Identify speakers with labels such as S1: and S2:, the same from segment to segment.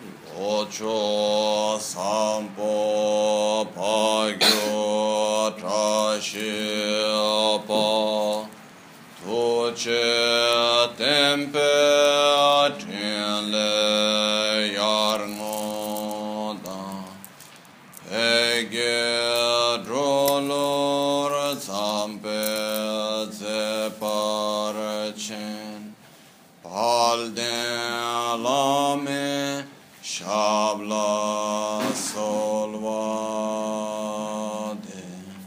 S1: Ocho sampo pagyo trashi pa tuce tempe tinle yarno da ege drolor zampe zeparchen palden lame Shabla solvade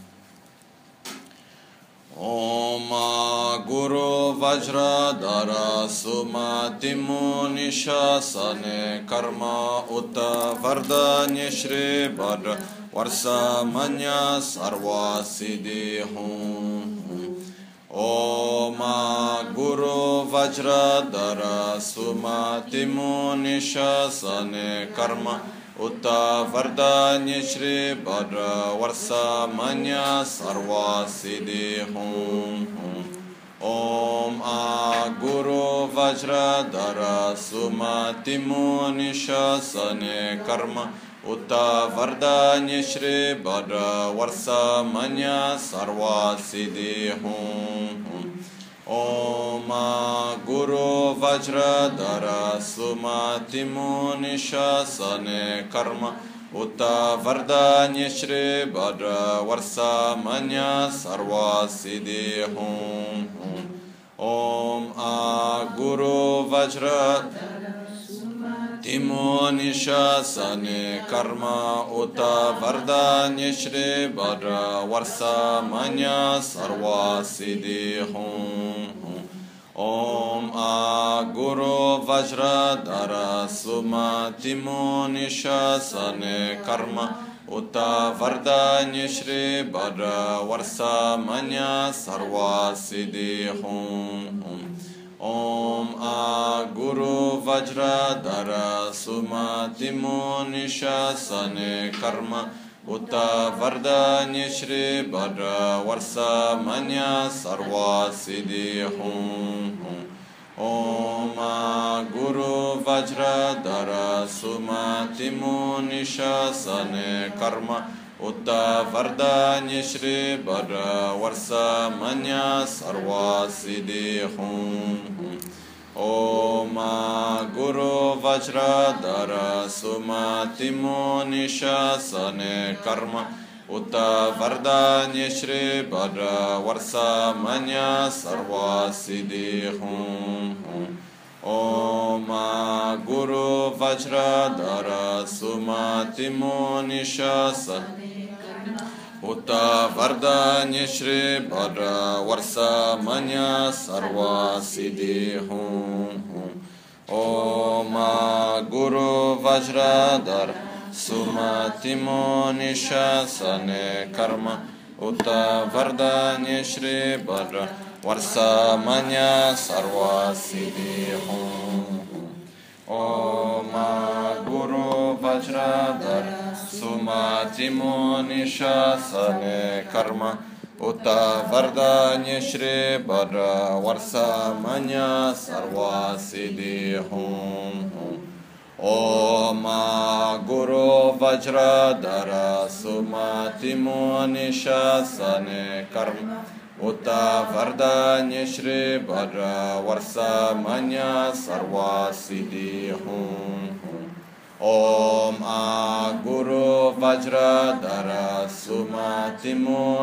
S1: Om Guru Vajradhara Sumati Munishasane Karma Uta Vardanya Shri Bhadra Varsa Manya Sarva Siddhi Hum Om Guru Vajradhara Sumati Munishasane Karma Uta Vardanya Shri Bhadra Varsa Manya Sarva Siddhi Hum Om Guru Vajradhara Sumati Munishasane Karma Uta Vardanya Shri Bhadra Varsa Manya Sarva Siddhi Hum Om Guru Vajradhara Sumati Munishasane Karma Uta Vardanya Shri Bhadra Varsa Manya Sarva Siddhi Hum Om Guru Vajradhara Timunishasane Karma Uta Vardanya Shri Bhadra Varsa Manya Sarva Siddhi Hum Om Guru Vajradhara Sumati Munishasane Karma Uta Vardanya Shri Bhadra Varsa Manya Sarva Siddhi Hum Om Guru Vajradhara Sumati Munishasane Karma Uta Vardanya Shri Bhadra Varsa Manya Sarva Siddhi Hum Om Guru Vajradhara Sumati Munishasane Karma Uta Vardanya Shri Bhadra Varsa Manya Sarva Siddhi Hum Om Guru Vajradhara Sumati Munishasane Karma Uta Vardanya Shri Bhadra Varsa Manya Sarva Siddhi Hum Om Guru Vajradhara Sumati Munishasane Uta Vardanya Shri Bhadra Varsa Manya Sarva Siddhi Hum Om Guru Vajradhara Sumati Munishasane Karma Uta Vardanya Shri Bhadra Varsa Manya Sarva Siddhi Hum Om Guru Vajradhara Sumati Munishasane Karma Uta Vardanya Shri Bhadra Varsa Manya Sarva Siddhi Hum Om Guru Vajradhara Sumati Munishasane Karma Uta Vardanya Shri Bhadra Varsa Manya Sarva Siddhi Hum Om Guru Vajradhara Sumati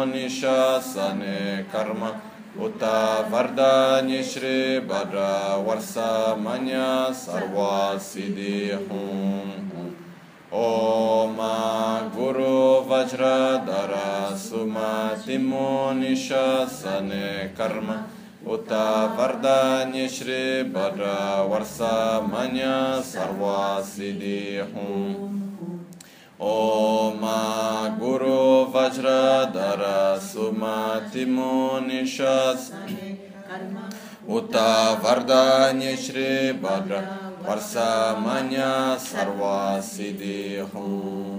S1: Munishasane Karma Uta Vardanya Shri Bhadra Varsa Manya Sarva Siddhi Hum Om Guru Vajradhara Sumati Munishasane Karma Uta Vardanya Shri Bhadra Varsa Manya Sarva Siddhi Hum Om Guru Vajradhara Sumati Munishasane Uta Vardanya Shri Bhadra Varsa Manya Sarva Siddhi Hum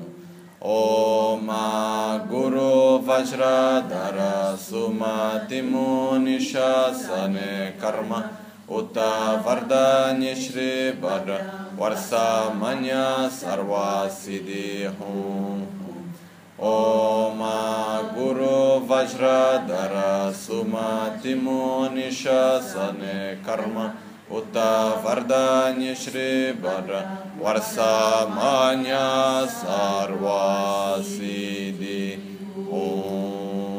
S1: Om Guru Vajradhara Sumati Munishasane Karma Uta Vardanya Shri Bhadra Varsamanya Sarva Siddhi Hum Om Guru Vajradhara Sumati Munisha Sane Karma Uta Vardanya Shri Bhadra Varsamanya Sarva Siddhi Hum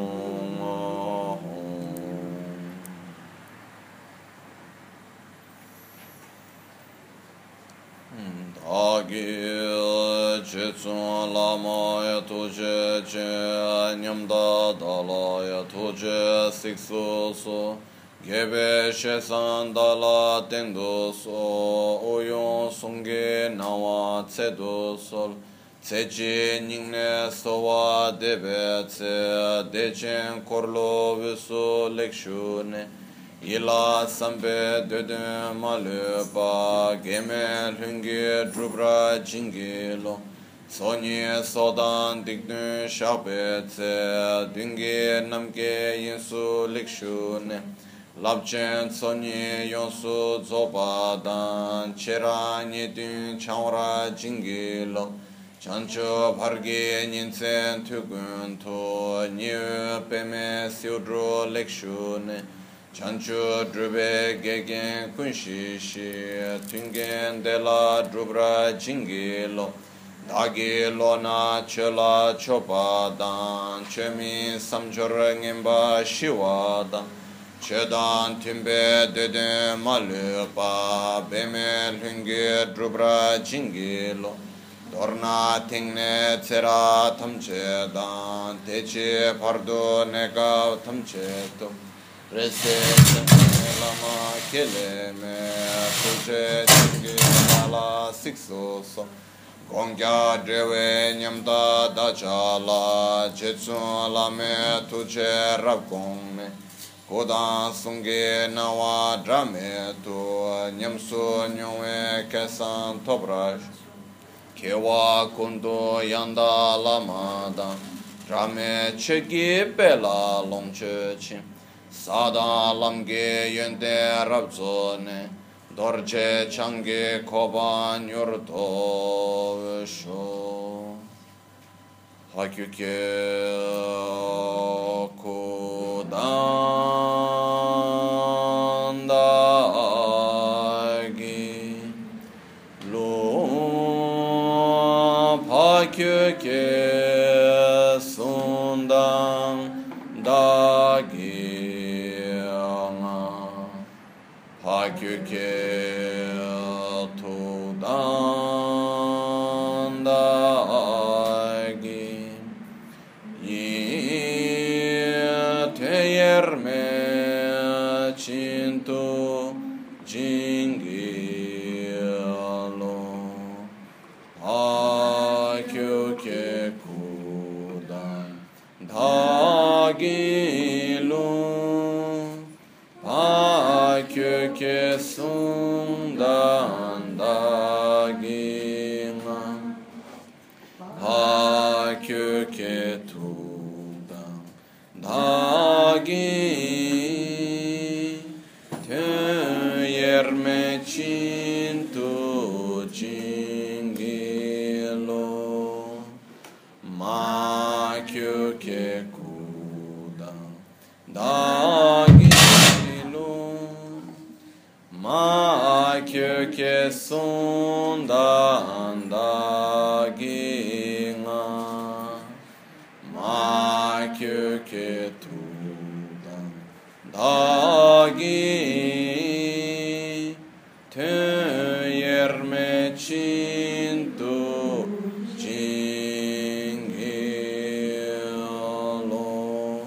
S1: Agil Chitsun Lama Yatuje Che Nyamda Dala Yatuje Siksu So Gebe Shesan Dala Tendu So Oyon Sungi Nawa Tsedu Sol Tsechi Ningne Sowa Debe Tse Dechen Korlo Visu Lekshune Ila sambe dödü malüba gemel hüngü drubra cingilo Sonye sodan dikdü şabetse dünge namge yinsu likşune Labchen sonye yonsu zobadan çeranye dün çavra cingilo Chancho bharge ninsen tügün to nyu peme siudro lekşune Chanchu drube gegen kunshishi tungen de la drubra jingilo dagilo na chela chopadan chemi samjor ngemba shiwada chedan timbe dede malupa bemel hunge drubra jingilo dorna tingne tsera tamchedan teche pardo nega tamcheto Rese lama kele me tuje jingi ala sikso so gongya drewe nyamda dachala jetsu la me tuje rabgong me kodan sunge nawa drame to nyamsu nywe kesan tobrash kewa kundo yanda lamada drame chegi bela longche chim Sada lamge yente rabzone dorje change koban yurto visho hakyuke kudandagi lo hakyuke sundan dagi Hakyuke tudandagi Yeteyerme cintu jingilo Hakyuke kudandagilo Hakyuke sundandagina Hakyuke tudandagi Töyerme cintu jingilo Makyuke kudandagi Ma kyöke sundandagina Ma kyöke tudandagi Töyerme cintu jingilo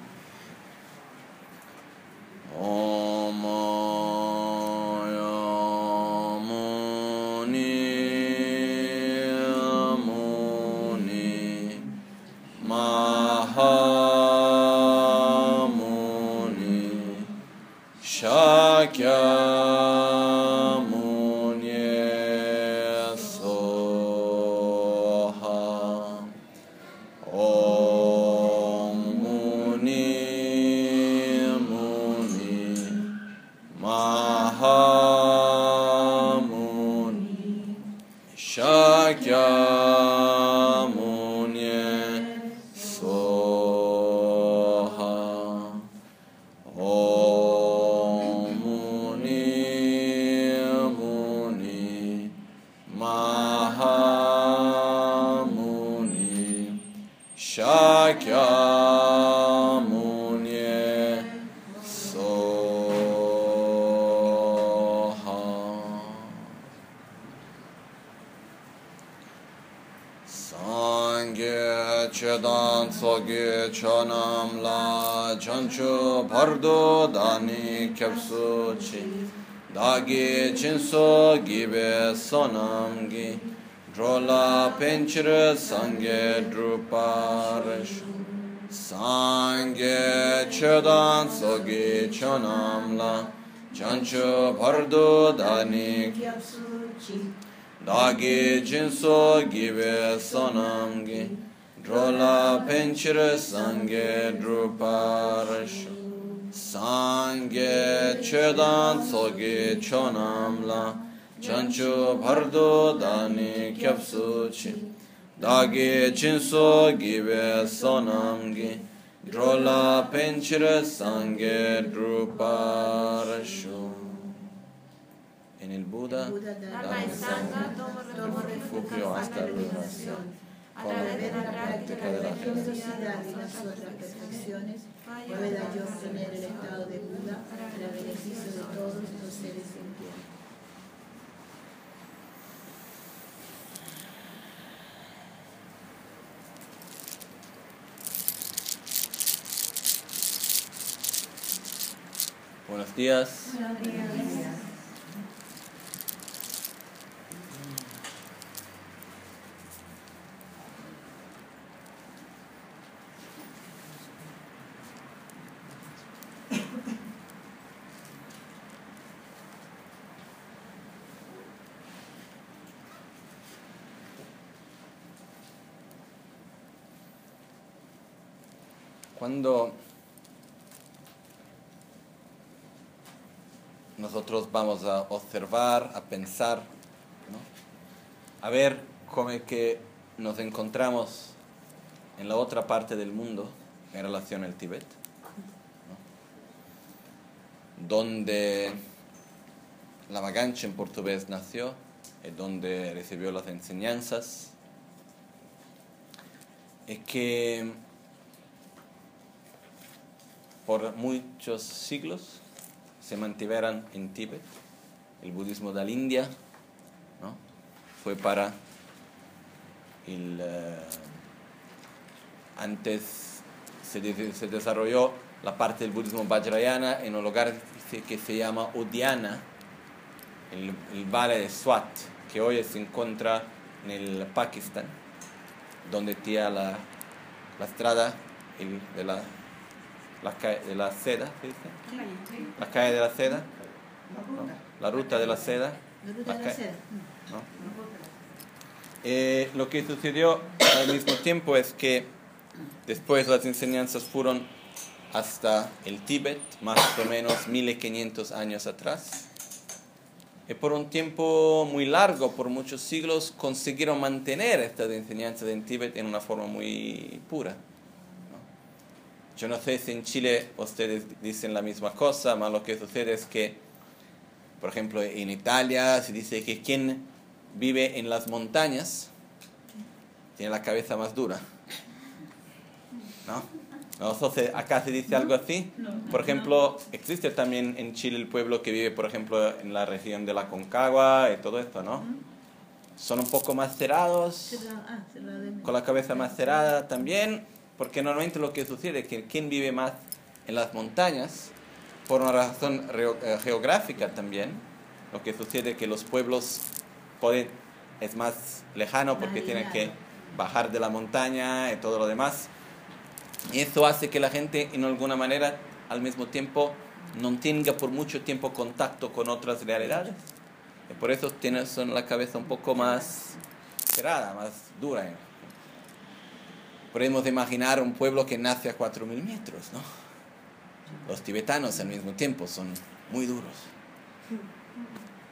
S1: Shakyamuni Soha Om Muni Muni Maha Shakyamuni Soha Om Muni Muni Mahamuni Shakyamuni Soha. Sangye Chedan Soge Chonam La Chanchu Bardo Dani Kepsu Chi Dagi Chinso Gibe Sonamgi Drola Penchire Sangye Druparish Sangye Chedan Soge Chonam La Chanchu Bardo Dani Dagi Jinso Gibe Sonamgi Drola Penchire Sangye Druparish Sangye Chedan Sogi Chonamla Chanchu Bhardo Dani Kyapsuchi Dagi Jinso Gibe Sonamgi Drola Penchire Sangye Druparish. En el Buda, dame sangre, refugio hasta la liberación.
S2: A través de la práctica de la generosidad y las otras perfecciones, pueda yo obtener el estado de Buda para el beneficio de todos los seres sintientes.
S1: Buenos días.
S2: Buenos días.
S1: Cuando nosotros vamos a observar, a pensar, ¿no? A ver cómo es que nos encontramos en la otra parte del mundo en relación al Tíbet, ¿no? Donde Lama Ganchen portugués nació, y donde recibió las enseñanzas, es que por muchos siglos se mantuvieran en Tíbet. El budismo de la India, ¿no? Fue para antes se desarrolló la parte del budismo Vajrayana en un lugar que se llama Udiana, el valle de Swat, que hoy se encuentra en el Pakistán, donde tiene la estrada de la calle de la seda, ¿se dice? La calle de la seda, ¿no? La ruta de la seda.
S2: La ruta de la seda.
S1: ¿No? Lo que sucedió al mismo tiempo es que después las enseñanzas fueron hasta el Tíbet, más o menos 1500 años atrás. Y por un tiempo muy largo, por muchos siglos, consiguieron mantener estas enseñanzas en Tíbet en una forma muy pura. Yo no sé si en Chile ustedes dicen la misma cosa, pero lo que sucede es que, por ejemplo, en Italia se dice que quien vive en las montañas tiene la cabeza más dura, ¿no? Nosotros acá se dice algo así. Por ejemplo, existe también en Chile el pueblo que vive, por ejemplo, en la región de la Concagua y todo esto, ¿no? Son un poco más cerrados, con la cabeza más cerrada también. Porque normalmente lo que sucede es que quien vive más en las montañas, por una razón geográfica también, lo que sucede es que los pueblos es más lejano porque tienen que bajar de la montaña y todo lo demás. Y eso hace que la gente, en alguna manera, al mismo tiempo, no tenga por mucho tiempo contacto con otras realidades. Y por eso son la cabeza un poco más cerrada, más dura. Podemos imaginar un pueblo que nace a 4.000 metros, ¿no? Los tibetanos al mismo tiempo son muy duros.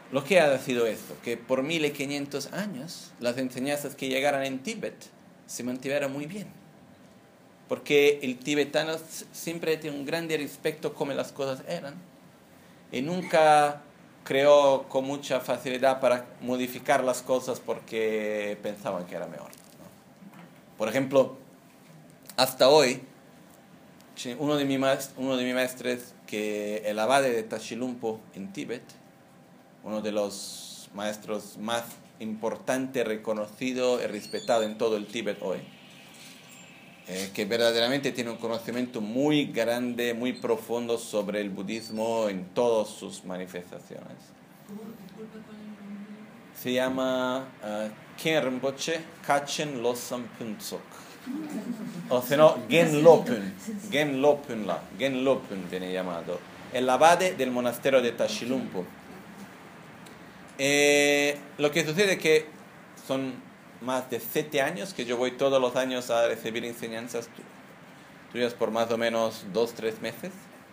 S1: lo que ha sido esto, que por 1500 años las enseñanzas que llegaron en Tíbet se mantuvieron muy bien. Porque el tibetano siempre tiene un grande respeto a cómo las cosas eran y nunca creó con mucha facilidad para modificar las cosas porque pensaban que era mejor, ¿no? Por ejemplo, hasta hoy, uno de mis maestros, que el abade de Tashilhunpo en Tíbet, uno de los maestros más importantes, reconocido y respetado en todo el Tíbet hoy, que verdaderamente tiene un conocimiento muy grande, muy profundo sobre el budismo en todas sus manifestaciones. Se llama Khen Rinpoche Kachen Losam Puntsok. O se no, Gen Lopun viene llamado. El abade del monasterio de Tashilhunpo. Lo que sucede es que son más de 7 años que yo voy todos los años a recibir enseñanzas tuyas por más o menos 2-3 meses.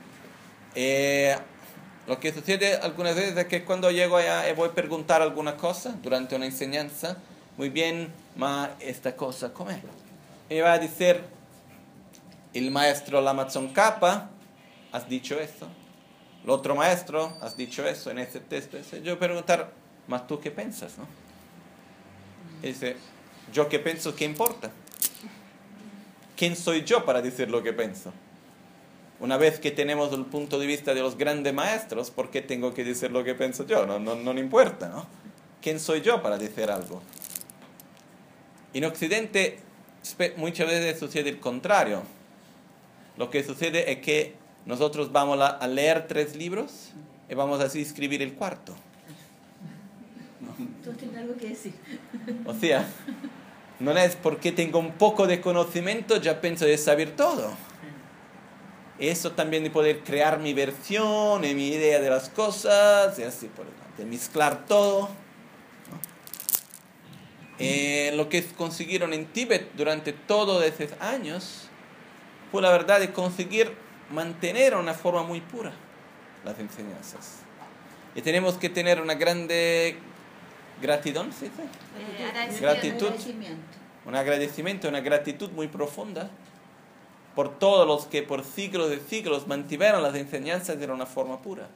S1: Lo que sucede algunas veces es que cuando llego allá voy a preguntar alguna cosa durante una enseñanza, muy bien, ma esta cosa, ¿cómo es? Y va a decir, el maestro Lama Tsongkhapa, has dicho eso. El otro maestro, has dicho eso en ese texto. Yo preguntar, ¿mas tú qué piensas, no? Y dice, ¿yo qué pienso? ¿Qué importa? ¿Quién soy yo para decir lo que pienso? Una vez que tenemos el punto de vista de los grandes maestros, ¿por qué tengo que decir lo que pienso yo? No importa, ¿no? ¿Quién soy yo para decir algo? En Occidente muchas veces sucede el contrario. Lo que sucede es que nosotros vamos a leer 3 libros y vamos así a escribir el 4.
S2: Tú tienes algo que decir.
S1: O sea, no es porque tengo un poco de conocimiento ya pienso de saber todo. Eso también de poder crear mi versión y mi idea de las cosas y así por delante, de mezclar todo, ¿no? Lo que consiguieron en Tíbet durante todos esos años fue la verdad de conseguir mantener una forma muy pura las enseñanzas. Y tenemos que tener una grande gratitud, ¿sí? Gratitud, un agradecimiento, una gratitud muy profunda por todos los que por siglos de siglos mantuvieron las enseñanzas de una forma pura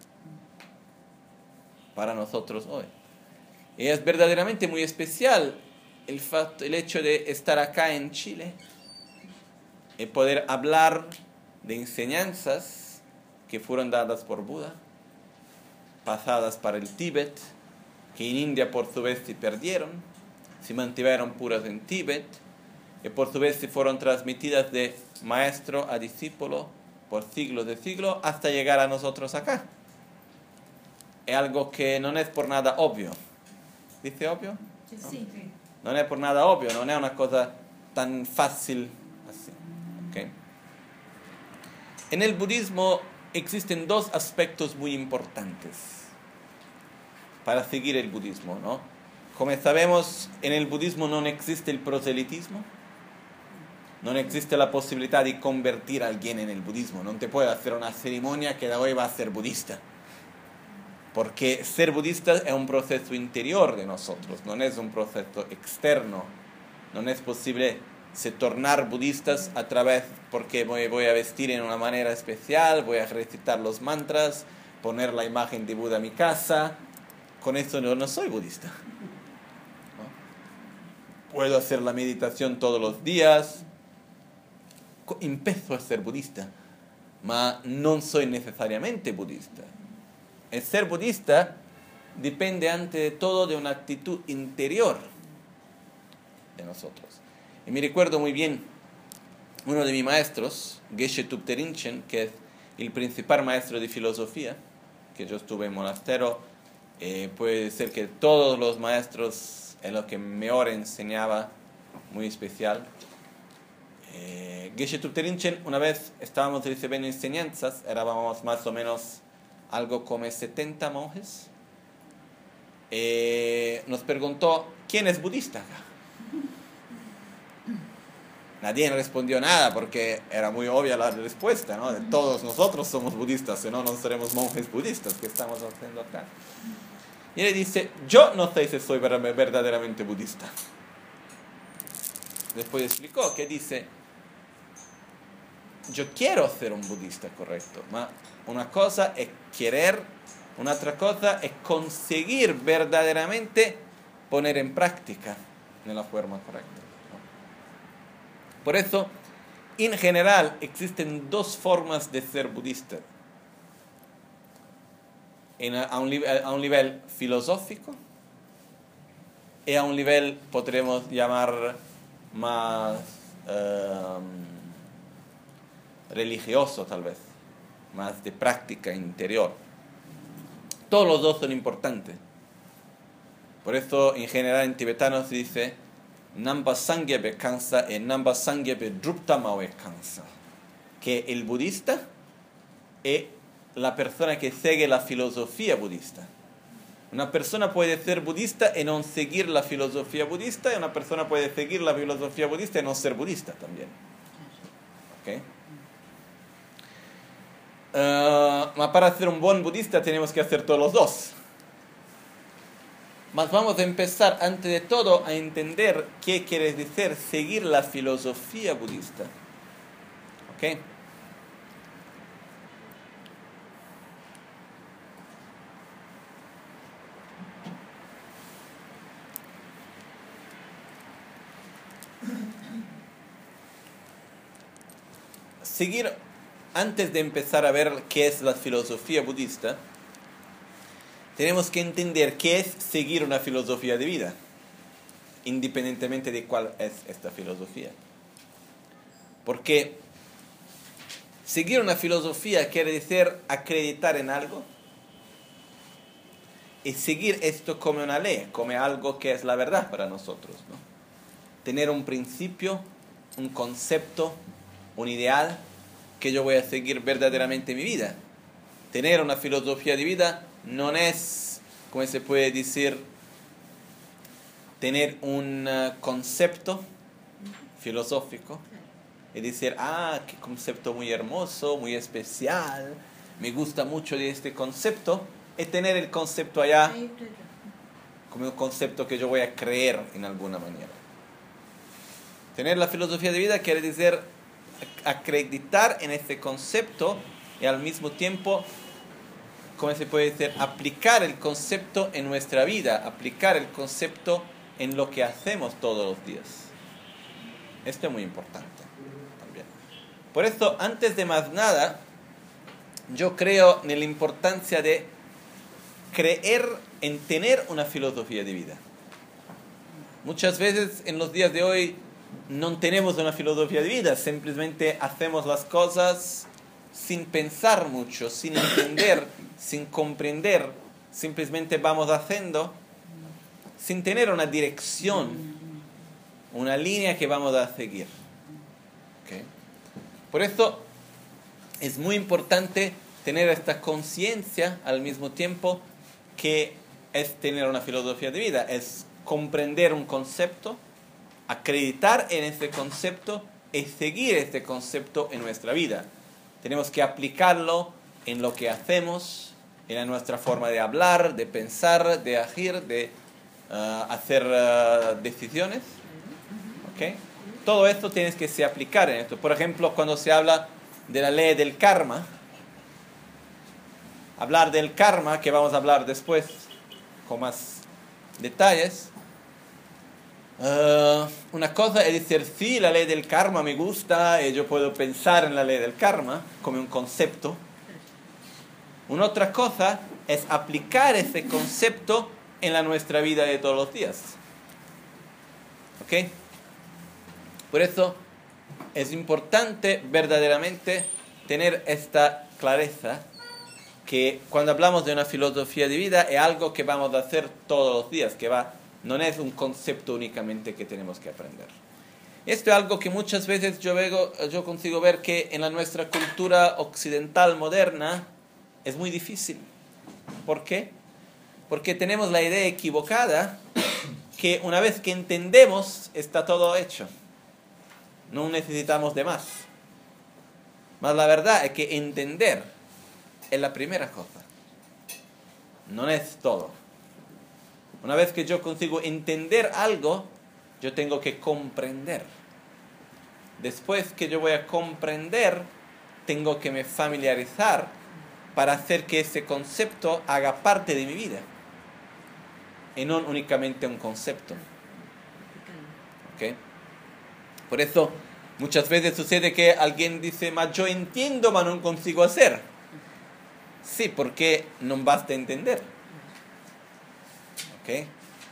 S1: para nosotros hoy. Y es verdaderamente muy especial el hecho de estar acá en Chile y poder hablar de enseñanzas que fueron dadas por Buda, pasadas para el Tíbet, que en India por su vez se perdieron, se mantuvieron puras en Tíbet, y por su vez se fueron transmitidas de maestro a discípulo por siglos de siglos hasta llegar a nosotros acá. Es algo que no es por nada obvio. ¿Dice obvio?
S2: Sí.
S1: No es por nada obvio, no es una cosa tan fácil así. ¿Okay? En el budismo existen 2 aspectos muy importantes para seguir el budismo, ¿no? Como sabemos, en el budismo no existe el proselitismo, no existe la posibilidad de convertir a alguien en el budismo. No te puede hacer una ceremonia que de hoy va a ser budista. Porque ser budista es un proceso interior de nosotros, no es un proceso externo. No es posible se tornar budistas a través, porque voy a vestir en una manera especial, voy a recitar los mantras, poner la imagen de Buda en mi casa. Con eso no soy budista, ¿no? Puedo hacer la meditación todos los días, empiezo a ser budista, pero no soy necesariamente budista. El ser budista depende ante de todo de una actitud interior de nosotros. Y me recuerdo muy bien uno de mis maestros, Geshe Thupten Rinchen, que es el principal maestro de filosofía, que yo estuve en monasterio. Puede ser que todos los maestros es lo que mejor enseñaba, muy especial. Geshe Thupten Rinchen, una vez estábamos recibiendo enseñanzas, éramos más o menos algo como 70 monjes. Nos preguntó, ¿quién es budista acá? Nadie respondió nada porque era muy obvia la respuesta, ¿no? Todos nosotros somos budistas, si no, no seremos monjes budistas. ¿Qué estamos haciendo acá? Y él dice, yo no sé si soy verdaderamente budista. Después explicó que dice, yo quiero ser un budista correcto, pero una cosa es querer, una otra cosa es conseguir verdaderamente poner en práctica de la forma correcta, ¿no? Por eso, en general, existen dos formas de ser budista. A un nivel filosófico y a un nivel, podremos llamar, más religioso tal vez, más de práctica interior. Todos los dos son importantes. Por eso en general en tibetano se dice Namba Sangyepe Kansa y Namba Sangyepe Drupta Mawe Kansa, que el budista es la persona que sigue la filosofía budista. Una persona puede ser budista y no seguir la filosofía budista, y una persona puede seguir la filosofía budista y no ser budista también. ¿Okay? Para ser un buen budista tenemos que hacer todos los dos. Mas vamos a empezar antes de todo a entender qué quiere decir seguir la filosofía budista. ¿Ok? Seguir, antes de empezar a ver qué es la filosofía budista, tenemos que entender qué es seguir una filosofía de vida, independientemente de cuál es esta filosofía. Porque seguir una filosofía quiere decir acreditar en algo y seguir esto como una ley, como algo que es la verdad para nosotros, ¿no? Tener un principio, un concepto, un ideal que yo voy a seguir verdaderamente en mi vida. Tener una filosofía de vida no es, como se puede decir, tener un concepto filosófico y decir, qué concepto muy hermoso, muy especial, me gusta mucho de este concepto, es tener el concepto allá como un concepto que yo voy a creer en alguna manera. Tener la filosofía de vida quiere decir acreditar en este concepto y al mismo tiempo, ¿cómo se puede decir? Aplicar el concepto en nuestra vida, aplicar el concepto en lo que hacemos todos los días. Esto es muy importante también. Por eso, antes de más nada, yo creo en la importancia de creer en tener una filosofía de vida. Muchas veces en los días de hoy no tenemos una filosofía de vida, simplemente hacemos las cosas sin pensar mucho, sin entender, sin comprender, simplemente vamos haciendo sin tener una dirección, una línea que vamos a seguir. ¿Okay? Por eso es muy importante tener esta conciencia al mismo tiempo que es tener una filosofía de vida, es comprender un concepto, acreditar en este concepto y seguir este concepto en nuestra vida. Tenemos que aplicarlo en lo que hacemos, en nuestra forma de hablar, de pensar, de agir, de hacer decisiones. ¿Okay? Todo esto tienes que se aplicar en esto. Por ejemplo, cuando se habla de la ley del karma, hablar del karma, que vamos a hablar después con más detalles, una cosa es decir, sí, la ley del karma me gusta y yo puedo pensar en la ley del karma como un concepto. Una otra cosa es aplicar ese concepto en nuestra vida de todos los días. ¿Ok? Por eso es importante verdaderamente tener esta clareza que cuando hablamos de una filosofía de vida es algo que vamos a hacer todos los días, no es un concepto únicamente que tenemos que aprender. Esto es algo que muchas veces yo consigo ver que en nuestra cultura occidental moderna es muy difícil. ¿Por qué? Porque tenemos la idea equivocada que una vez que entendemos está todo hecho. No necesitamos de más. Mas la verdad es que entender es la primera cosa. No es todo. Una vez que yo consigo entender algo, yo tengo que comprender. Después que yo voy a comprender, tengo que me familiarizar para hacer que ese concepto haga parte de mi vida. Y no únicamente un concepto. ¿Okay? Por eso, muchas veces sucede que alguien dice, yo entiendo, pero no consigo hacer. Sí, porque no basta entender. ¿Okay?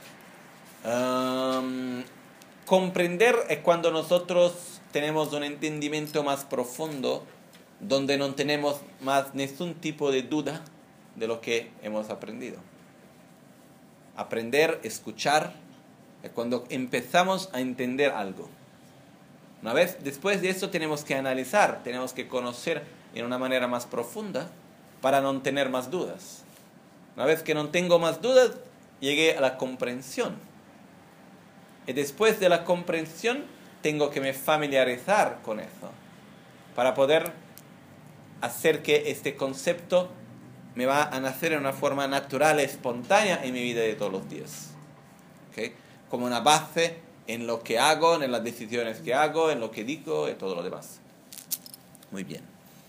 S1: Comprender es cuando nosotros tenemos un entendimiento más profundo, donde no tenemos más ningún tipo de duda de lo que hemos aprendido. Aprender, escuchar, es cuando empezamos a entender algo. Una vez después de eso tenemos que analizar, tenemos que conocer en una manera más profunda para no tener más dudas. Una vez que no tengo más dudas, llegué a la comprensión. Y después de la comprensión, tengo que me familiarizar con eso para poder hacer que este concepto me va a nacer en una forma natural, espontánea en mi vida de todos los días. ¿Okay? Como una base en lo que hago, en las decisiones que hago, en lo que digo y todo lo demás. Muy bien.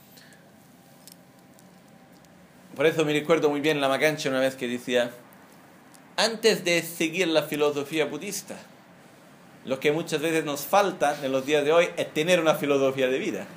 S1: Por eso me recuerdo muy bien la Magancha una vez que decía, antes de seguir la filosofía budista, lo que muchas veces nos falta en los días de hoy es tener una filosofía de vida.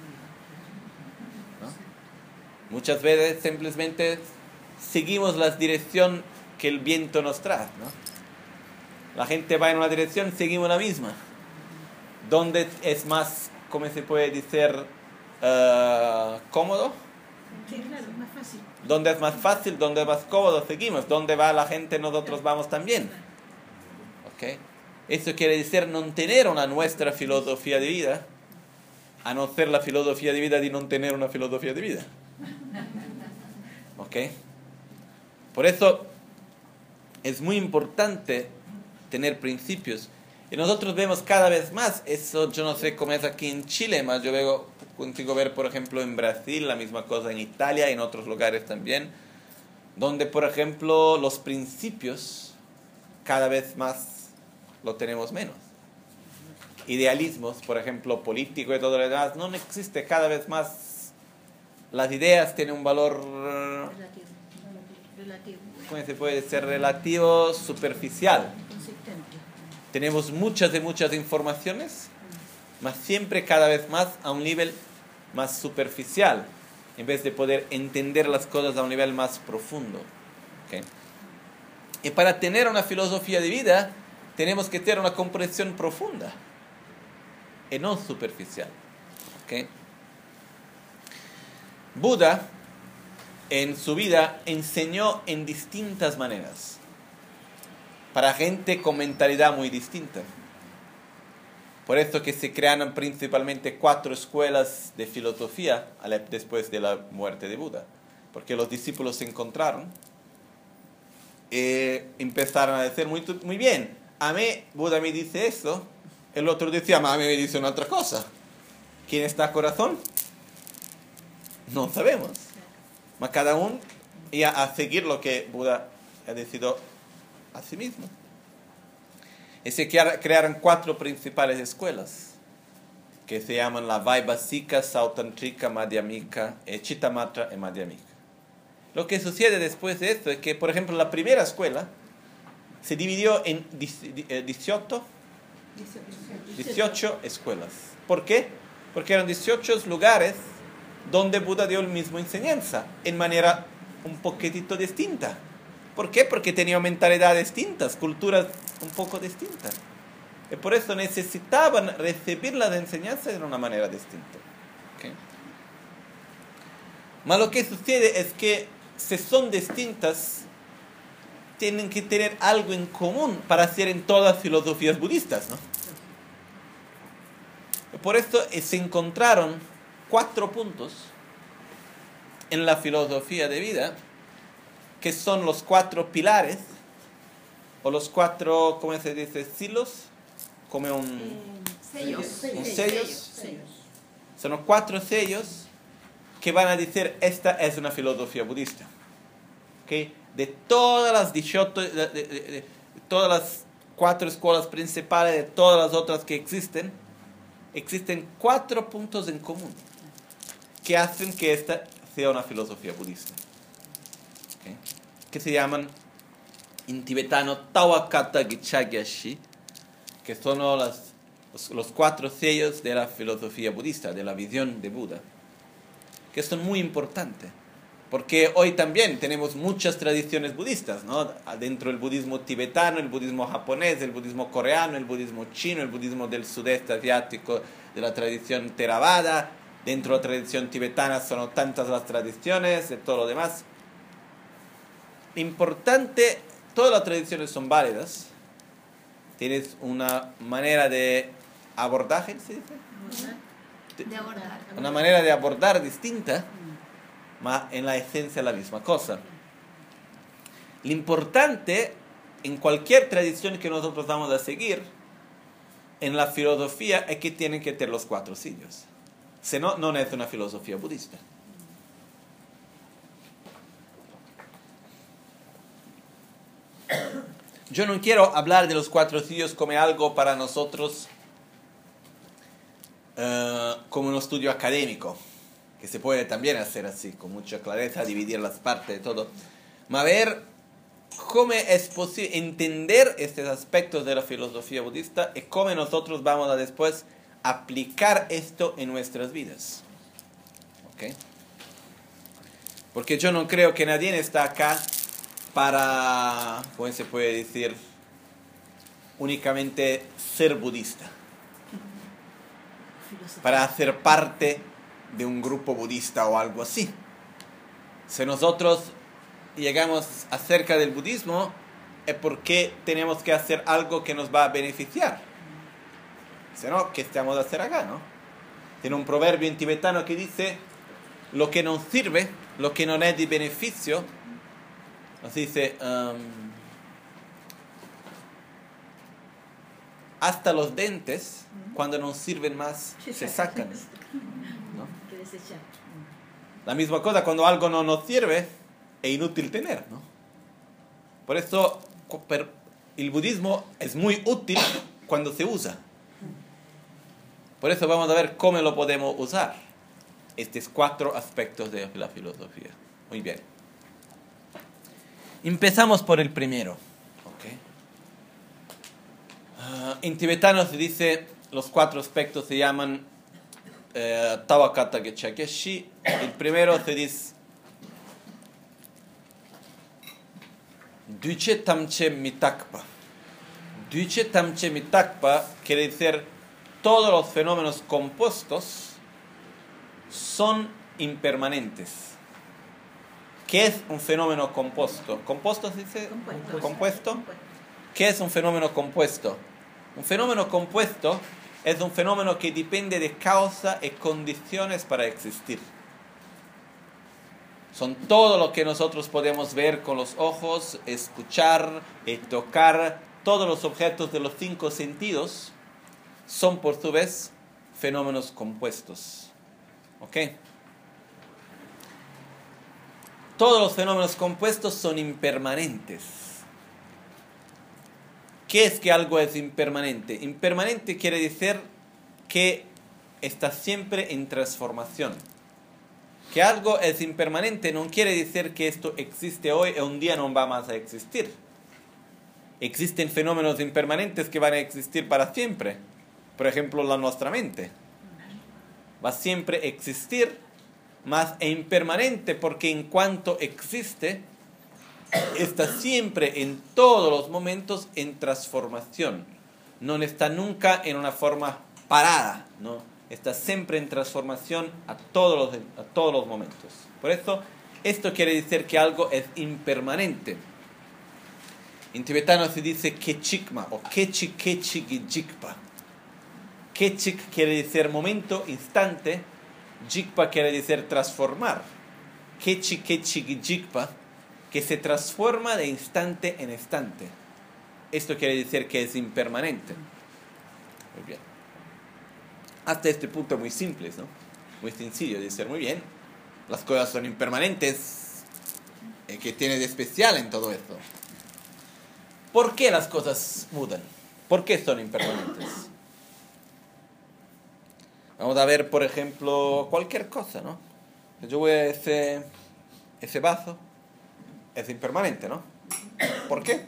S1: ¿No? Muchas veces simplemente seguimos la dirección que el viento nos trae, ¿no? La gente va en una dirección, seguimos la misma. ¿Dónde es más, cómo se puede decir, cómodo?
S2: Sí, claro, más fácil.
S1: ¿Dónde es más fácil? ¿Dónde es más cómodo? Seguimos. ¿Dónde va la gente? Nosotros vamos también. ¿Okay? Eso quiere decir no tener una nuestra filosofía de vida, a no ser la filosofía de vida de no tener una filosofía de vida. ¿Ok? Por eso es muy importante tener principios. Y nosotros vemos cada vez más, eso yo no sé cómo es aquí en Chile, más yo consigo ver, por ejemplo, en Brasil, la misma cosa en Italia y en otros lugares también, donde, por ejemplo, los principios cada vez más lo tenemos menos. Idealismos, por ejemplo, político y todo lo demás, no existe cada vez más. Las ideas tienen un valor
S2: relativo.
S1: ¿Cómo se puede decir? Relativo, superficial.
S2: Consistente.
S1: Tenemos muchas informaciones, mas siempre cada vez más a un nivel más superficial, en vez de poder entender las cosas a un nivel más profundo. ¿Okay? Y para tener una filosofía de vida, tenemos que tener una comprensión profunda y no superficial. ¿Okay? Buda en su vida enseñó en distintas maneras para gente con mentalidad muy distinta. Por eso que se crearon principalmente 4 escuelas de filosofía después de la muerte de Buda, porque los discípulos se encontraron y empezaron a decir muy bien, a mí Buda me dice eso, el otro decía, a mí me dice una otra cosa. ¿Quién está corazón? No sabemos. Mas cada uno iba a seguir lo que Buda ha decidido a sí mismo. Y se crearon 4 principales escuelas, que se llaman la Vaibhasika, Sautantrika, Madhyamika, Chittamatra y Madhyamika. Lo que sucede después de esto es que, por ejemplo, la primera escuela se dividió en 18 escuelas. ¿Por qué? Porque eran 18 lugares donde Buda dio la misma enseñanza, en manera un poquitito distinta. ¿Por qué? Porque tenían mentalidades distintas, culturas un poco distintas. Y por eso necesitaban recibir las enseñanzas de una manera distinta. ¿Okay? Mas lo que sucede es que si son distintas, tienen que tener algo en común para ser en todas las filosofías budistas, ¿no? Y por eso se encontraron 4 puntos en la filosofía de vida, que son los 4 pilares, o los 4, ¿cómo se dice? Silos, como
S2: Sellos.
S1: sellos. Son los 4 sellos que van a decir, esta es una filosofía budista. ¿Okay? De todas las todas las 4 escuelas principales, de todas las otras que existen 4 puntos en común que hacen que esta sea una filosofía budista. ¿Okay? Que se llaman en tibetano Tawakata Gichagyashi, que son los 4 sellos de la filosofía budista, de la visión de Buda, que son muy importantes, porque hoy también tenemos muchas tradiciones budistas, ¿no? Dentro del budismo tibetano, el budismo japonés, el budismo coreano, el budismo chino, el budismo del sudeste asiático, de la tradición Theravada. Dentro de la tradición tibetana son tantas las tradiciones, de todo lo demás. Importante, todas las tradiciones son válidas. Tienes una manera de abordaje, ¿se dice?
S3: De abordar.
S1: Una manera de abordar distinta, mas en la esencia la misma cosa. Lo importante en cualquier tradición que nosotros vamos a seguir en la filosofía es que tienen que tener los 4 sellos. Si no, no es una filosofía budista. Yo no quiero hablar de los 4 sellos como algo para nosotros como un estudio académico, que se puede también hacer así, con mucha clareza, dividir las partes de todo. A ver cómo es posible entender estos aspectos de la filosofía budista y cómo nosotros vamos a después aplicar esto en nuestras vidas. ¿Okay? Porque yo no creo que nadie está acá para, ¿cómo se puede decir?, únicamente ser budista, para hacer parte de un grupo budista o algo así. Si nosotros llegamos acerca del budismo, es porque tenemos que hacer algo que nos va a beneficiar. Si no, ¿qué estamos a hacer acá, no? Tiene un proverbio en tibetano que dice: lo que nos sirve, lo que no es de beneficio, nos dice, hasta los dentes, cuando no sirven más, se sacan, ¿no? La misma cosa, cuando algo no nos sirve, es inútil tener, ¿no? Por eso el budismo es muy útil cuando se usa. Por eso vamos a ver cómo lo podemos usar. Estos 4 aspectos de la filosofía. Muy bien. Empezamos por el primero. ¿Okay? En tibetano se dice, los 4 aspectos se llaman Tawakata Gichagyashi. El primero se dice Duche Tamche Mitakpa. Duche Tamche Mitakpa quiere decir todos los fenómenos compuestos son impermanentes. ¿Qué es un fenómeno compuesto? ¿Compuesto se dice? ¿Compuesto? ¿Qué es un fenómeno compuesto? Un fenómeno compuesto es un fenómeno que depende de causa y condiciones para existir. Son todo lo que nosotros podemos ver con los ojos, escuchar y tocar. Todos los objetos de los 5 sentidos son por su vez fenómenos compuestos. ¿Ok? Todos los fenómenos compuestos son impermanentes. ¿Qué es que algo es impermanente? Impermanente quiere decir que está siempre en transformación. Que algo es impermanente no quiere decir que esto existe hoy y un día no va más a existir. Existen fenómenos impermanentes que van a existir para siempre. Por ejemplo, nuestra mente va siempre a existir, mas es impermanente porque en cuanto existe, está siempre en todos los momentos en transformación. No está nunca en una forma parada, ¿no? Está siempre en transformación a todos los momentos. Por eso, esto quiere decir que algo es impermanente. En tibetano se dice kechikma o kechikechigijikpa. Kechik quiere decir momento, instante. Jikpa quiere decir transformar. Kechikechigijikpa, que se transforma de instante en instante. Esto quiere decir que es impermanente. Muy bien. Hasta este punto muy simple, ¿no? Muy sencillo de decir, muy bien. Las cosas son impermanentes. ¿Qué tiene de especial en todo esto? ¿Por qué las cosas mudan? ¿Por qué son impermanentes? Vamos a ver, por ejemplo, cualquier cosa, ¿no? Yo voy a ese vaso, es impermanente, ¿no? ¿Por qué?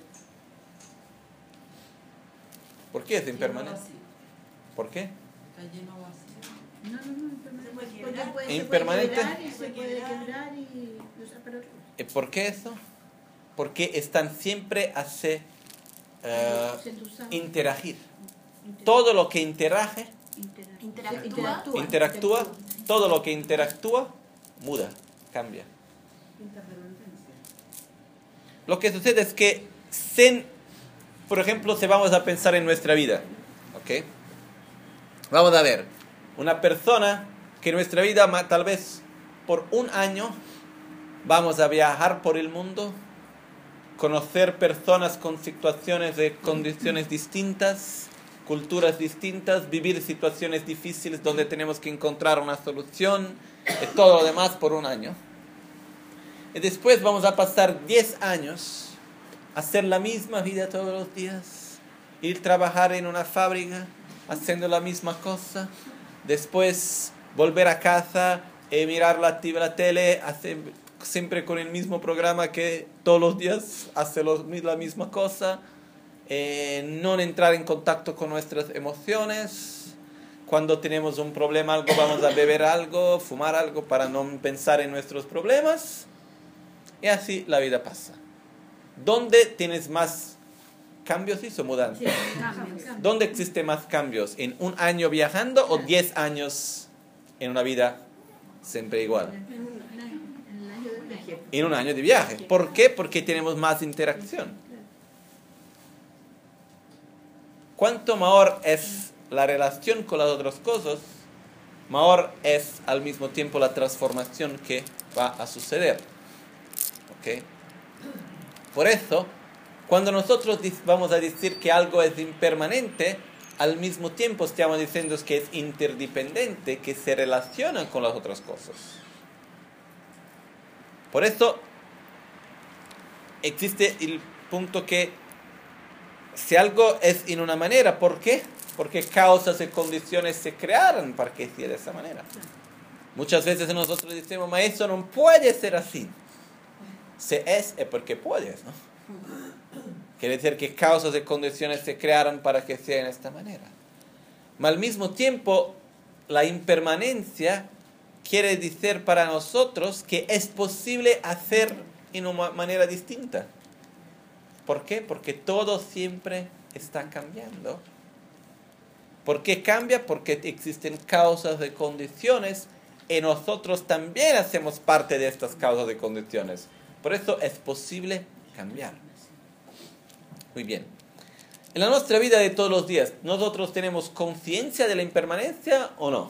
S1: ¿Por qué es impermanente? ¿Por qué?
S3: Está lleno vacío.
S2: No, impermanente.
S1: Impermanente.
S2: Se puede quebrar y usar para otro.
S1: ¿Por qué eso? Porque están siempre a interagir. Todo lo que interactúa, todo lo que interactúa, muda, cambia. Lo que sucede es que, por ejemplo, si vamos a pensar en nuestra vida, ¿ok? Vamos a ver, una persona que en nuestra vida, tal vez por un año, vamos a viajar por el mundo, conocer personas con situaciones de condiciones distintas, culturas distintas, vivir situaciones difíciles donde tenemos que encontrar una solución, y todo lo demás por un año. Y después vamos a pasar 10 años, hacer la misma vida todos los días, ir a trabajar en una fábrica, haciendo la misma cosa, después volver a casa, mirar la tele, siempre con el mismo programa que todos los días hace la misma cosa, no entrar en contacto con nuestras emociones. Cuando tenemos un problema, algo, vamos a beber algo, fumar algo para no pensar en nuestros problemas. Y así la vida pasa. ¿Dónde tienes más cambios y mudanzas?
S2: Sí, cambios.
S1: ¿Dónde existen más cambios? ¿En un año viajando o 10 años en una vida siempre igual? En un año de viaje. ¿Por qué? Porque tenemos más interacción. Cuanto mayor es la relación con las otras cosas, mayor es al mismo tiempo la transformación que va a suceder. ¿Ok? Por eso, cuando nosotros vamos a decir que algo es impermanente, al mismo tiempo estamos diciendo que es interdependiente, que se relaciona con las otras cosas. Por eso existe el punto que si algo es en una manera, ¿por qué? Porque causas y condiciones se crearon para que sea de esa manera. Muchas veces nosotros decimos, ma eso no puede ser así. Si es porque puedes, ¿no? Quiere decir que causas y condiciones se crearon para que sea de esta manera. Pero al mismo tiempo, la impermanencia quiere decir para nosotros que es posible hacer en una manera distinta. ¿Por qué? Porque todo siempre está cambiando. ¿Por qué cambia? Porque existen causas y condiciones y nosotros también hacemos parte de estas causas y condiciones. Por eso es posible cambiar. Muy bien. En la nuestra vida de todos los días, ¿nosotros tenemos conciencia de la impermanencia o no?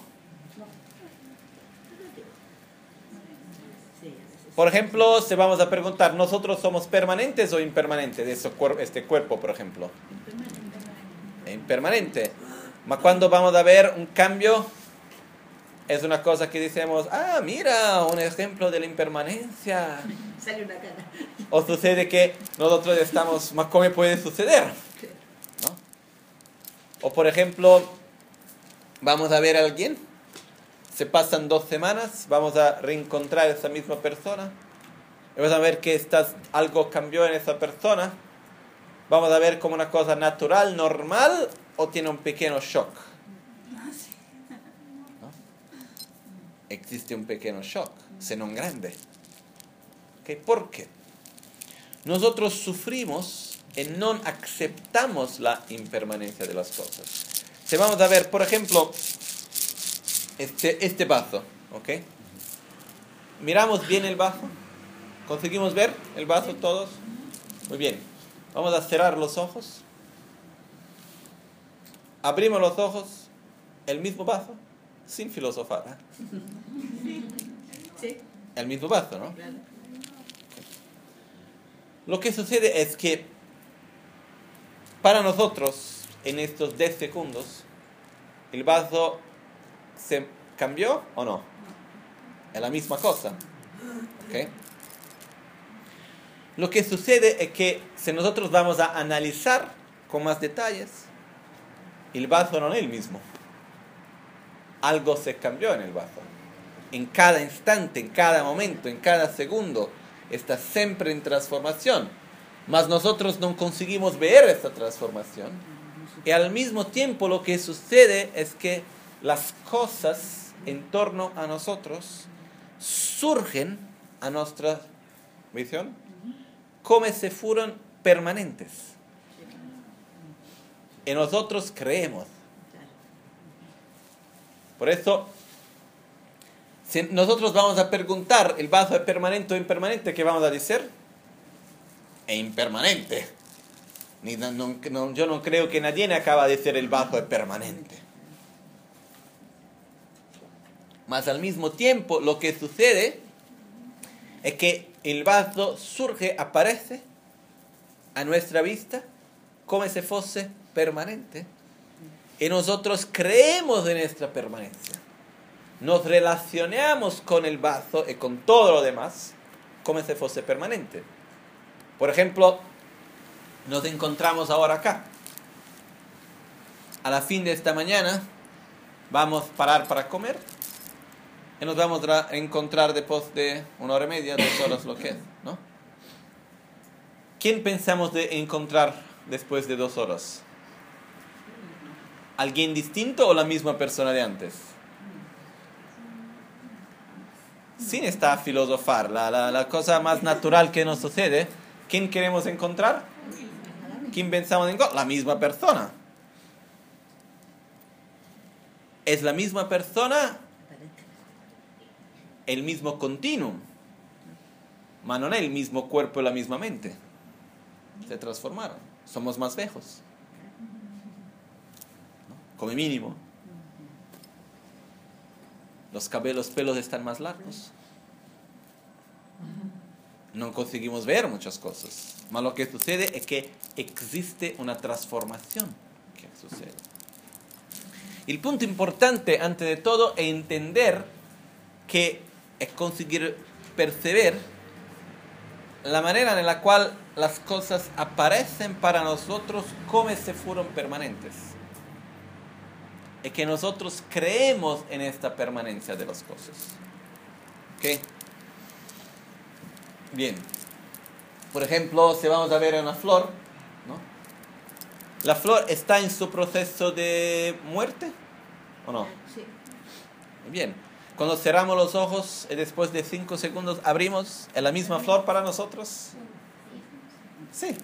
S1: Por ejemplo, se vamos a preguntar, ¿nosotros somos permanentes o impermanentes? Este cuerpo, por ejemplo. Impermanente. ¿Mas cuando vamos a ver un cambio? Es una cosa que decimos, mira, un ejemplo de la impermanencia.
S2: Sale una cara.
S1: O sucede que nosotros estamos, ¿más cómo puede suceder? ¿No? O por ejemplo, vamos a ver a alguien, se pasan 2 semanas, vamos a reencontrar a esa misma persona, y vamos a ver que algo cambió en esa persona, vamos a ver como una cosa natural, normal, o tiene un pequeño shock. ¿No? Existe un pequeño shock, se non grande. ¿Okay? ¿Por qué? Nosotros sufrimos y no aceptamos la impermanencia de las cosas. Si vamos a ver, por ejemplo, este vaso, ¿ok? Miramos bien el vaso. ¿Conseguimos ver el vaso todos? Muy bien. Vamos a cerrar los ojos. Abrimos los ojos. El mismo vaso, sin filosofar.
S2: Sí.
S1: El mismo vaso, ¿no? Lo que sucede es que para nosotros, en estos 10 segundos, el vaso se cambió o no. Es la misma cosa. ¿Okay? Lo que sucede es que si nosotros vamos a analizar con más detalles, el vaso no es el mismo. Algo se cambió en el vaso. En cada instante, en cada momento, en cada segundo, está siempre en transformación. Mas nosotros no conseguimos ver esta transformación. Y al mismo tiempo lo que sucede es que las cosas en torno a nosotros surgen a nuestra visión como si fueran permanentes. Y nosotros creemos. Por eso, si nosotros vamos a preguntar, ¿el vaso es permanente o impermanente? ¿Qué vamos a decir? Es impermanente. Yo no creo que nadie acaba de decir el vaso es permanente. Mas al mismo tiempo, lo que sucede es que el vaso surge, aparece a nuestra vista como si fuese permanente. Y nosotros creemos en esta permanencia. Nos relacionamos con el vaso y con todo lo demás como si fuese permanente. Por ejemplo, nos encontramos ahora acá. A la fin de esta mañana vamos a parar para comer y nos vamos a encontrar después de 1 hora y media, 2 horas, lo que es, ¿no? ¿Quién pensamos de encontrar después de 2 horas? ¿Alguien distinto o la misma persona de antes? Sin esta filosofar, la cosa más natural que nos sucede, ¿quién queremos encontrar? ¿Quién pensamos encontrar? La misma persona. Es la misma persona, el mismo continuum, pero no es el mismo cuerpo y la misma mente. Se transformaron, somos más viejos, ¿no? Como mínimo. Los pelos están más largos. No conseguimos ver muchas cosas. Mas lo que sucede es que existe una transformación que sucede. El punto importante, antes de todo, es entender que es conseguir percibir la manera en la cual las cosas aparecen para nosotros como si fueran permanentes. Es que nosotros creemos en esta permanencia de las cosas. ¿Ok? Bien. Por ejemplo, si vamos a ver una flor, ¿no? ¿La flor está en su proceso de muerte o no?
S2: Sí.
S1: Bien. Cuando cerramos los ojos y después de 5 segundos abrimos, ¿es la misma flor para nosotros? Sí.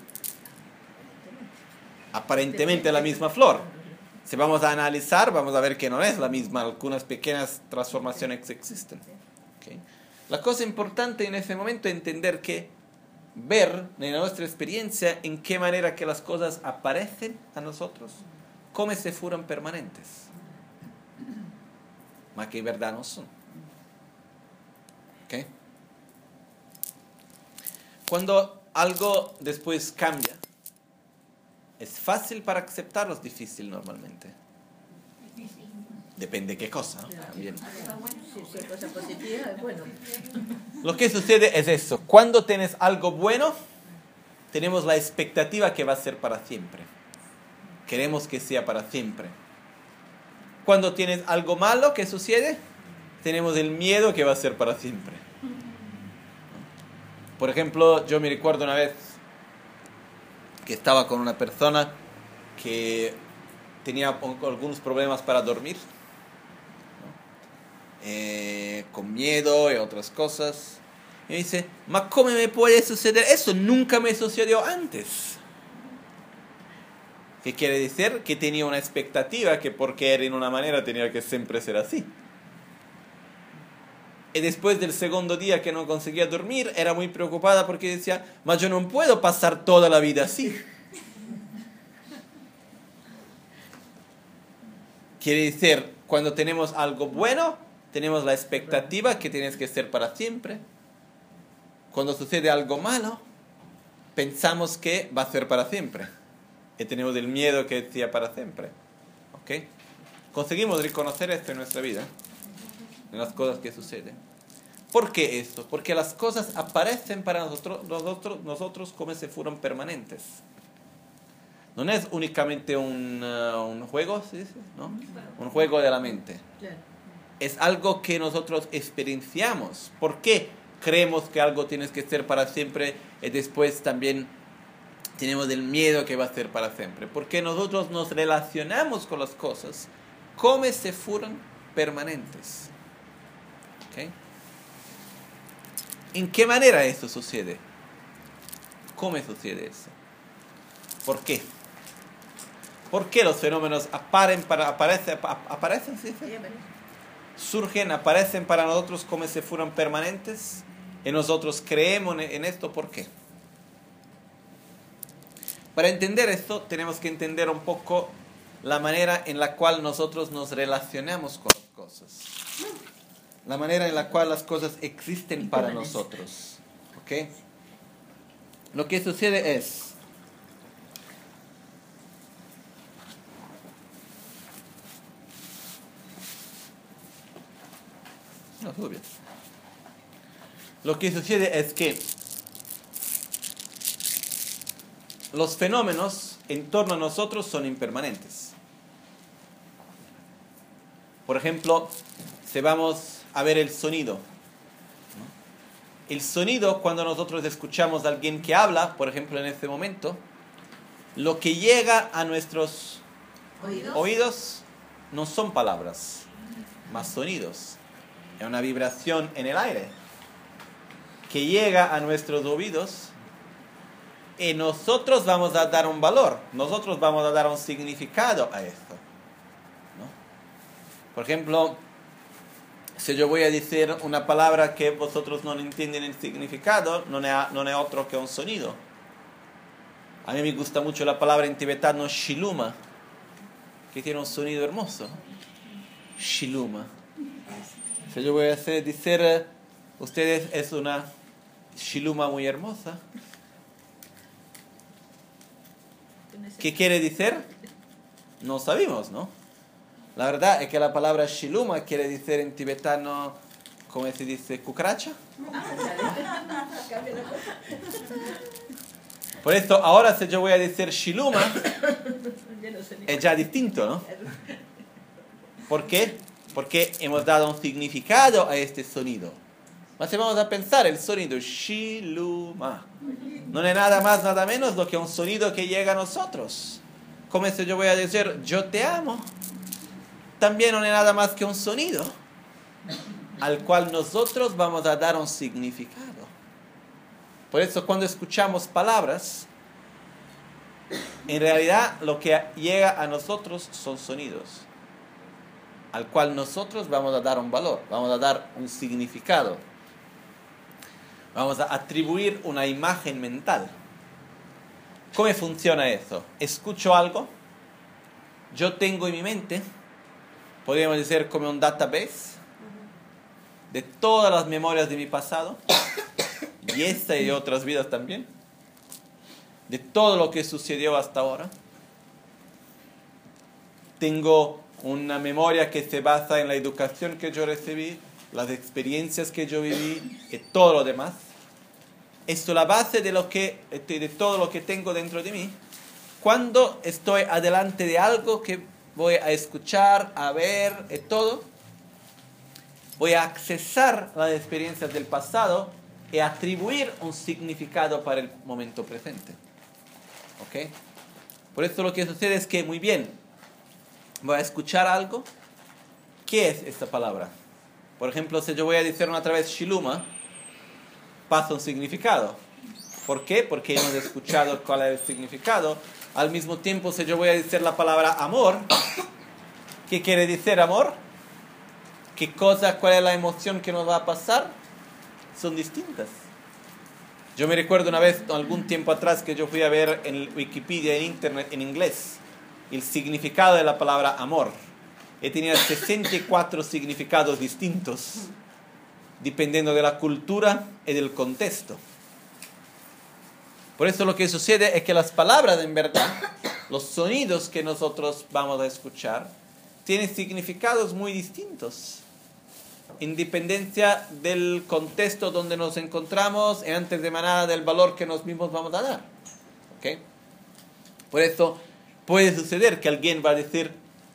S1: Aparentemente la misma flor. Si vamos a analizar, vamos a ver que no es la misma. Algunas pequeñas transformaciones existen. ¿Okay? La cosa importante en ese momento es entender que ver en nuestra experiencia en qué manera que las cosas aparecen a nosotros como si fueran permanentes, mas que en verdad no son. ¿Okay? Cuando algo después cambia, ¿es fácil para aceptarlo o es difícil normalmente? Depende de qué cosa, ¿no? También.
S2: Si es cosa positiva, es bueno.
S1: Lo que sucede es eso. Cuando tienes algo bueno, tenemos la expectativa que va a ser para siempre. Queremos que sea para siempre. Cuando tienes algo malo, ¿qué sucede? Tenemos el miedo que va a ser para siempre. Por ejemplo, yo me recuerdo una vez que estaba con una persona que tenía algunos problemas para dormir, ¿no? Con miedo y otras cosas. Y me dice, ¿ma cómo me puede suceder eso? Nunca me sucedió antes. ¿Qué quiere decir? Que tenía una expectativa que porque era en una manera tenía que siempre ser así. Y después del segundo día que no conseguía dormir, era muy preocupada porque decía, ma yo no puedo pasar toda la vida así. Quiere decir, cuando tenemos algo bueno, tenemos la expectativa que tienes que ser para siempre. Cuando sucede algo malo, pensamos que va a ser para siempre. Y tenemos el miedo que sea para siempre. ¿Ok? Conseguimos reconocer esto en nuestra vida, en las cosas que suceden. ¿Por qué esto? Porque las cosas aparecen para nosotros como si fueran permanentes. No es únicamente un juego, ¿sí? ¿No? Un juego de la mente.
S2: Claro.
S1: Es algo que nosotros experienciamos. ¿Por qué creemos que algo tiene que ser para siempre y después también tenemos el miedo que va a ser para siempre? Porque nosotros nos relacionamos con las cosas como si fueran permanentes. ¿Okay? ¿En qué manera eso sucede? ¿Cómo sucede eso? ¿Por qué? ¿Por qué los fenómenos aparecen, ¿sí? Surgen, aparecen para nosotros como si fueran permanentes y nosotros creemos en esto? ¿Por qué? Para entender esto tenemos que entender un poco la manera en la cual nosotros nos relacionamos con las cosas, la manera en la cual las cosas existen para nosotros. ¿Ok? Lo que sucede es, no, todo bien. Lo que sucede es que los fenómenos en torno a nosotros son impermanentes. Por ejemplo, si vamos a ver el sonido. El sonido, cuando nosotros escuchamos a alguien que habla, por ejemplo en este momento, lo que llega a nuestros oídos no son palabras, más sonidos. Es una vibración en el aire que llega a nuestros oídos y nosotros vamos a dar un valor, nosotros vamos a dar un significado a esto, ¿no? Por ejemplo, si yo voy a decir una palabra que vosotros no entienden el significado, no es otro que un sonido. A mí me gusta mucho la palabra en tibetano shiluma, que tiene un sonido hermoso. Shiluma. Si yo voy a decir, ustedes es una shiluma muy hermosa. ¿Qué quiere decir? No sabemos, ¿no? La verdad es que la palabra shiluma quiere decir en tibetano, ¿cómo se dice? ¿Cucaracha? Por esto, ahora si yo voy a decir shiluma, es ya distinto, ¿no? ¿Por qué? Porque hemos dado un significado a este sonido. Mas si vamos a pensar, el sonido shiluma no es nada más, nada menos lo que un sonido que llega a nosotros. Como si yo voy a decir yo te amo, también no es nada más que un sonido al cual nosotros vamos a dar un significado. Por eso cuando escuchamos palabras, en realidad lo que llega a nosotros son sonidos al cual nosotros vamos a dar un valor, vamos a dar un significado, vamos a atribuir una imagen mental. ¿Cómo funciona eso? Escucho algo, yo tengo en mi mente, podríamos decir como un database de todas las memorias de mi pasado, y esta y otras vidas también, de todo lo que sucedió hasta ahora. Tengo una memoria que se basa en la educación que yo recibí, las experiencias que yo viví y todo lo demás. Esto es la base de todo lo que tengo dentro de mí. Cuando estoy adelante de algo que voy a escuchar, a ver y todo, voy a accesar las experiencias del pasado y atribuir un significado para el momento presente. ¿Ok? Por eso lo que sucede es que, muy bien, voy a escuchar algo. ¿Qué es esta palabra? Por ejemplo, si yo voy a decir otra vez shiluma, pasa un significado. ¿Por qué? Porque hemos escuchado cuál es el significado. Al mismo tiempo, si yo voy a decir la palabra amor, ¿qué quiere decir amor? ¿Qué cosa, cuál es la emoción que nos va a pasar? Son distintas. Yo me recuerdo una vez, algún tiempo atrás, que yo fui a ver en Wikipedia, en internet, en inglés, el significado de la palabra amor. Y tenía 64 significados distintos, dependiendo de la cultura y del contexto. Por eso lo que sucede es que las palabras, en verdad, los sonidos que nosotros vamos a escuchar, tienen significados muy distintos. independencia del contexto donde nos encontramos y antes de nada del valor que nos mismos vamos a dar. ¿Ok? Por eso puede suceder que alguien va a decir,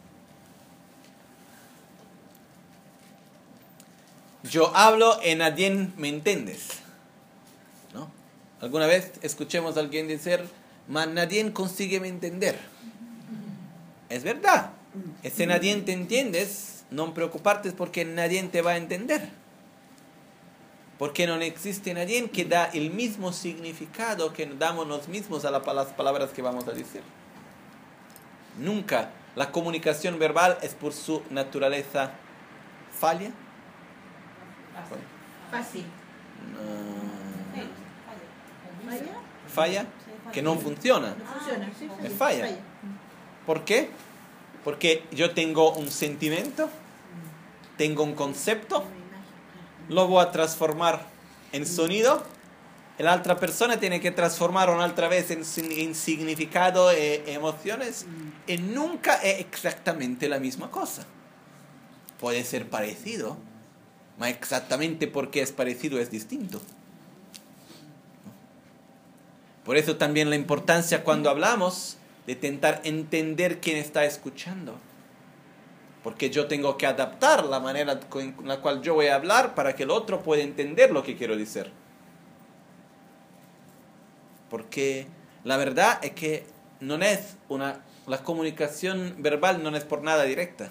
S1: yo hablo y nadie me entiendes. ¿No? Alguna vez escuchemos a alguien decir, mas nadie consigue me entender. Es verdad. Ese nadie te entiendes, no preocuparte porque nadie te va a entender. Porque no existe nadie que da el mismo significado que damos nosotros mismos a las palabras que vamos a decir. Nunca. La comunicación verbal es por su naturaleza falla.
S2: Fácil. ¿Falla?
S1: Falla, que no funciona.
S2: No funciona, sí.
S1: Es falla. ¿Por qué? Porque yo tengo un sentimiento, tengo un concepto, lo voy a transformar en sonido, y la otra persona tiene que transformarlo otra vez en significado e emociones, y nunca es exactamente la misma cosa. Puede ser parecido, pero exactamente porque es parecido es distinto. Por eso también la importancia cuando hablamos de intentar entender quién está escuchando. Porque yo tengo que adaptar la manera con la cual yo voy a hablar para que el otro pueda entender lo que quiero decir. Porque la verdad es que la comunicación verbal no es por nada directa.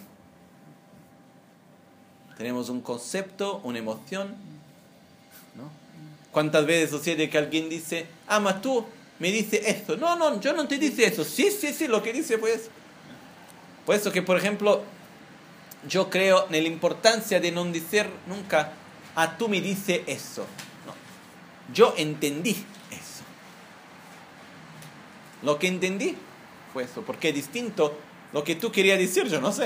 S1: Tenemos un concepto, una emoción, ¿no? ¿Cuántas veces sucede que alguien dice, mas tú me dices esto? No, yo no te dice eso. Sí, lo que dice pues. Por eso que, por ejemplo, yo creo en la importancia de no decir nunca, tú me dices eso. No. Yo entendí eso. Lo que entendí fue eso, porque es distinto lo que tú querías decir, yo no sé.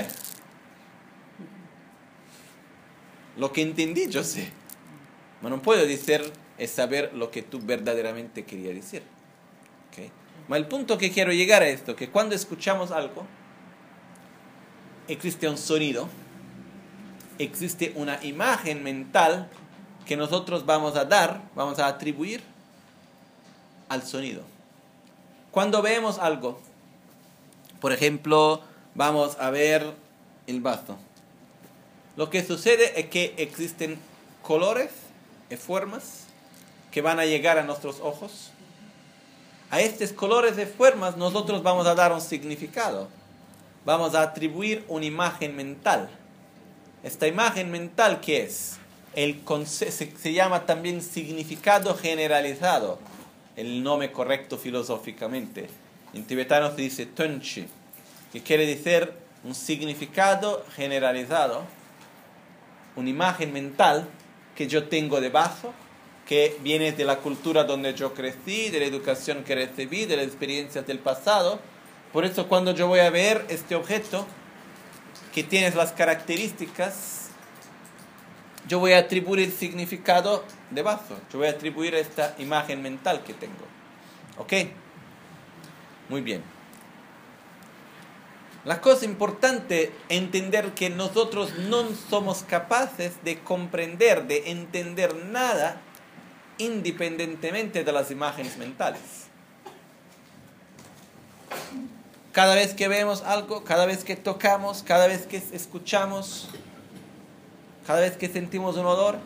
S1: Lo que entendí, yo sé. Pero no puedo decir es saber lo que tú verdaderamente querías decir. ¿Okay? Pero el punto que quiero llegar a esto, que cuando escuchamos algo, existe un sonido, existe una imagen mental que nosotros vamos a atribuir al sonido. Cuando vemos algo, por ejemplo, vamos a ver el vaso. Lo que sucede es que existen colores y formas que van a llegar a nuestros ojos. A estos colores y formas nosotros vamos a dar un significado. Vamos a atribuir una imagen mental. Esta imagen mental, ¿qué es? Se llama también significado generalizado. El nombre correcto filosóficamente. En tibetano se dice Tönchi, que quiere decir un significado generalizado. Una imagen mental que yo tengo de vaso, que viene de la cultura donde yo crecí, de la educación que recibí, de las experiencias del pasado. Por eso cuando yo voy a ver este objeto que tiene las características, yo voy a atribuir el significado de vaso. Yo voy a atribuir esta imagen mental que tengo. ¿Ok? Muy bien. La cosa importante es entender que nosotros no somos capaces de comprender, de entender nada independientemente de las imágenes mentales. Cada vez que vemos algo, cada vez que tocamos, cada vez que escuchamos, cada vez que sentimos un olor,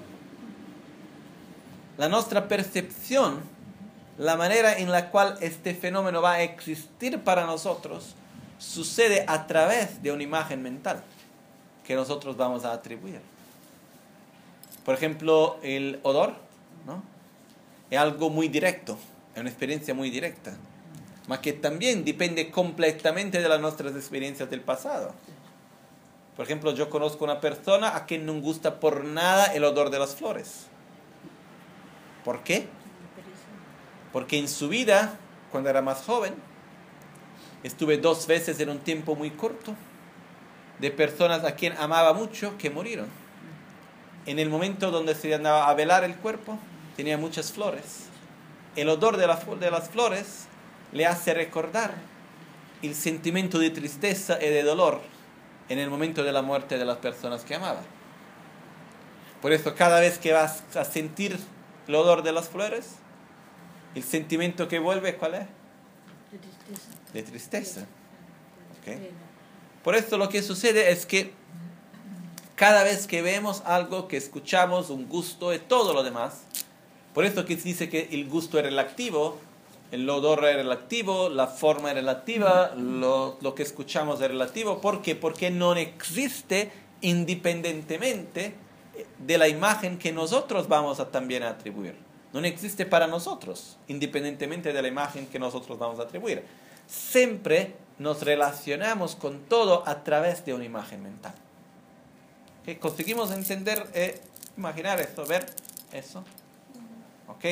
S1: la nuestra percepción, la manera en la cual este fenómeno va a existir para nosotros, sucede a través de una imagen mental que nosotros vamos a atribuir. Por ejemplo, el olor, ¿no? Es algo muy directo, es una experiencia muy directa, mas que también depende completamente de las nuestras experiencias del pasado. Por ejemplo, yo conozco una persona a quien no gusta por nada el olor de las flores. ¿Por qué? Porque en su vida, cuando era más joven, estuve 2 veces en un tiempo muy corto de personas a quien amaba mucho que murieron. En el momento donde se andaba a velar el cuerpo, tenía muchas flores. El odor de las flores le hace recordar el sentimiento de tristeza y de dolor en el momento de la muerte de las personas que amaba. Por eso cada vez que vas a sentir el olor de las flores, el sentimiento que vuelve, ¿cuál es?
S2: De tristeza.
S1: De tristeza. ¿Ok? Por eso lo que sucede es que cada vez que vemos algo, que escuchamos, un gusto y todo lo demás, por eso que se dice que el gusto es relativo, el olor es relativo, la forma es relativa, lo que escuchamos es relativo. ¿Por qué? Porque no existe independientemente de la imagen que nosotros vamos a también atribuir. No existe para nosotros, independientemente de la imagen que nosotros vamos a atribuir. Siempre nos relacionamos con todo a través de una imagen mental. ¿Okay? ¿Conseguimos entender, imaginar esto, ver eso? ¿Ok?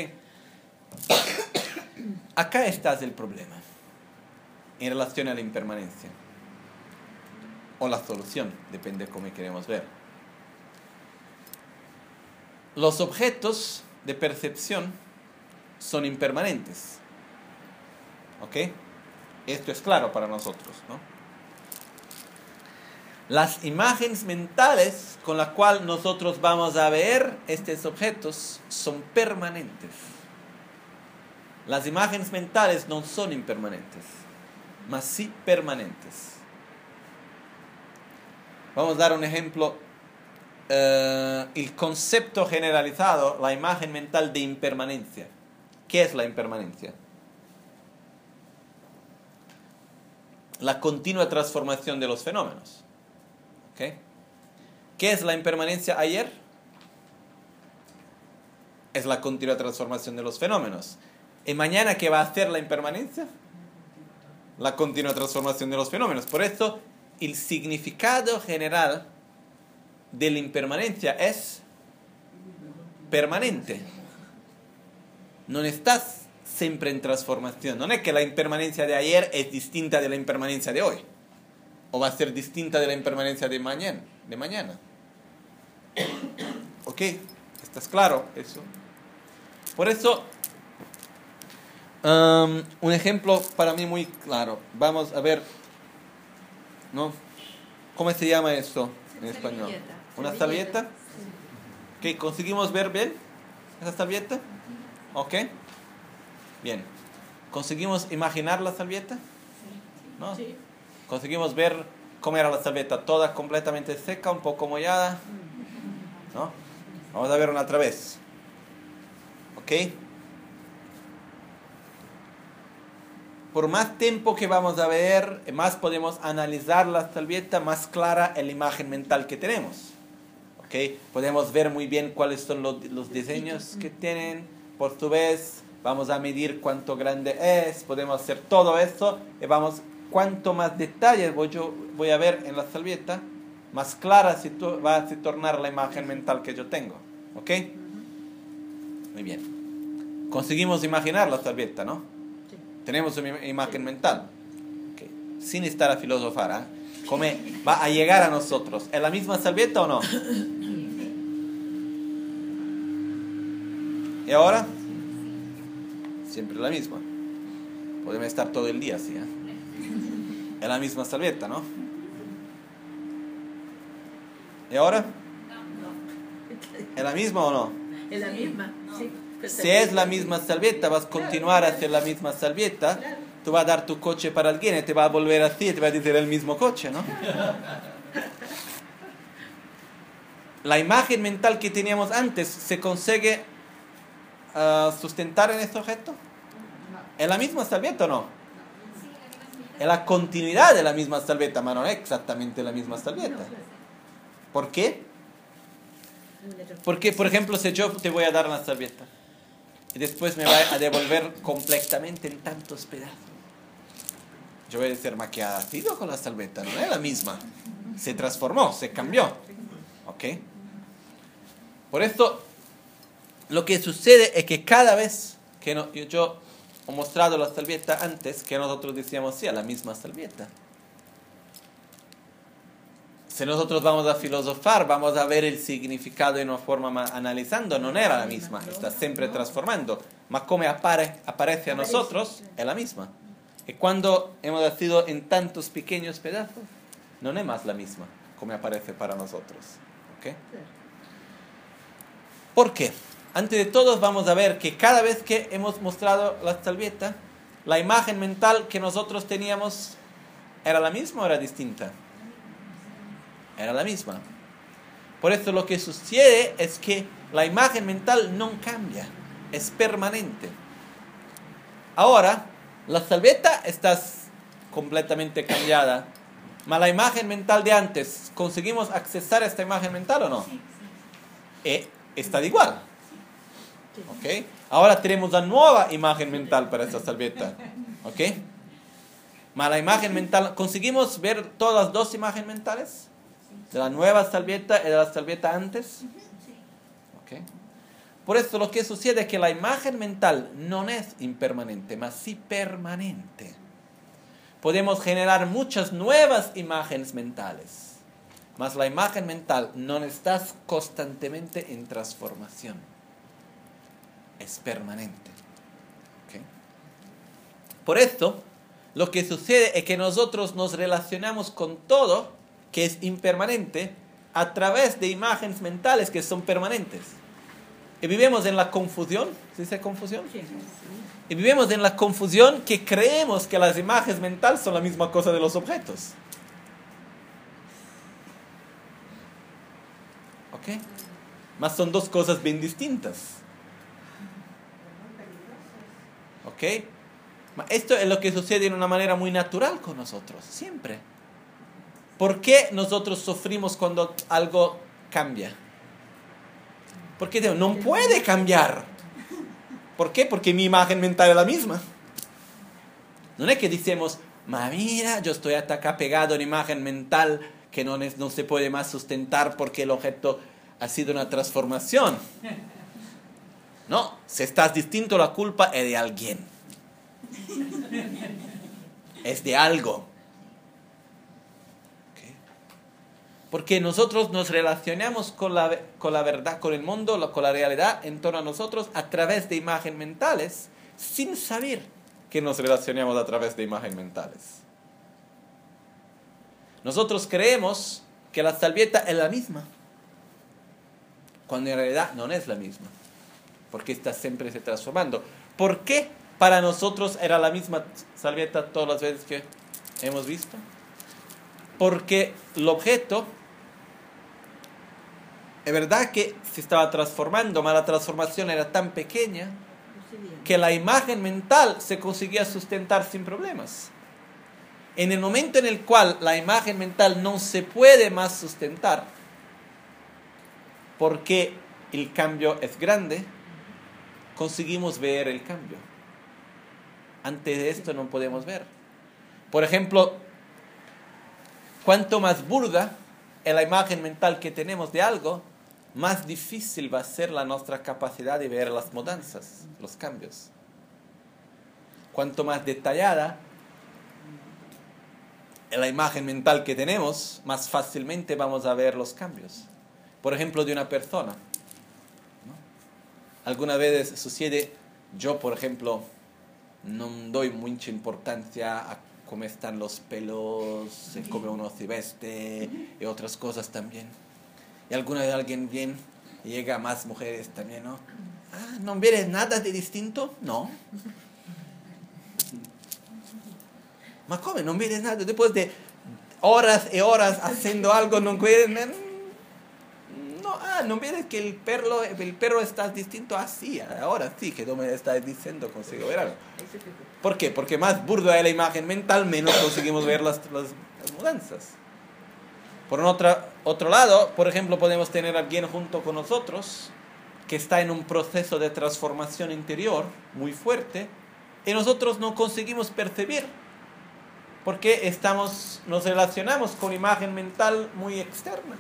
S1: Acá está el problema en relación a la impermanencia. O la solución, depende de cómo queremos ver. Los objetos de percepción son impermanentes. ¿Ok? Esto es claro para nosotros, ¿no? Las imágenes mentales con las cuales nosotros vamos a ver estos objetos son permanentes. Las imágenes mentales no son impermanentes, mas sí permanentes. Vamos a dar un ejemplo. El concepto generalizado, la imagen mental de impermanencia. ¿Qué es la impermanencia? La continua transformación de los fenómenos. ¿Okay? ¿Qué es la impermanencia ayer? Es la continua transformación de los fenómenos. ¿Y mañana qué va a hacer la impermanencia? La continua transformación de los fenómenos. Por eso, el significado general de la impermanencia es permanente. No estás siempre en transformación. No es que la impermanencia de ayer es distinta de la impermanencia de hoy. O va a ser distinta de la impermanencia de mañana. ¿Ok? ¿Estás claro eso? Por eso, un ejemplo para mí muy claro. Vamos a ver, ¿no? ¿Cómo se llama esto en español? ¿Una servilleta? ¿Ok? ¿Conseguimos ver bien esa servilleta? ¿Ok? Bien. ¿Conseguimos imaginar la servilleta? ¿No?
S2: Sí.
S1: ¿Conseguimos ver cómo era la servilleta? ¿Toda completamente seca, un poco mollada? ¿No? Vamos a ver una otra vez. ¿Ok? Por más tiempo que vamos a ver, más podemos analizar la servilleta, más clara es la imagen mental que tenemos. ¿Ok? Podemos ver muy bien cuáles son los diseños que tienen. Por su vez, vamos a medir cuánto grande es. Podemos hacer todo eso. Y vamos, cuanto más detalles voy a ver en la servilleta, más clara va a se tornar la imagen mental que yo tengo. ¿Ok? Muy bien. Conseguimos imaginar la servilleta, ¿no?
S2: Sí.
S1: Tenemos una imagen mental. Okay. Sin estar a filosofar, ¿eh? ¿Cómo va a llegar a nosotros? ¿Es la misma servilleta o no? ¿Y ahora? Siempre la misma. Podemos estar todo el día así, ¿eh? Es la misma servilleta, ¿no? ¿Y ahora? ¿Es la misma o no?
S2: Es la misma. Sí.
S1: Si es la misma servilleta, vas a continuar a hacer la misma servilleta. Tú vas a dar tu coche para alguien y te va a volver así y te va a decir el mismo coche, ¿no? La imagen mental que teníamos antes se consigue sustentar en este objeto. ¿Es la misma servilleta o no? Es la continuidad de la misma servilleta, pero no es exactamente la misma servilleta. ¿Por qué? Porque, por ejemplo, si yo te voy a dar una servilleta y después me va a devolver completamente en tantos pedazos, yo voy a decir, ¿ma qué ha sido con la servilleta? No es la misma. Se transformó, se cambió. ¿Ok? Por esto, lo que sucede es que cada vez que yo he mostrado la servilleta antes, que nosotros decíamos, sí, a la misma servilleta. Si nosotros vamos a filosofar, vamos a ver el significado de una forma analizando, no era la misma, está siempre transformando. Mas como aparece a nosotros, es la misma. Y cuando hemos nacido en tantos pequeños pedazos, no es más la misma como aparece para nosotros. ¿Ok? ¿Por qué? Antes de todo vamos a ver que cada vez que hemos mostrado la salvieta, la imagen mental que nosotros teníamos ¿era la misma o era distinta? Era la misma. Por eso lo que sucede es que la imagen mental no cambia, es permanente. Ahora, la salvieta está completamente cambiada, pero la imagen mental de antes, ¿conseguimos accesar a esta imagen mental o no? Está igual. ¿Ok? Ahora tenemos la nueva imagen mental para esta salvieta. ¿Ok? Pero la imagen mental, ¿conseguimos ver todas las dos imágenes mentales? De la nueva salvieta y de la salvieta antes. ¿Ok? Por eso lo que sucede es que la imagen mental no es impermanente, mas sí permanente. Podemos generar muchas nuevas imágenes mentales, mas la imagen mental no está constantemente en transformación. Es permanente. ¿Okay? Por esto, lo que sucede es que nosotros nos relacionamos con todo que es impermanente a través de imágenes mentales que son permanentes. Y vivimos en la confusión. ¿Sí dice confusión? Sí. Y vivimos en la confusión que creemos que las imágenes mentales son la misma cosa de los objetos. ¿Ok? Mas son dos cosas bien distintas. ¿Ok? Esto es lo que sucede de una manera muy natural con nosotros, siempre. ¿Por qué nosotros sufrimos cuando algo cambia? Porque no puede cambiar. ¿Por qué? Porque mi imagen mental es la misma. No es que decimos, mira, yo estoy hasta acá pegado en imagen mental que no se puede más sustentar porque el objeto ha sido una transformación. No, si estás distinto, la culpa es de alguien. Es de algo. ¿Okay? Porque nosotros nos relacionamos con la verdad, con el mundo, con la realidad en torno a nosotros a través de imágenes mentales, sin saber que nos relacionamos a través de imágenes mentales. Nosotros creemos que la salvieta es la misma, cuando en realidad no es la misma, porque está siempre se transformando. ¿Por qué para nosotros era la misma salvieta todas las veces que hemos visto? Porque el objeto, es verdad que se estaba transformando, pero la transformación era tan pequeña que la imagen mental se conseguía sustentar sin problemas. En el momento en el cual la imagen mental no se puede más sustentar, porque el cambio es grande, conseguimos ver el cambio. Antes de esto no podemos ver. Por ejemplo, cuanto más burda es la imagen mental que tenemos de algo, más difícil va a ser nuestra capacidad de ver las mudanzas, los cambios. Cuanto más detallada es la imagen mental que tenemos, más fácilmente vamos a ver los cambios. Por ejemplo, de una persona, ¿no? Algunas veces sucede, yo por ejemplo, no doy mucha importancia a cómo están los pelos, cómo uno se veste y otras cosas también. Y alguna vez alguien viene y llega más mujeres también, ¿no? Ah, ¿no ves nada de distinto? No. ¿Ma come? ¿No ves nada? Después de horas y horas haciendo algo, ¿no ves? No ves que el perro está distinto así. Ahora sí que tú me estás diciendo, consigo ver algo. ¿Por qué? Porque más burda es la imagen mental, menos conseguimos ver las mudanzas. Por otro lado, por ejemplo, podemos tener a alguien junto con nosotros que está en un proceso de transformación interior muy fuerte y nosotros no conseguimos percibir porque nos relacionamos con imagen mental muy externa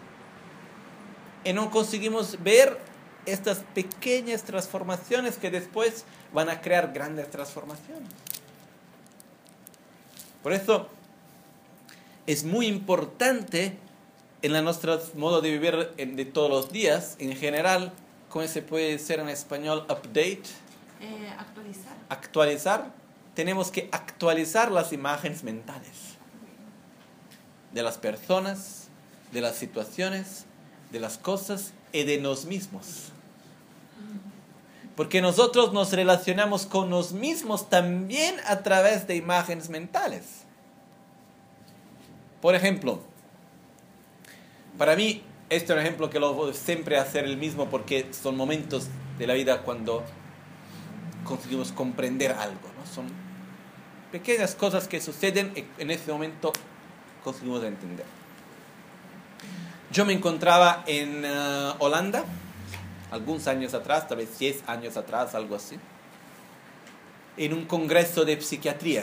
S1: y no conseguimos ver estas pequeñas transformaciones que después van a crear grandes transformaciones. Por eso es muy importante en nuestro modo de vivir de todos los días, en general, ¿cómo se puede decir en español? Update. Actualizar. Tenemos que actualizar las imágenes mentales de las personas, de las situaciones, de las cosas y de nosotros mismos. Porque nosotros nos relacionamos con nos mismos también a través de imágenes mentales. Por ejemplo, para mí, este es un ejemplo que lo voy siempre a hacer el mismo porque son momentos de la vida cuando conseguimos comprender algo, ¿no? Son pequeñas cosas que suceden y en ese momento conseguimos entender. Yo me encontraba en Holanda, algunos años atrás, tal vez 10 años atrás, algo así, en un congreso de psiquiatría,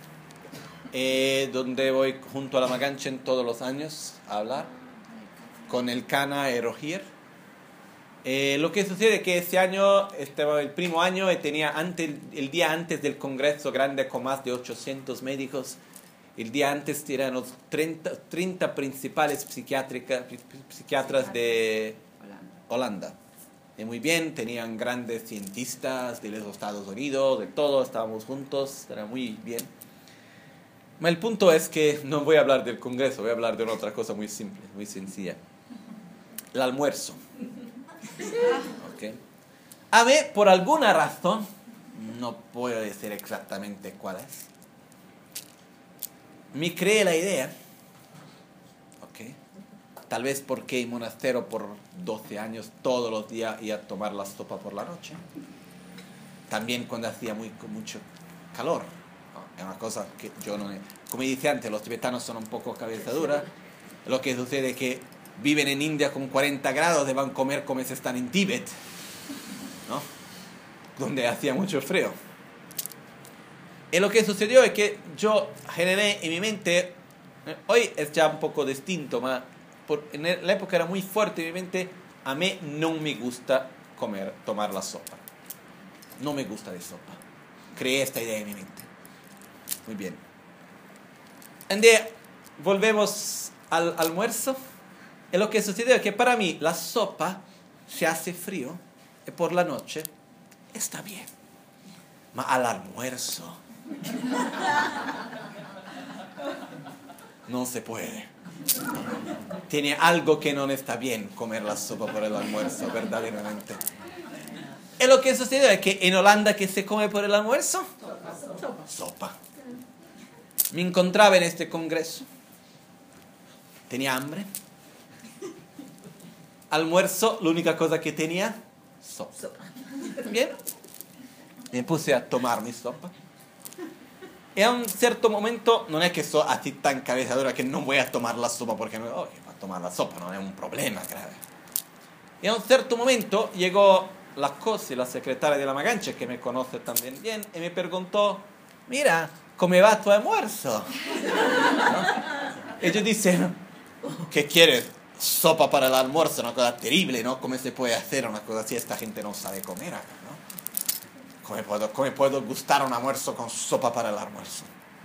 S1: donde voy junto a la Maganchen todos los años a hablar con el Cana y Rogier. Lo que sucede es que ese año, el primo año, tenía el día antes del congreso grande con más de 800 médicos. El día antes eran los 30 principales psiquiatras de Holanda. Y muy bien, tenían grandes cientistas de los Estados Unidos, de todo, estábamos juntos, era muy bien. El punto es que no voy a hablar del congreso, voy a hablar de una otra cosa muy simple, muy sencilla. El almuerzo. Okay. A mí, por alguna razón, no puedo decir exactamente cuál es, me creé la idea, okay, tal vez porque en monasterio por 12 años todos los días iba a tomar la sopa por la noche, también cuando hacía mucho calor, ¿no? Es una cosa que yo no... Como dije antes, los tibetanos son un poco cabeza dura, lo que sucede es que viven en India con 40 grados y van a comer como si están en Tíbet, ¿no? Donde hacía mucho frío. Y lo que sucedió es que yo generé en mi mente, hoy es ya un poco distinto, pero en la época era muy fuerte en mi mente, a mí no me gusta tomar la sopa. No me gusta de sopa. Creé esta idea en mi mente. Muy bien. Volvemos al almuerzo. Y lo que sucedió es que para mí la sopa se hace frío y por la noche está bien. Pero al almuerzo no se puede. Tiene algo que no está bien comer la sopa por el almuerzo, verdaderamente. Y lo que sucedió es que en Holanda, ¿qué se come por el almuerzo? Sopa. Me encontraba en este congreso. Tenía hambre. Almuerzo, la única cosa que tenía, sopa. Bien. Me puse a tomar mi sopa. Y a un cierto momento, no es que soy así tan cabezadora que no voy a tomar la sopa porque va a tomar la sopa, no es un problema grave. Y a un cierto momento llegó la Cosi, la secretaria de la Maganchen, que me conoce también bien, y me preguntó, mira, ¿cómo va tu almuerzo? ¿No? Y yo dije, ¿qué quieres? Sopa para el almuerzo, una cosa terrible, ¿no? ¿Cómo se puede hacer una cosa así? Esta gente no sabe comer acá, ¿no? ¿Cómo puedo gustar un almuerzo con sopa para el almuerzo?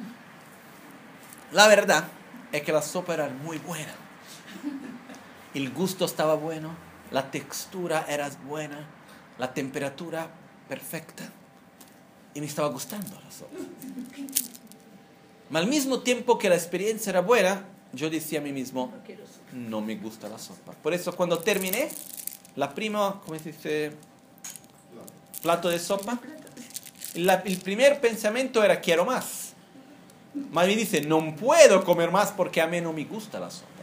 S1: La verdad es que la sopa era muy buena. El gusto estaba bueno, la textura era buena, la temperatura perfecta. Y me estaba gustando la sopa. Pero al mismo tiempo que la experiencia era buena, yo decía a mí mismo, no me gusta la sopa. Por eso cuando terminé, la prima, ¿cómo se dice? Plato de sopa. El primer pensamiento era, quiero más. Pero me dice, no puedo comer más porque a mí no me gusta la sopa.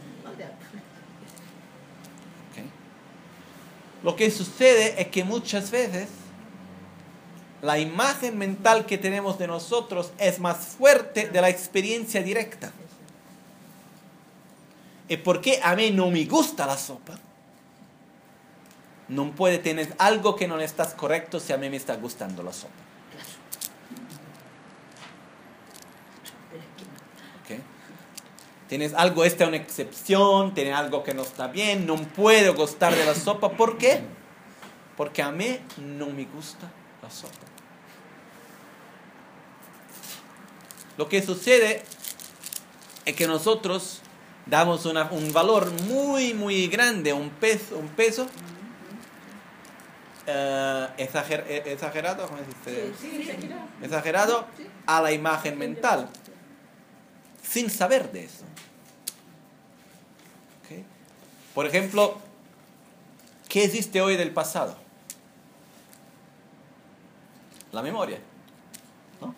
S1: ¿Okay? Lo que sucede es que muchas veces la imagen mental que tenemos de nosotros es más fuerte de la experiencia directa. ¿Y por qué a mí no me gusta la sopa? No puede tener algo que no estás correcto si a mí me está gustando la sopa. ¿Okay? Tienes algo, esta es una excepción, tienes algo que no está bien, no puedo gustar de la sopa. ¿Por qué? Porque a mí no me gusta la sopa. Lo que sucede es que nosotros damos un valor muy, muy grande, un peso exagerado, ¿cómo se dice?
S2: Sí.
S1: Exagerado a la imagen mental, sin saber de eso. ¿Okay? Por ejemplo, ¿qué existe hoy del pasado? la memoria, ¿no?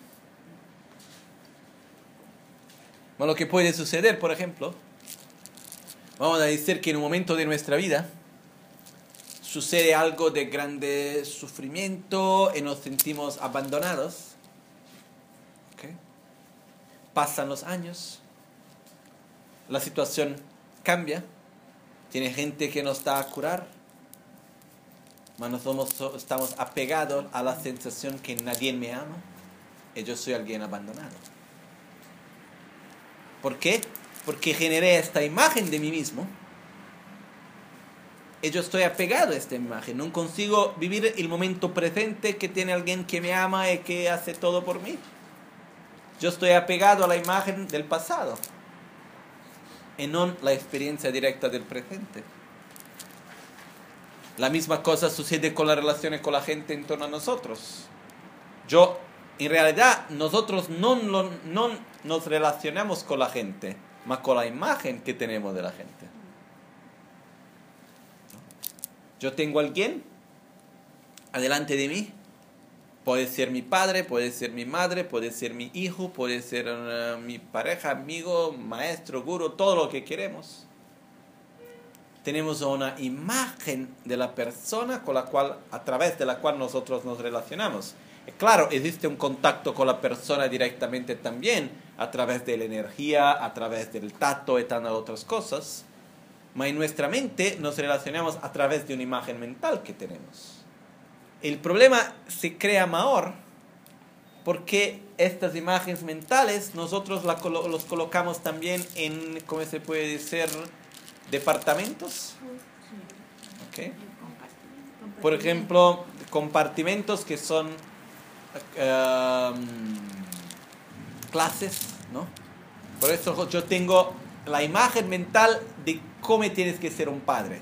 S1: Bueno, lo que puede suceder, por ejemplo, vamos a decir que en un momento de nuestra vida sucede algo de grande sufrimiento y nos sentimos abandonados. ¿Okay? Pasan los años, la situación cambia, tiene gente que nos da a curar, pero nosotros estamos apegados a la sensación que nadie me ama y yo soy alguien abandonado. ¿Por qué? Porque generé esta imagen de mí mismo y yo estoy apegado a esta imagen. No consigo vivir el momento presente que tiene alguien que me ama y que hace todo por mí. Yo estoy apegado a la imagen del pasado y no la experiencia directa del presente. La misma cosa sucede con las relaciones con la gente en torno a nosotros. En realidad, nosotros no nos relacionamos con la gente, más con la imagen que tenemos de la gente. Yo tengo a alguien adelante de mí, puede ser mi padre, puede ser mi madre, puede ser mi hijo, puede ser mi pareja, amigo, maestro, gurú, todo lo que queremos. Tenemos una imagen de la persona a través de la cual nosotros nos relacionamos. Claro, existe un contacto con la persona directamente también, a través de la energía, a través del tacto y tantas otras cosas. Pero en nuestra mente nos relacionamos a través de una imagen mental que tenemos. El problema se crea mayor porque estas imágenes mentales nosotros los colocamos también en, ¿cómo se puede decir?, departamentos. ¿Okay? Por ejemplo, compartimentos que son clases, ¿no? Por eso yo tengo la imagen mental de cómo tienes que ser un padre.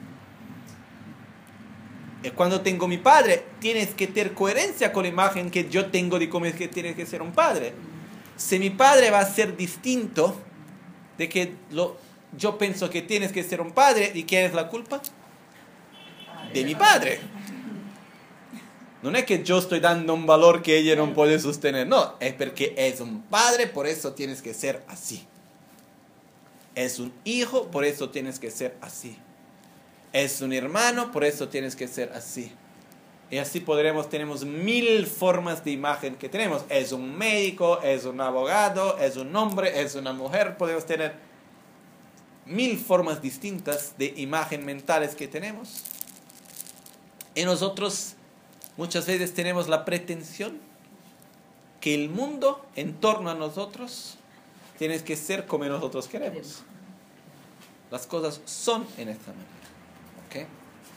S1: Y cuando tengo mi padre, tienes que tener coherencia con la imagen que yo tengo de cómo es que tienes que ser un padre. Si mi padre va a ser distinto de que yo pienso que tienes que ser un padre, ¿y quién es la culpa? De mi padre. No es que yo estoy dando un valor que ella no puede sostener, no, es porque es un padre, por eso tienes que ser así. Es un hijo, por eso tienes que ser así. Es un hermano, por eso tienes que ser así. Y así tenemos 1000 formas de imagen que tenemos. Es un médico, es un abogado, es un hombre, es una mujer, podemos tener 1000 formas distintas de imagen mentales que tenemos. Y nosotros muchas veces tenemos la pretensión que el mundo en torno a nosotros tiene que ser como nosotros queremos. Las cosas son en esta manera. ¿Okay?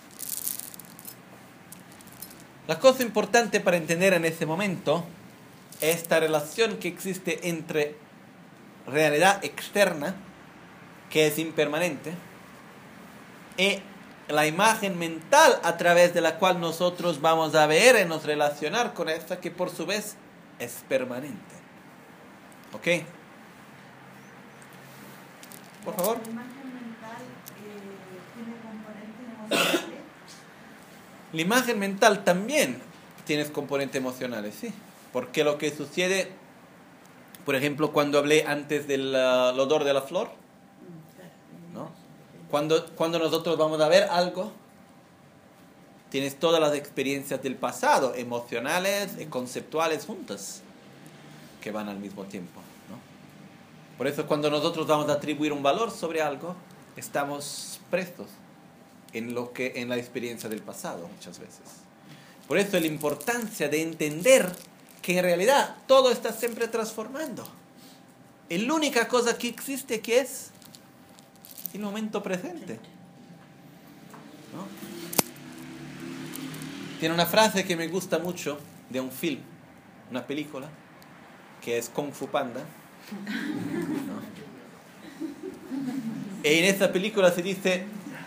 S1: La cosa importante para entender en este momento es esta relación que existe entre realidad externa, que es impermanente, y la imagen mental a través de la cual nosotros vamos a ver y nos relacionar con esta, que por su vez es permanente. ¿Ok? Por favor.
S2: ¿La imagen mental tiene componentes emocionales?
S1: La imagen mental también tiene componentes emocionales, sí. Porque lo que sucede, por ejemplo, cuando hablé antes del olor de la flor, ¿no? Cuando nosotros vamos a ver algo, tienes todas las experiencias del pasado, emocionales y conceptuales juntas, que van al mismo tiempo, ¿no? Por eso cuando nosotros vamos a atribuir un valor sobre algo, estamos prestos en la experiencia del pasado muchas veces. Por eso la importancia de entender que en realidad todo está siempre transformando. La única cosa que existe que es el momento presente, ¿no? Tiene una frase que me gusta mucho de un film, una película, que es Kung Fu Panda, ¿no? Y en esta película se dice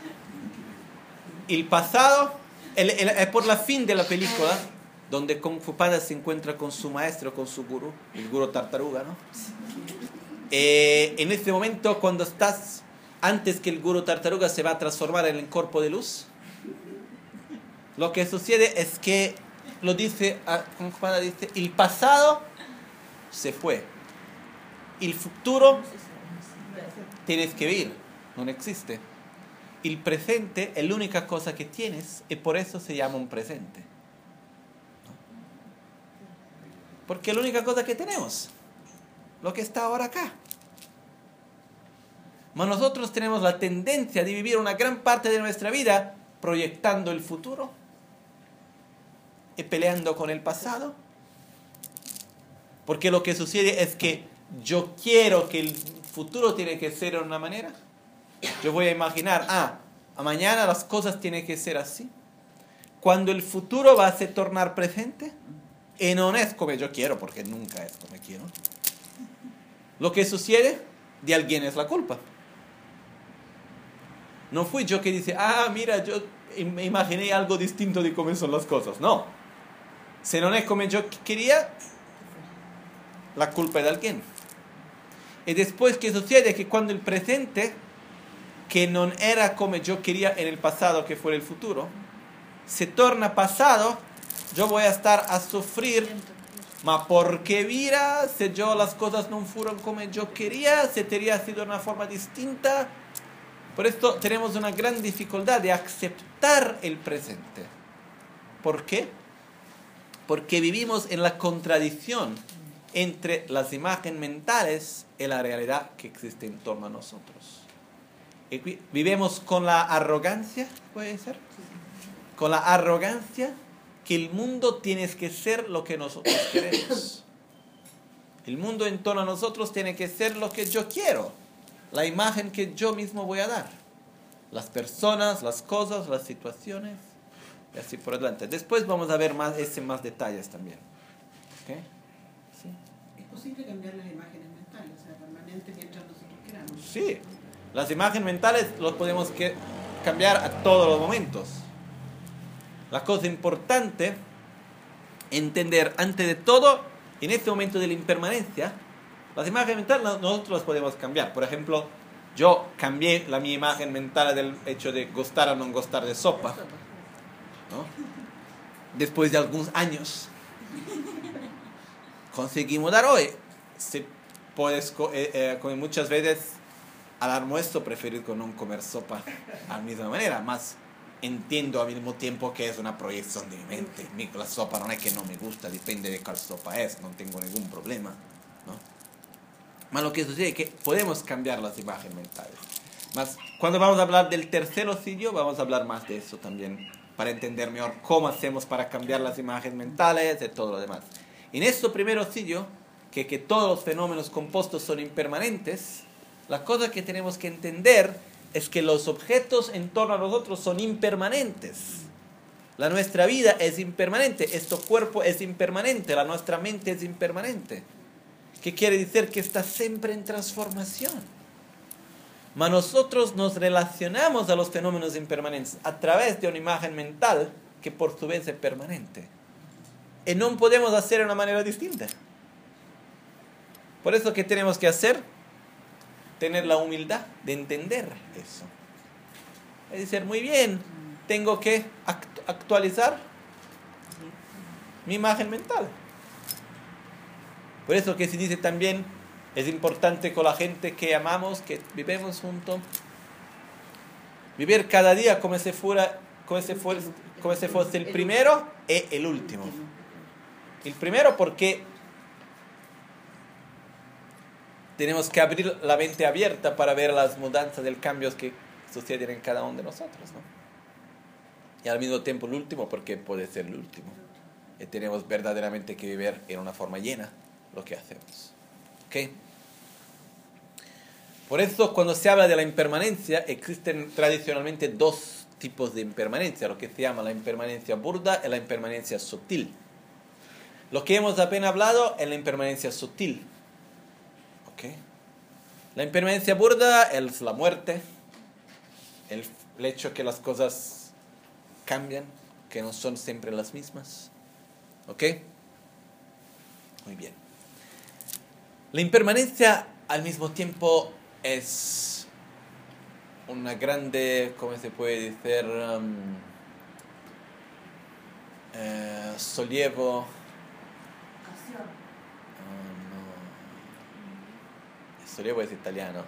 S1: el pasado, es por la fin de la película, donde Kung Fu Panda se encuentra con su maestro, con su gurú, el gurú tartaruga, ¿no? En este momento, cuando estás antes que el gurú tartaruga se va a transformar en el cuerpo de luz, lo que sucede es que lo dice, como Juana dice, el pasado se fue. El futuro tienes que vivir, no existe. El presente es la única cosa que tienes y por eso se llama un presente. Porque es la única cosa que tenemos, lo que está ahora acá. Mas nosotros tenemos la tendencia de vivir una gran parte de nuestra vida proyectando el futuro y peleando con el pasado. Porque lo que sucede es que yo quiero que el futuro tiene que ser de una manera. Yo voy a imaginar, a mañana las cosas tienen que ser así. Cuando el futuro va a se tornar presente, y no es como yo quiero, porque nunca es como quiero. Lo que sucede, de alguien es la culpa. No fui yo que dice, mira, yo me imaginé algo distinto de cómo son las cosas. No. Si no es como yo quería, la culpa es de alguien. Y después, ¿qué sucede? Que cuando el presente, que no era como yo quería en el pasado, que fue el futuro, se torna pasado, yo voy a estar a sufrir. Ma porque mira, si yo las cosas no fueron como yo quería, se tendría sido de una forma distinta. Por esto tenemos una gran dificultad de aceptar el presente. ¿Por qué? Porque vivimos en la contradicción entre las imágenes mentales y la realidad que existe en torno a nosotros. Vivimos con la arrogancia, ¿puede ser? Con la arrogancia que el mundo tiene que ser lo que nosotros queremos. El mundo en torno a nosotros tiene que ser lo que yo quiero. La imagen que yo mismo voy a dar. Las personas, las cosas, las situaciones. Y así por adelante. Después vamos a ver más detalles también. ¿Okay?
S3: ¿Sí? ¿Es posible cambiar las imágenes mentales? O sea, permanente mientras nosotros queramos.
S1: Sí. Las imágenes mentales las podemos cambiar a todos los momentos. La cosa importante, entender antes de todo, en este momento de la impermanencia, las imágenes mentales nosotros las podemos cambiar. Por ejemplo, yo cambié mi imagen mental del hecho de gustar o no gustar de sopa, ¿no? Después de algunos años conseguí mudar hoy. Si puedes comer muchas veces al almuerzo, prefiero no comer sopa a la misma manera, más entiendo al mismo tiempo que es una proyección de mi mente. La sopa no es que no me gusta, depende de cuál sopa es, no tengo ningún problema, ¿no? Más lo que sucede es que podemos cambiar las imágenes mentales. Más cuando vamos a hablar del tercer ocidio, vamos a hablar más de eso también, para entender mejor cómo hacemos para cambiar las imágenes mentales y todo lo demás. En este primer ocidio, que todos los fenómenos compuestos son impermanentes, la cosa que tenemos que entender es que los objetos en torno a nosotros son impermanentes. Nuestra vida es impermanente, este cuerpo es impermanente, nuestra mente es impermanente. ¿Qué quiere decir? Que está siempre en transformación. Mas nosotros nos relacionamos a los fenómenos impermanentes a través de una imagen mental que por su vez es permanente. Y no podemos hacer de una manera distinta. Por eso, ¿qué tenemos que hacer? Tener la humildad de entender eso. Es decir, muy bien, tengo que actualizar mi imagen mental. Por eso que se dice también, es importante con la gente que amamos, que vivimos juntos, vivir cada día como si fuese el primero y el último. El primero porque tenemos que abrir la mente abierta para ver las mudanzas, los cambios que suceden en cada uno de nosotros, ¿no? Y al mismo tiempo el último porque puede ser el último. Y tenemos verdaderamente que vivir en una forma llena lo que hacemos. ¿Ok? Por eso cuando se habla de la impermanencia, existen tradicionalmente dos tipos de impermanencia, lo que se llama la impermanencia burda y la impermanencia sutil. Lo que hemos apenas hablado es la impermanencia sutil. ¿Ok? La impermanencia burda es la muerte, el hecho que las cosas cambian, que no son siempre las mismas. ¿Ok? Muy bien. La impermanencia al mismo tiempo es una grande, ¿cómo se puede decir? sollievo... Sollievo es italiano.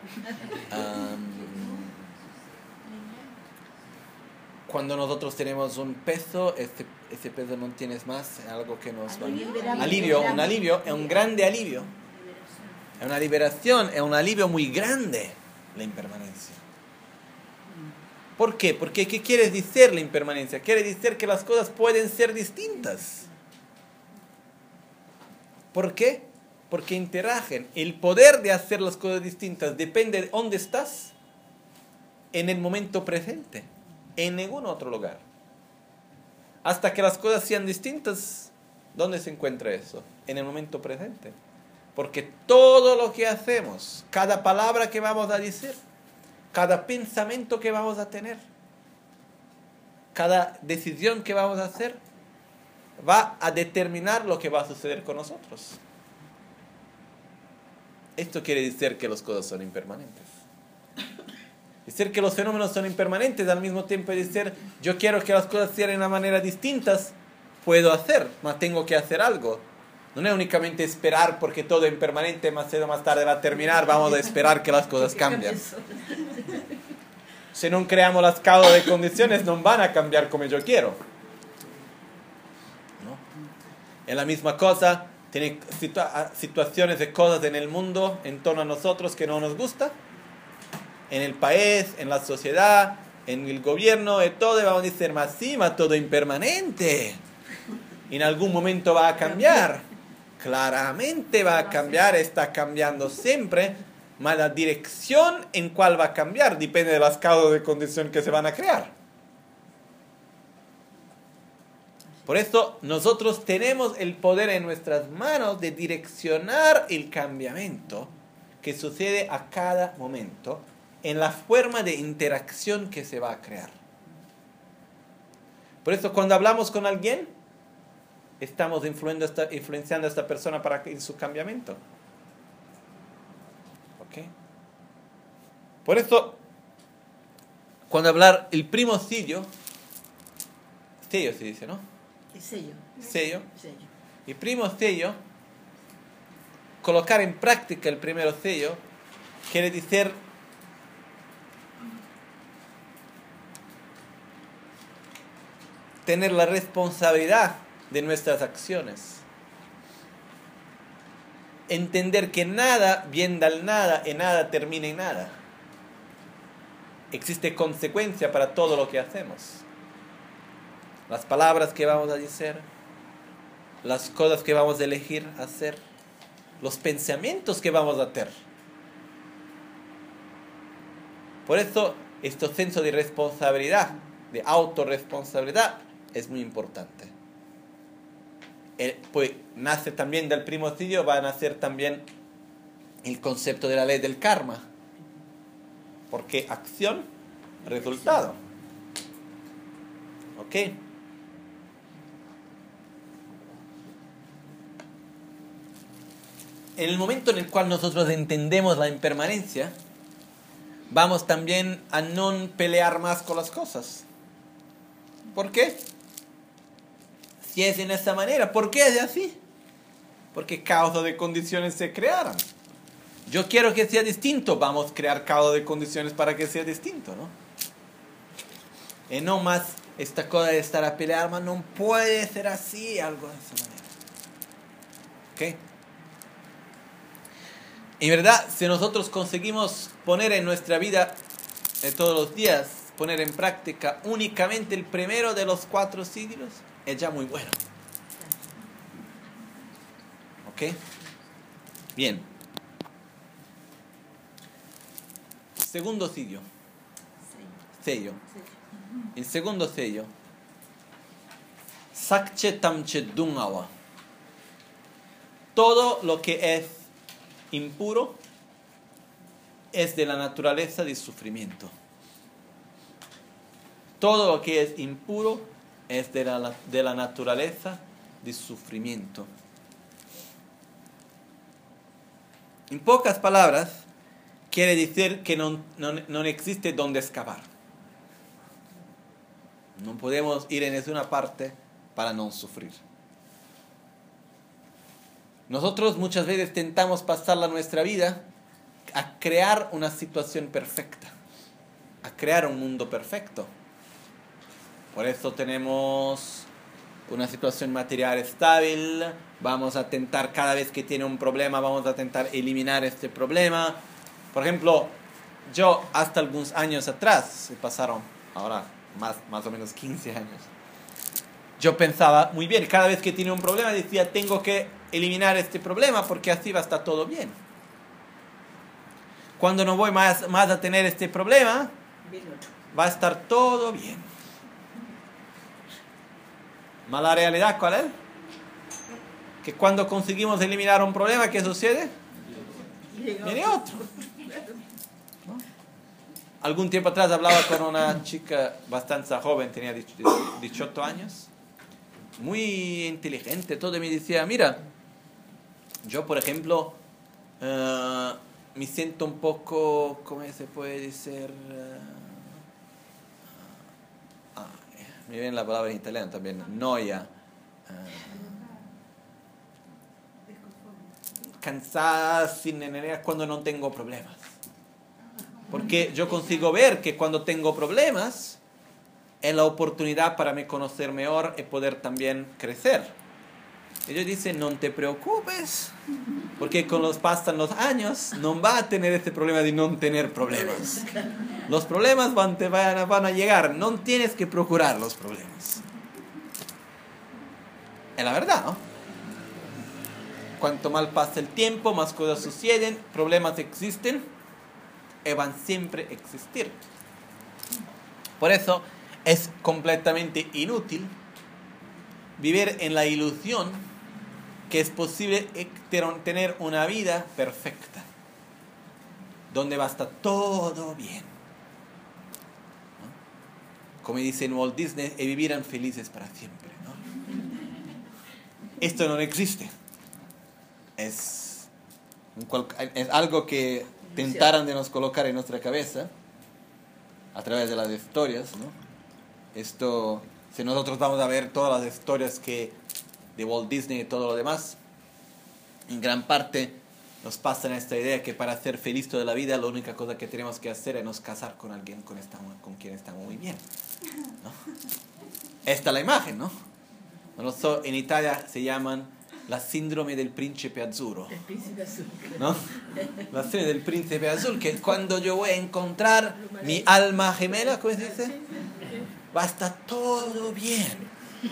S1: Cuando nosotros tenemos un peso, ese peso no tienes más, es algo que nos va... Un alivio, es un grande alivio. Es una liberación, es un alivio muy grande, la impermanencia. ¿Por qué? Porque ¿qué quiere decir la impermanencia? Quiere decir que las cosas pueden ser distintas. ¿Por qué? Porque interagen. El poder de hacer las cosas distintas depende de dónde estás en el momento presente, en ningún otro lugar. Hasta que las cosas sean distintas, ¿dónde se encuentra eso? En el momento presente. Porque todo lo que hacemos, cada palabra que vamos a decir, cada pensamiento que vamos a tener, cada decisión que vamos a hacer, va a determinar lo que va a suceder con nosotros. Esto quiere decir que las cosas son impermanentes. Decir que los fenómenos son impermanentes al mismo tiempo es decir, yo quiero que las cosas sean de una manera distintas, puedo hacer, mas tengo que hacer algo. No es únicamente esperar porque todo es impermanente, más tarde va a terminar, vamos a esperar que las cosas cambien. Si no creamos las causas de condiciones, no van a cambiar como yo quiero. ¿No? Es la misma cosa, tiene situaciones de cosas en el mundo, en torno a nosotros que no nos gusta, en el país, en la sociedad, en el gobierno, de todo, y vamos a decir, más sí, más todo impermanente. En algún momento va a cambiar. Claramente va a cambiar, está cambiando siempre, mas la dirección en cuál va a cambiar depende de las causas de condición que se van a crear. Por eso nosotros tenemos el poder en nuestras manos de direccionar el cambiamiento que sucede a cada momento en la forma de interacción que se va a crear. Por eso cuando hablamos con alguien, estamos influenciando a esta persona para su cambiamiento. ¿Ok? Por eso, cuando hablar el primocidio, sello se dice, ¿no? Sello. Y primocidio, colocar en práctica el primero sello, quiere decir tener la responsabilidad de nuestras acciones. Entender que nada viene del nada y nada termina en nada. Existe consecuencia para todo lo que hacemos. Las palabras que vamos a decir, las cosas que vamos a elegir hacer, los pensamientos que vamos a tener. Por eso, este senso de responsabilidad, de autorresponsabilidad, es muy importante. Pues nace también del primocidio, va a nacer también el concepto de la ley del karma. Porque acción, resultado. ¿Ok? En el momento en el cual nosotros entendemos la impermanencia, vamos también a no pelear más con las cosas. ¿Por qué? Si es en esta manera, ¿por qué es así? Porque causas de condiciones se crearon. Yo quiero que sea distinto, vamos a crear causas de condiciones para que sea distinto, ¿no? Y no más esta cosa de estar a pelear, mas no puede ser así, algo de esa manera. ¿Ok? En verdad, si nosotros conseguimos poner en nuestra vida de todos los días, poner en práctica únicamente el primero de los 4 siglos, es ya muy bueno. ¿Ok? Bien. Segundo sello. El segundo sello. Sakche tamche dungawa. Todo lo que es impuro es de la naturaleza del sufrimiento. Todo lo que es impuro es de la naturaleza del sufrimiento. En pocas palabras, quiere decir que no existe donde escapar. No podemos ir en una parte para no sufrir. Nosotros muchas veces tentamos pasar nuestra vida a crear una situación perfecta, a crear un mundo perfecto. Por eso tenemos una situación material estable, vamos a tentar cada vez que tiene un problema, vamos a tentar eliminar este problema. Por ejemplo, yo hasta algunos años atrás, se pasaron ahora más o menos 15 años, yo pensaba muy bien, cada vez que tiene un problema decía, tengo que eliminar este problema porque así va a estar todo bien. Cuando no voy más a tener este problema, va a estar todo bien. ¿Mala realidad cuál es? Que cuando conseguimos eliminar un problema, ¿qué sucede? Viene otro. ¿No? Algún tiempo atrás hablaba con una chica bastante joven, tenía 18 años, muy inteligente, todo, y me decía, mira, yo por ejemplo me siento un poco, ¿cómo se puede decir? Me viene la palabra en italiano también, noia, cansada, sin energía cuando no tengo problemas. Porque yo consigo ver que cuando tengo problemas es la oportunidad para me conocer mejor y poder también crecer. Ellos dicen, no te preocupes, porque con los pasan los años no va a tener este problema de no tener problemas. Los problemas van a llegar, no tienes que procurar los problemas. Es la verdad, ¿no? Cuanto más pasa el tiempo, más cosas suceden, problemas existen y van siempre a existir. Por eso es completamente inútil vivir en la ilusión que es posible tener una vida perfecta, donde va a estar todo bien, ¿no? Como dice en Walt Disney, y vivirán felices para siempre, ¿no? Esto no existe. Es algo que tentaran de nos colocar en nuestra cabeza a través de las historias, ¿no? Esto, si nosotros vamos a ver todas las historias de Walt Disney y todo lo demás, en gran parte nos pasa esta idea que para ser feliz toda la vida la única cosa que tenemos que hacer es nos casar con alguien con quien estamos muy bien, ¿no? Esta es la imagen, ¿no? En Italia se llaman la síndrome del príncipe azzurro,
S2: El príncipe azul.
S1: ¿no? La síndrome del príncipe azul, que cuando yo voy a encontrar mi alma gemela, ¿cómo se dice? Va a estar todo bien.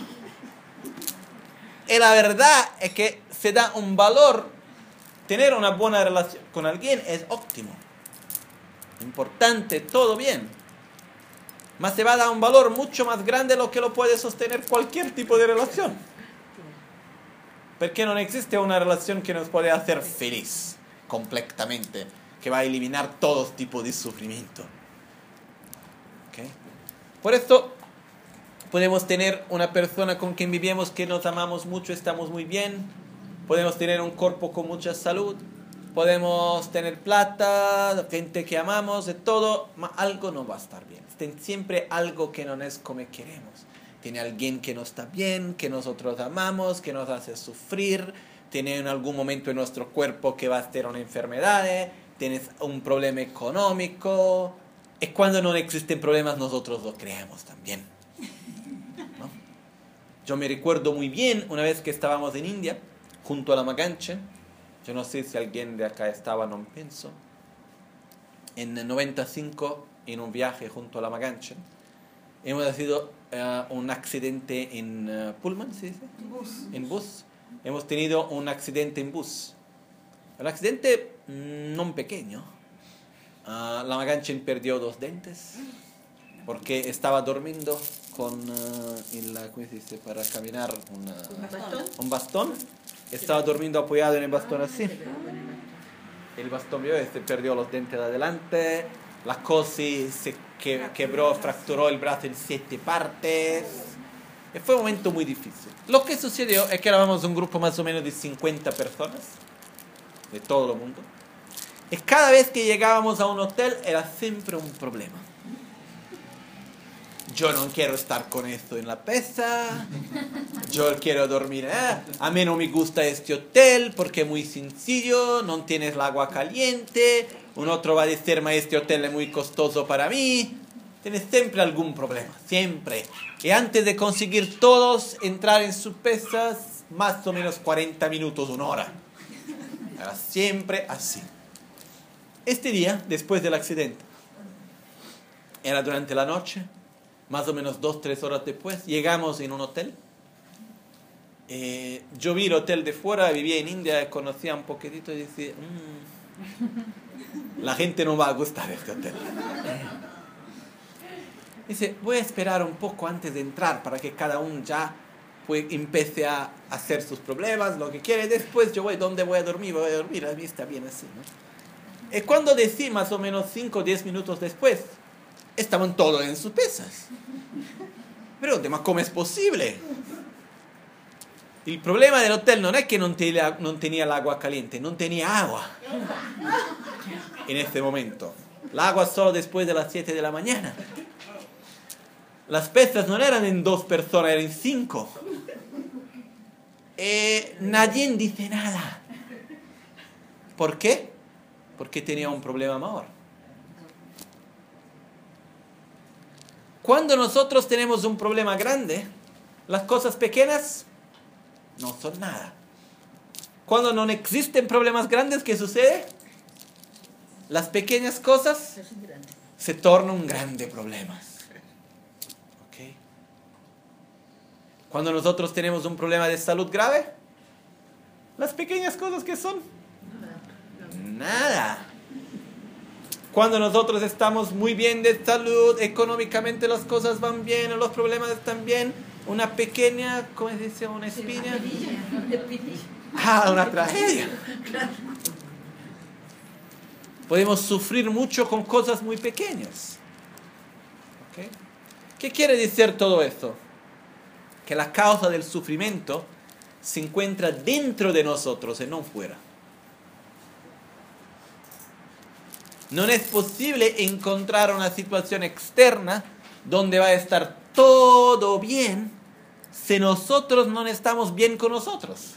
S1: Y la verdad es que se da un valor, tener una buena relación con alguien es óptimo, importante, todo bien. Mas se va a dar un valor mucho más grande de lo que lo puede sostener cualquier tipo de relación. Porque no existe una relación que nos puede hacer feliz completamente, que va a eliminar todo tipo de sufrimiento. ¿Okay? Por esto podemos tener una persona con quien vivimos que nos amamos mucho, estamos muy bien. Podemos tener un cuerpo con mucha salud. Podemos tener plata, gente que amamos, de todo. Algo no va a estar bien. Siempre algo que no es como queremos. Tiene alguien que no está bien, que nosotros amamos, que nos hace sufrir. Tiene en algún momento en nuestro cuerpo que va a tener una enfermedad. Tienes un problema económico. Es cuando no existen problemas, nosotros lo creamos también, ¿no? Yo me recuerdo muy bien una vez que estábamos en India, junto a la Maganche. Yo no sé si alguien de acá estaba, no pienso. En el 95, en un viaje junto a la Maganche, hemos tenido un accidente en Pullman, ¿se dice? En bus. Hemos tenido un accidente en bus. Un accidente no pequeño. La Maganchen perdió 2 dientes porque estaba durmiendo con ¿cómo se dice? Para caminar un bastón. Estaba durmiendo apoyado en el bastón así. El bastón perdió los dientes de adelante. La cosi se quebró, fracturó el brazo en 7 partes. Y fue un momento muy difícil. Lo que sucedió es que éramos un grupo más o menos de 50 personas de todo el mundo. Y cada vez que llegábamos a un hotel era siempre un problema. yo no quiero estar con esto en la pieza, yo quiero dormir, a mí no me gusta este hotel porque es muy sencillo, no tienes el agua caliente, un otro va a decir, este hotel es muy costoso para mí. Tienes siempre algún problema, siempre. Y antes de conseguir todos entrar en sus pesas, más o menos 40 minutos, 1 hora. Era siempre así. Este día, después del accidente, era durante la noche, más o menos 2-3 horas después, llegamos en un hotel. Yo vi el hotel de fuera, vivía en India, conocía un poquitito y decía, la gente no va a gustar de este hotel. Dice, voy a esperar un poco antes de entrar para que cada uno ya empiece a hacer sus problemas, lo que quiere. Después yo voy, ¿dónde voy a dormir? Voy a dormir, a mí está bien así, ¿no? Y cuando decí más o menos 5 o 10 minutos después, estaban todos en sus pesas. Pero, ¿cómo es posible? El problema del hotel no es que no tenía el agua caliente, no tenía agua en este momento. El agua solo después de las 7 de la mañana. Las pesas no eran en 2 personas, eran en 5. Nadie dice nada. ¿Por qué? Porque tenía un problema mayor. Cuando nosotros tenemos un problema grande, las cosas pequeñas no son nada. Cuando no existen problemas grandes, ¿qué sucede? Las pequeñas cosas se tornan grandes problemas. Cuando nosotros tenemos un problema de salud grave, las pequeñas cosas que son nada. Cuando nosotros estamos muy bien de salud, económicamente las cosas van bien, los problemas están bien, una pequeña, ¿cómo se dice? Una espina. Una tragedia. Podemos sufrir mucho con cosas muy pequeñas. ¿Okay? ¿Qué quiere decir todo esto? Que la causa del sufrimiento se encuentra dentro de nosotros y no fuera. No es posible encontrar una situación externa donde va a estar todo bien si nosotros no estamos bien con nosotros.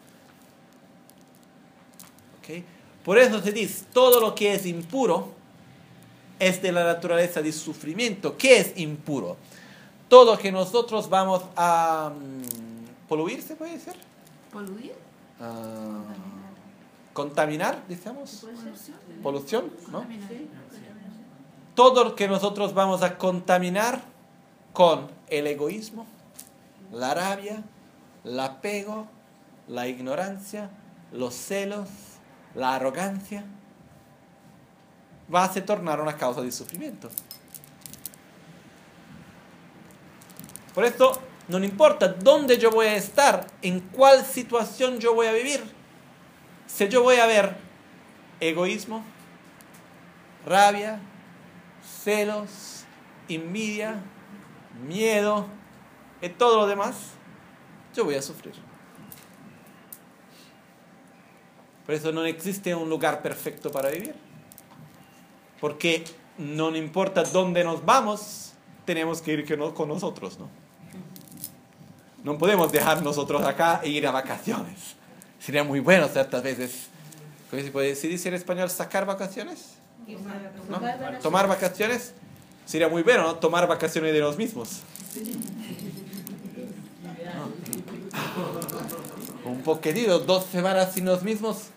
S1: ¿Okay? Por eso se dice, todo lo que es impuro es de la naturaleza del sufrimiento. ¿Qué es impuro? Todo que nosotros vamos a poluir, ¿se puede decir?
S4: ¿Poluir?
S1: Contaminar, decíamos. Polución, ¿no? Todo lo que nosotros vamos a contaminar con el egoísmo, la rabia, el apego, la ignorancia, los celos, la arrogancia, va a se tornar una causa de sufrimiento. Por esto, no importa dónde yo voy a estar, en cuál situación yo voy a vivir. Si yo voy a ver egoísmo, rabia, celos, envidia, miedo y todo lo demás, yo voy a sufrir. Por eso no existe un lugar perfecto para vivir. Porque no importa dónde nos vamos, tenemos que ir con nosotros, ¿no? No podemos dejar nosotros acá e ir a vacaciones. Sería muy bueno ciertas veces. ¿Cómo se puede decir en español? ¿Sacar vacaciones? ¿No? ¿Tomar vacaciones? Sería muy bueno, ¿no? Tomar vacaciones de los mismos. ¿No? Un poquitito, 2 semanas sin los mismos.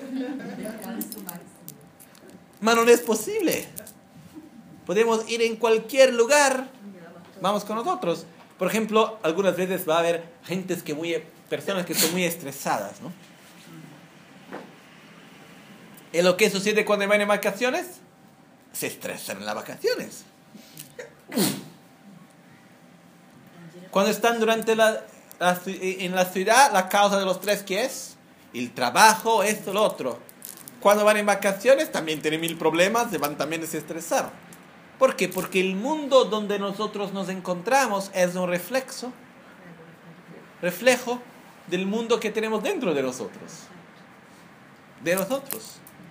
S1: Pero no es posible. Podemos ir en cualquier lugar. Vamos con nosotros. Por ejemplo, algunas veces va a haber personas que son muy estresadas, ¿no? ¿Y lo que sucede cuando van en vacaciones? Se estresan en las vacaciones. Cuando están en la ciudad, la causa de los estrés, ¿qué es? El trabajo, esto, lo otro. Cuando van en vacaciones, también tienen 1000 problemas, se van también a desestresar. ¿Por qué? Porque el mundo donde nosotros nos encontramos es un reflejo del mundo que tenemos dentro de nosotros.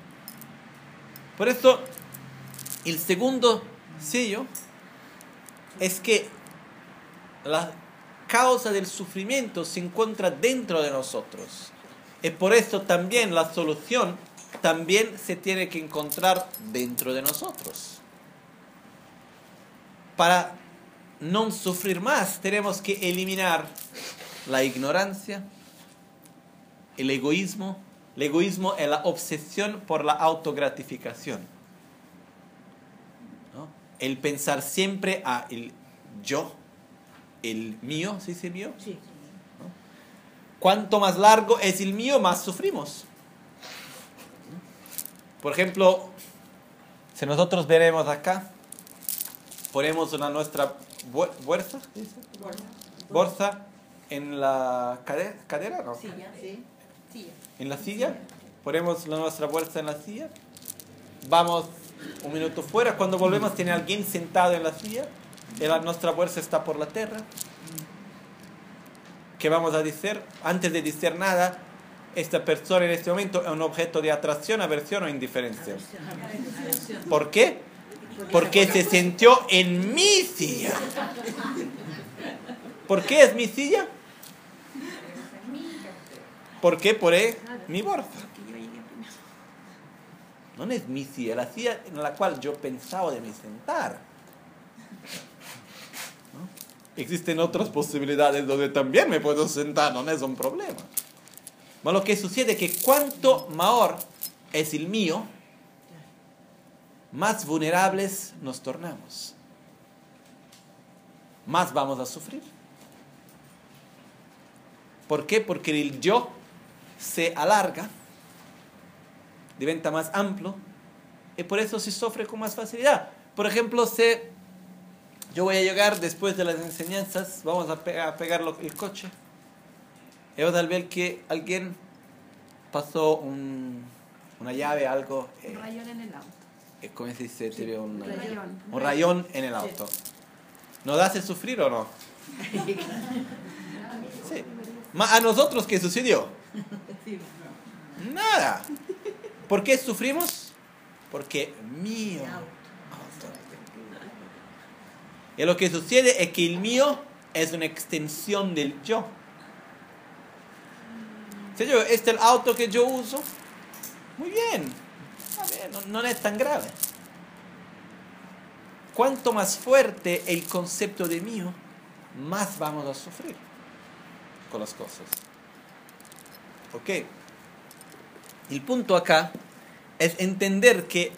S1: Por eso, el segundo sello es que la causa del sufrimiento se encuentra dentro de nosotros. Y por eso también la solución también se tiene que encontrar dentro de nosotros. Para no sufrir más, tenemos que eliminar la ignorancia, el egoísmo. El egoísmo es la obsesión por la autogratificación, ¿no? El pensar siempre a el yo, el mío, ¿se dice mío?
S2: Sí.
S1: ¿No? Cuanto más largo es el mío, más sufrimos. Por ejemplo, si nosotros veremos acá, ponemos nuestra bolsa en la cadera, ¿no?
S2: Sí.
S1: En la silla, ponemos nuestra bolsa en la silla, vamos un minuto fuera, cuando volvemos tiene alguien sentado en la silla, nuestra bolsa está por la tierra. ¿Qué vamos a decir? Antes de decir nada, esta persona en este momento es un objeto de atracción, aversión o indiferencia. ¿Por qué? Porque se sintió en mi silla. ¿Por qué es mi silla? ¿Por qué? Por mi bolsa. No es mi silla, la silla en la cual yo pensaba de me sentar. ¿No? Existen otras posibilidades donde también me puedo sentar, no es un problema. Pero lo que sucede es que cuanto mayor es el mío, más vulnerables nos tornamos. Más vamos a sufrir. ¿Por qué? Porque el yo se alarga, diventa más amplio, y por eso se sufre con más facilidad. Por ejemplo, si yo voy a llegar después de las enseñanzas, vamos a pegar el coche, y vamos a ver que alguien pasó una llave, algo.
S4: Un rayón en el auto.
S1: ¿Cómo se dice?
S2: Sí, un rayón.
S1: Un rayón en el auto. ¿Nos hace sufrir o no? Sí. ¿A nosotros qué sucedió? Nada. ¿Por qué sufrimos? Porque mío. Y lo que sucede es que el mío es una extensión del yo. Señor, este es el auto que yo uso. Muy bien. A ver, no es tan grave. Cuanto más fuerte el concepto de mío, más vamos a sufrir con las cosas. ¿Ok? El punto acá es entender que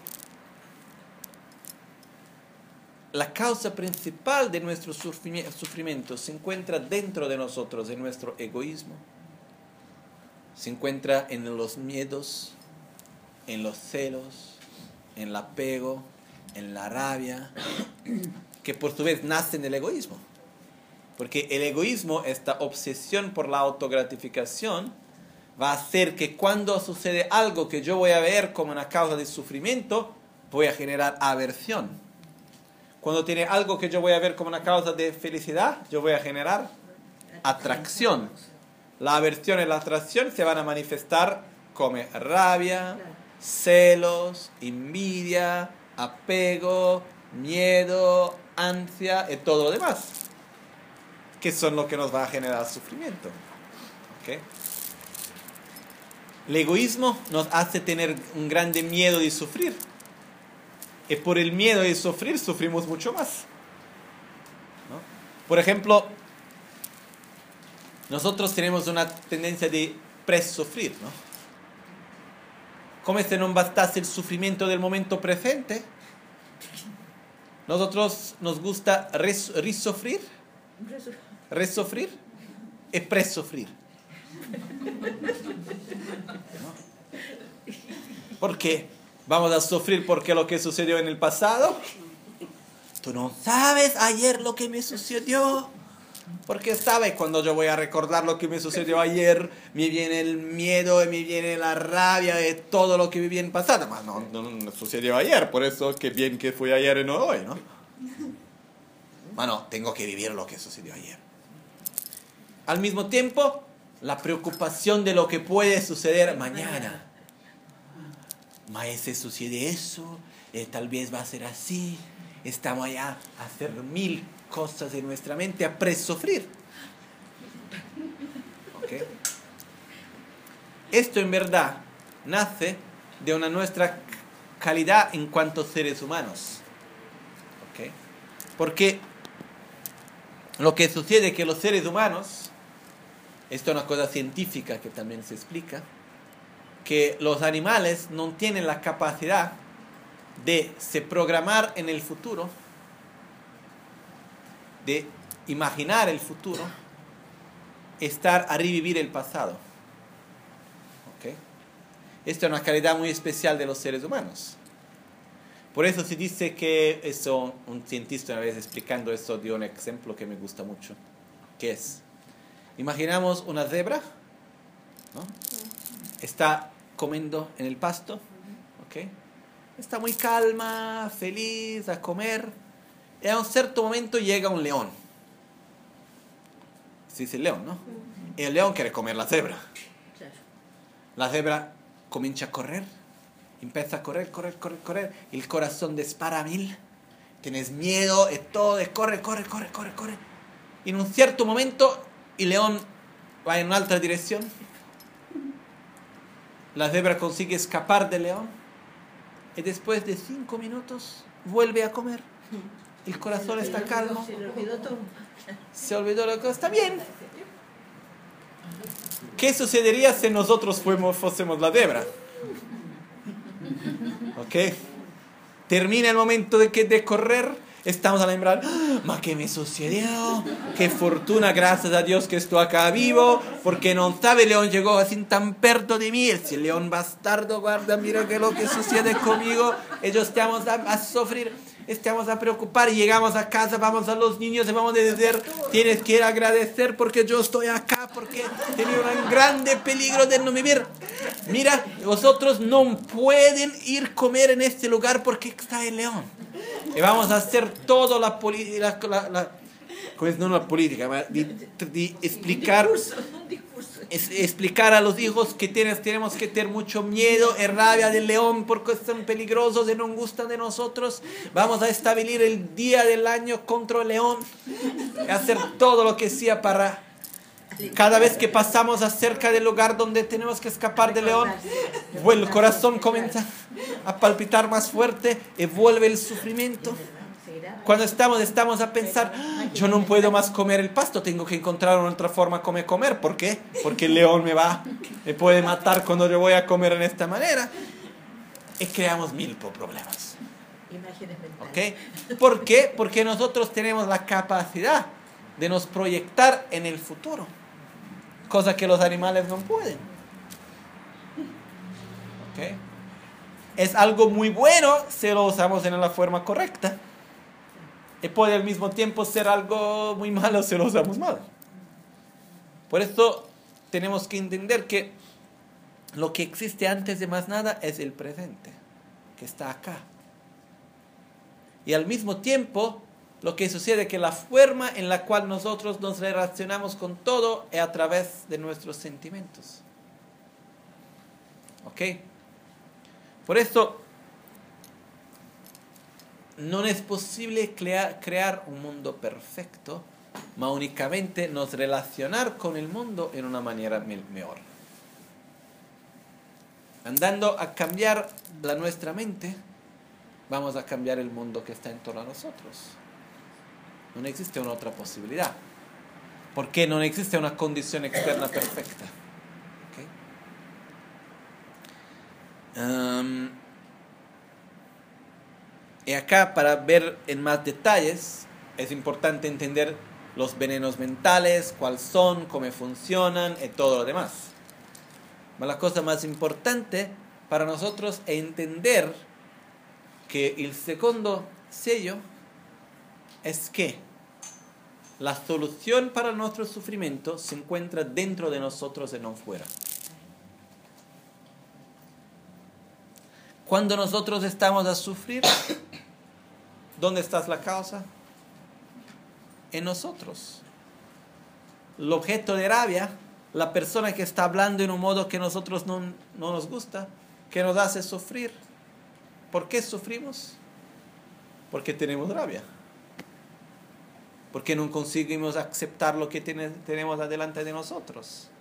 S1: la causa principal de nuestro sufrimiento se encuentra dentro de nosotros, en nuestro egoísmo. Se encuentra en los miedos, en los celos, en el apego, en la rabia, que por su vez nacen del egoísmo. Porque el egoísmo, esta obsesión por la autogratificación, va a hacer que cuando sucede algo que yo voy a ver como una causa de sufrimiento, voy a generar aversión. Cuando tiene algo que yo voy a ver como una causa de felicidad, yo voy a generar atracción. La aversión y la atracción se van a manifestar como rabia, celos, envidia, apego, miedo, ansia y todo lo demás, que son lo que nos va a generar sufrimiento. ¿Okay? El egoísmo nos hace tener un grande miedo de sufrir. Y por el miedo de sufrir, sufrimos mucho más. ¿No? Por ejemplo, nosotros tenemos una tendencia de presufrir, ¿no? Como si no bastase el sufrimiento del momento presente, nosotros nos gusta resufrir y presufrir. ¿No? ¿Por qué? Vamos a sufrir porque lo que sucedió en el pasado. Tú no sabes ayer lo que me sucedió. Porque sabes, cuando yo voy a recordar lo que me sucedió ayer, me viene el miedo y me viene la rabia de todo lo que viví en el pasado. Mas no sucedió ayer, por eso que bien que fue ayer y no hoy, ¿no? Bueno, tengo que vivir lo que sucedió ayer. Al mismo tiempo, la preocupación de lo que puede suceder mañana. Si sucede eso, tal vez va a ser así. Estamos allá a hacer 1000 cosas en nuestra mente a presufrir. ¿Ok? Esto en verdad nace de una nuestra calidad en cuanto a seres humanos. ¿Ok? Porque lo que sucede es que los seres humanos, esto es una cosa científica que también se explica, que los animales no tienen la capacidad de se programar en el futuro, de imaginar el futuro, estar a revivir el pasado. ¿Ok? Esta es una calidad muy especial de los seres humanos. Por eso se dice que, eso, un cientista una vez explicando esto dio un ejemplo que me gusta mucho, que es, imaginamos una cebra, ¿no? Está comiendo en el pasto, ¿ok? Está muy calma, feliz, a comer, y a un cierto momento llega un león. Se dice león, ¿no? Y el león quiere comer la cebra. La cebra comienza a correr, empieza a correr, y el corazón dispara a 1000, tienes miedo, y todo, y corre. Y en un cierto momento, el león va en una alta dirección, la cebra consigue escapar del león, y después de 5 minutos, vuelve a comer. El corazón está calmo.
S2: Se le olvidó todo.
S1: Se olvidó lo que está bien. ¿Qué sucedería si nosotros fuésemos la cebra? ¿Ok? Termina el momento de correr, estamos a lembrar, ma che mi sucedió, qué fortuna, gracias a Dios que estoy acá vivo, porque no sabe, el león llegó así tan perto de mí, ese león bastardo, guarda, mira que lo que sucede conmigo, ellos estamos a sufrir, estamos a preocupar, y llegamos a casa, vamos a los niños y vamos a decir, tienes que ir a agradecer porque yo estoy acá, porque tenía un grande peligro de no vivir. Mira, vosotros no pueden ir a comer en este lugar porque está el león. Y vamos a hacer toda la política, no la política, de explicar a los hijos que tenemos que tener mucho miedo y rabia del león porque son peligrosos y no gustan de nosotros. Vamos a establecer el día del año contra el león y hacer todo lo que sea para cada vez que pasamos acerca del lugar donde tenemos que escapar del león, el corazón comienza a palpitar más fuerte y vuelve el sufrimiento. Cuando estamos a pensar, yo no puedo más comer el pasto, tengo que encontrar una otra forma de comer. ¿Por qué? Porque el león me puede matar cuando yo voy a comer en esta manera. Y creamos 1000 problemas. ¿Ok? ¿Por qué? Porque nosotros tenemos la capacidad de nos proyectar en el futuro, cosa que los animales no pueden. ¿Ok? Es algo muy bueno si lo usamos en la forma correcta. Y puede al mismo tiempo ser algo muy malo si lo usamos mal. Por eso tenemos que entender que lo que existe antes de más nada es el presente, que está acá. Y al mismo tiempo, lo que sucede es que la forma en la cual nosotros nos relacionamos con todo es a través de nuestros sentimientos. ¿Ok? Por eso no es posible crear un mundo perfecto, mas únicamente nos relacionar con el mundo en una manera mejor. Andando a cambiar nuestra mente, vamos a cambiar el mundo que está en torno a nosotros. No existe una otra posibilidad, porque no existe una condición externa perfecta. ¿Okay? Y acá, para ver en más detalles, es importante entender los venenos mentales, cuáles son, cómo funcionan y todo lo demás. Pero la cosa más importante para nosotros es entender que el segundo sello es que la solución para nuestro sufrimiento se encuentra dentro de nosotros y no fuera. Cuando nosotros estamos a sufrir, ¿dónde está la causa? En nosotros. El objeto de rabia, la persona que está hablando en un modo que nosotros no nos gusta, que nos hace sufrir. ¿Por qué sufrimos? Porque tenemos rabia. Porque no conseguimos aceptar lo que tenemos adelante de nosotros.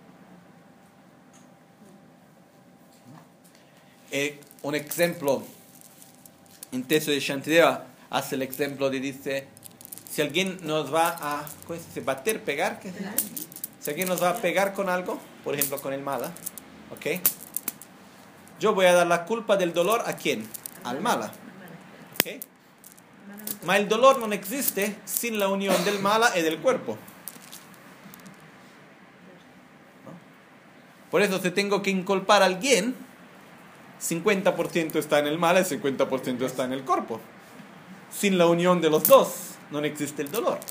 S1: Un ejemplo, en texto de Shantideva hace el ejemplo de, dice, si alguien nos va a bater, pegar, ¿qué? Si alguien nos va a pegar con algo, por ejemplo con el mala, ¿ok? Yo voy a dar la culpa del dolor ¿a quién? Al mala, ¿ok? Ma el dolor no existe sin la unión del mala y del cuerpo. ¿No? Por eso si tengo que inculpar a alguien, 50% está en el mala y 50% está en el cuerpo. Sin la unión de los dos no existe el dolor.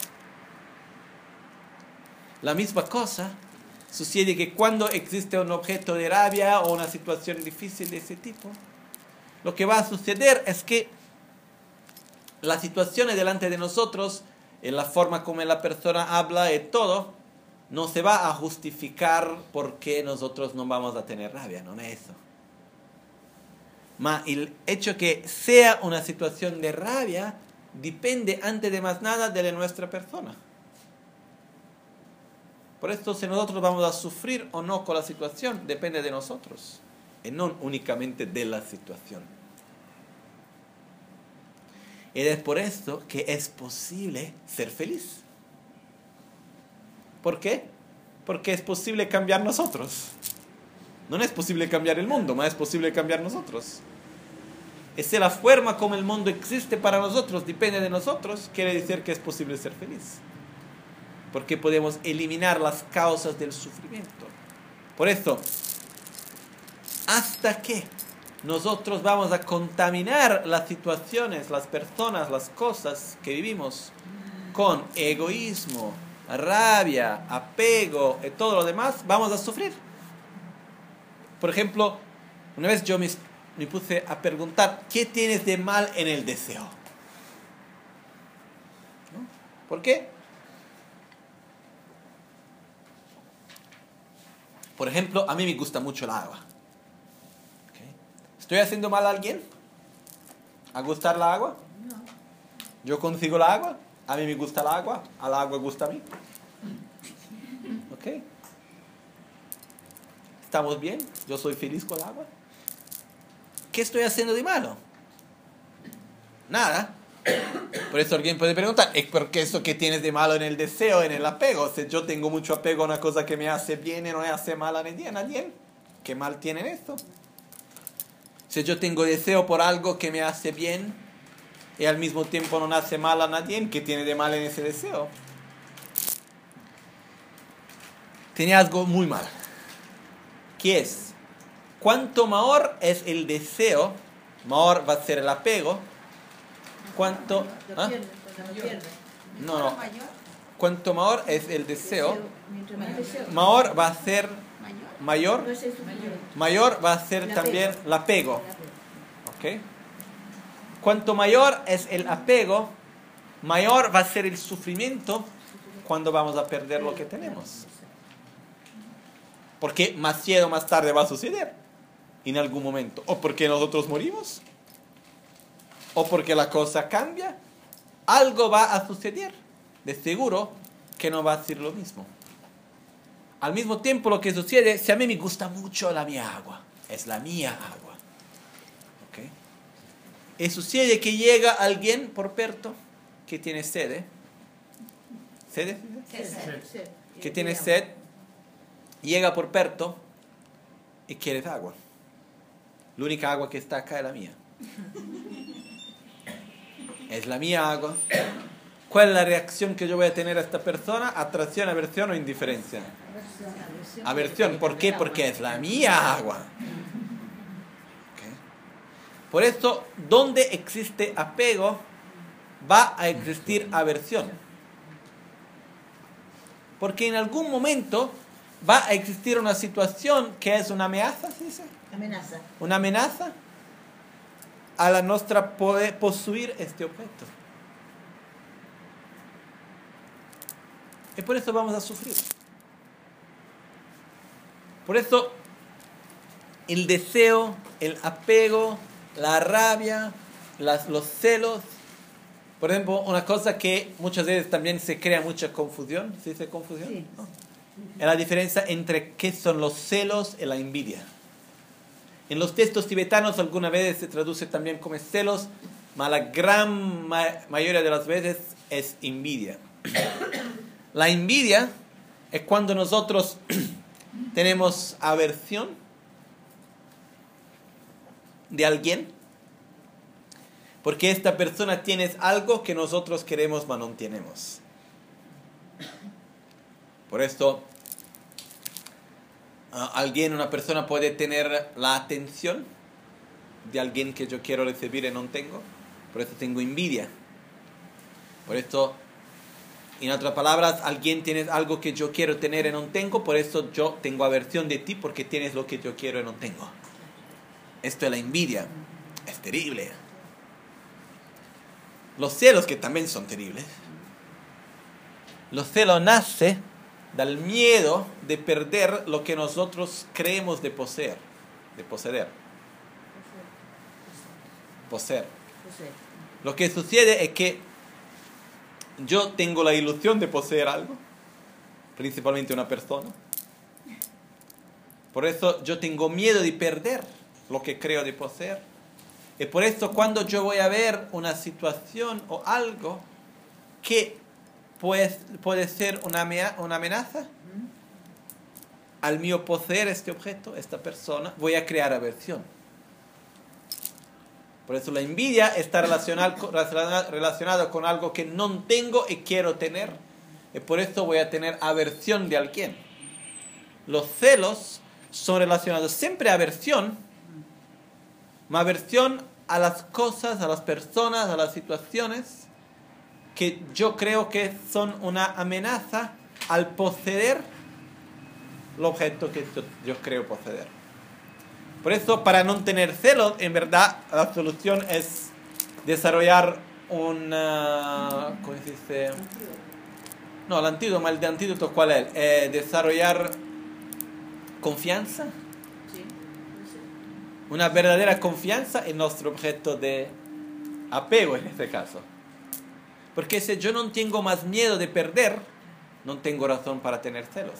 S1: La misma cosa sucede que cuando existe un objeto de rabia o una situación difícil de ese tipo, lo que va a suceder es que la situación delante de nosotros, en la forma como la persona habla y todo, no se va a justificar porque nosotros no vamos a tener rabia, no es eso. Ma el hecho que sea una situación de rabia depende antes de más nada de nuestra persona. Por esto si nosotros vamos a sufrir o no con la situación depende de nosotros y no únicamente de la situación. Y es por esto que es posible ser feliz. ¿Por qué? Porque es posible cambiar nosotros. No es posible cambiar el mundo, más es posible cambiar nosotros. Es la forma como el mundo existe para nosotros, depende de nosotros, quiere decir que es posible ser feliz. Porque podemos eliminar las causas del sufrimiento. Por eso, hasta que nosotros vamos a contaminar las situaciones, las personas, las cosas que vivimos con egoísmo, rabia, apego y todo lo demás, vamos a sufrir. Por ejemplo, una vez yo me puse a preguntar, ¿qué tienes de mal en el deseo? ¿No? ¿Por qué? Por ejemplo, a mí me gusta mucho el agua. ¿Okay? ¿Estoy haciendo mal a alguien? ¿A gustar la agua?
S2: No.
S1: ¿Yo consigo la agua? A mí me gusta el agua, a la agua gusta a mí. ¿Ok? ¿Estamos bien? ¿Yo soy feliz con el agua? ¿Qué estoy haciendo de malo? Nada. Por eso alguien puede preguntar, ¿es porque eso que tienes de malo en el deseo, en el apego? Si yo tengo mucho apego a una cosa que me hace bien y no me hace mal a nadie, ¿qué mal tiene esto? Si yo tengo deseo por algo que me hace bien y al mismo tiempo no hace mal a nadie, ¿qué tiene de mal en ese deseo? Tiene algo muy mal. ¿Qué es? Cuanto mayor es el deseo, mayor va a ser el apego. Cuanto no. Cuanto mayor es el deseo, mayor va a ser mayor va a ser también el apego. ¿Okay? Cuanto mayor es el apego, mayor va a ser el sufrimiento cuando vamos a perder lo que tenemos. Porque más tarde o más tarde va a suceder en algún momento. O porque nosotros morimos, o porque la cosa cambia, algo va a suceder. De seguro que no va a ser lo mismo. Al mismo tiempo lo que sucede, si a mí me gusta mucho la mía agua, es la mía agua. ¿Okay? Y sucede que llega alguien por perto que tiene sed. ¿Sed? Que tiene sed, llega por perto y quiere agua. La única agua que está acá es la mía. Es la mía agua. ¿Cuál es la reacción que yo voy a tener a esta persona? ¿Atracción, aversión o indiferencia? Aversión. ¿Por qué? Porque es la mía agua. ¿Okay? Por eso, donde existe apego, va a existir aversión. Porque en algún momento va a existir una situación que es una amenaza, ¿sí dice?
S2: Amenaza.
S1: Una amenaza a la nuestra poder poseer este objeto. Y por eso vamos a sufrir. Por eso el deseo, el apego, la rabia, los celos Por ejemplo, una cosa que muchas veces también se crea mucha confusión. ¿Se dice confusión?
S2: Sí.
S1: ¿No? Es la diferencia entre qué son los celos y la envidia. En los textos tibetanos algunas veces se traduce también como celos, pero la gran mayoría de las veces es envidia. La envidia es cuando nosotros tenemos aversión de alguien porque esta persona tiene algo que nosotros queremos pero no tenemos. Por esto, una persona puede tener la atención de alguien que yo quiero recibir y no tengo. Por eso tengo envidia. Por esto, en otras palabras, alguien tiene algo que yo quiero tener y no tengo. Por eso yo tengo aversión de ti porque tienes lo que yo quiero y no tengo. Esto es la envidia. Es terrible. Los celos, que también son terribles. Los celos nacen del miedo de perder lo que nosotros creemos de poseer. De poseer. Lo que sucede es que yo tengo la ilusión de poseer algo, principalmente una persona. Por eso yo tengo miedo de perder lo que creo de poseer. Y por eso cuando yo voy a ver una situación o algo que puede ser una amenaza al mío poseer este objeto, esta persona, voy a crear aversión. Por eso la envidia está relacionada con algo que no tengo y quiero tener. Y por eso voy a tener aversión de alguien. Los celos son relacionados siempre a aversión. Aversión a las cosas, a las personas, a las situaciones que yo creo que son una amenaza al poseer el objeto que yo creo poseer. Por eso, para no tener celos, en verdad, la solución es desarrollar una... ¿Cómo se dice? No, el antídoto, ¿cuál es? Desarrollar confianza. Una verdadera confianza en nuestro objeto de apego, en este caso. Porque si yo no tengo más miedo de perder, no tengo razón para tener celos.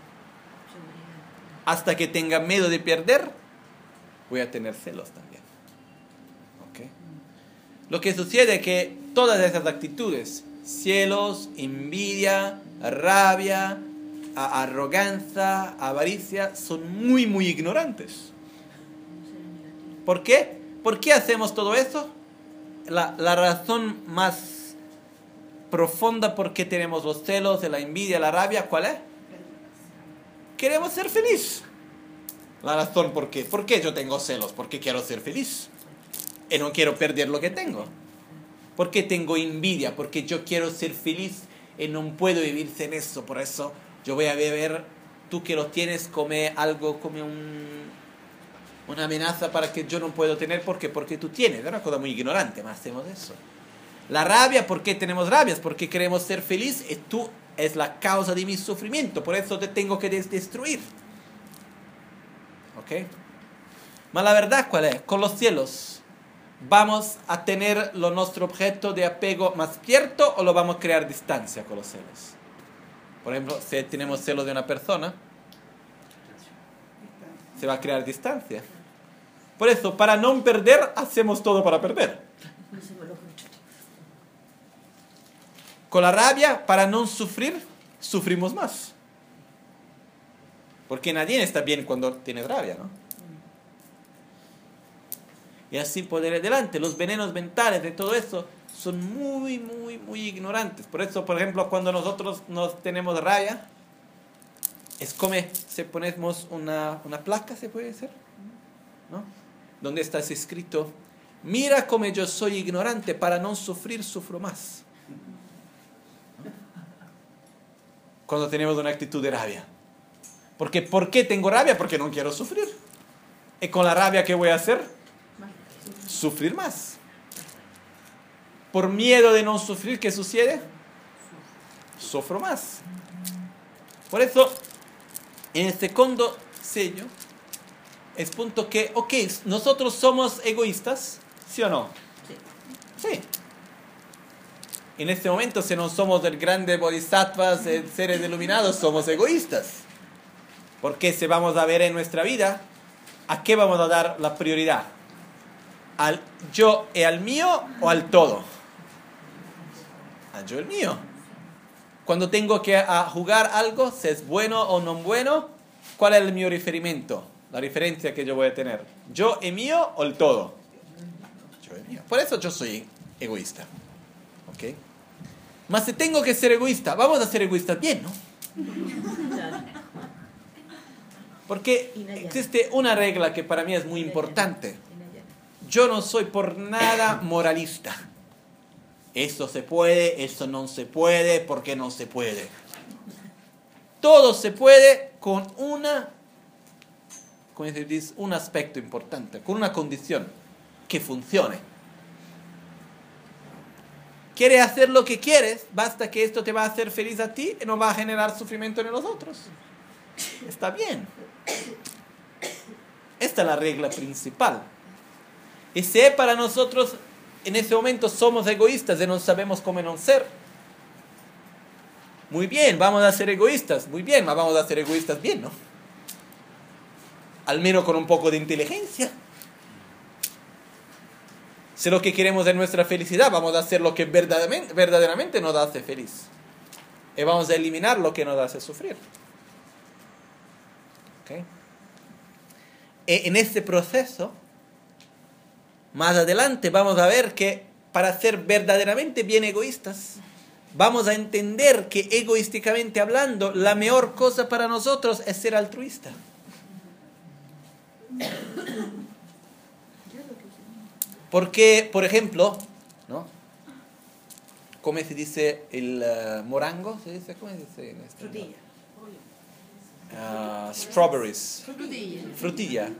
S1: Hasta que tenga miedo de perder, voy a tener celos también. ¿Okay? Lo que sucede es que todas esas actitudes, celos, envidia, rabia, arrogancia, avaricia, son muy, muy ignorantes. ¿Por qué? ¿Por qué hacemos todo eso? La razón más profunda por qué tenemos los celos, la envidia, la rabia, ¿cuál es? Queremos ser felices. La razón por qué. ¿Por qué yo tengo celos? Porque quiero ser feliz. Y no quiero perder lo que tengo. ¿Por qué tengo envidia? Porque yo quiero ser feliz y no puedo vivir sin eso. Por eso yo voy a beber. Tú que lo tienes, come algo, come una amenaza para que yo no puedo tener. ¿Por qué? Porque tú tienes. Es una cosa muy ignorante, más hacemos eso. La rabia, ¿por qué tenemos rabias? Porque queremos ser feliz y tú es la causa de mi sufrimiento. Por eso te tengo que destruir. ¿Ok? Mas la verdad, ¿cuál es? Con los celos, ¿vamos a tener nuestro objeto de apego más cierto o lo vamos a crear distancia con los celos? Por ejemplo, si tenemos celos de una persona, se va a crear distancia. Por eso, para no perder, hacemos todo para perder. Con la rabia, para no sufrir, sufrimos más. Porque nadie está bien cuando tiene rabia, ¿no? Y así poder adelante. Los venenos mentales de todo eso son muy, muy, muy ignorantes. Por eso, por ejemplo, cuando nosotros nos tenemos rabia, es como si ponemos una placa, ¿se puede decir? ¿No? Donde está escrito: mira cómo yo soy ignorante, para no sufrir, sufro más. Cuando tenemos una actitud de rabia. Porque, ¿por qué tengo rabia? Porque no quiero sufrir. Y con la rabia, ¿qué voy a hacer? Sufrir más. Por miedo de no sufrir, ¿qué sucede? Sufro más. Por eso, en el segundo sello, es punto que, ok, nosotros somos egoístas, ¿sí o no?
S2: Sí.
S1: Sí. en este momento, si no somos el grande bodhisattvas, seres iluminados, somos egoístas. Porque si vamos a ver en nuestra vida, ¿a qué vamos a dar la prioridad? ¿Al yo y al mío o al todo? Al yo y al mío. Cuando tengo que jugar algo, si es bueno o no bueno, ¿cuál es el mío referimiento? La referencia que yo voy a tener. ¿Yo y mío o el todo? Yo y mío. Por eso yo soy egoísta. ¿Ok? Mas si tengo que ser egoísta, vamos a ser egoístas bien, ¿no? Porque existe una regla que para mí es muy importante. Yo no soy por nada moralista. Esto se puede, esto no se puede, ¿por qué no se puede? Todo se puede con un aspecto importante, con una condición, que funcione. ¿Quieres hacer lo que quieres? Basta que esto te va a hacer feliz a ti y no va a generar sufrimiento en los otros. Está bien. Esta es la regla principal. Y si para nosotros en ese momento somos egoístas y no sabemos cómo no ser, muy bien, vamos a ser egoístas, muy bien, vamos a ser egoístas bien, ¿no? Al menos con un poco de inteligencia. Si lo que queremos es nuestra felicidad, vamos a hacer lo que verdaderamente nos hace feliz. Y vamos a eliminar lo que nos hace sufrir. ¿Okay? En este proceso, más adelante vamos a ver que para ser verdaderamente bien egoístas, vamos a entender que egoísticamente hablando, la mejor cosa para nosotros es ser altruista. Porque, por ejemplo, ¿no? ¿Cómo se dice el morango? ¿Se dice? ¿Cómo se dice en este?
S3: Frutilla.
S1: Strawberries.
S3: Frutilla.
S1: Frutilla.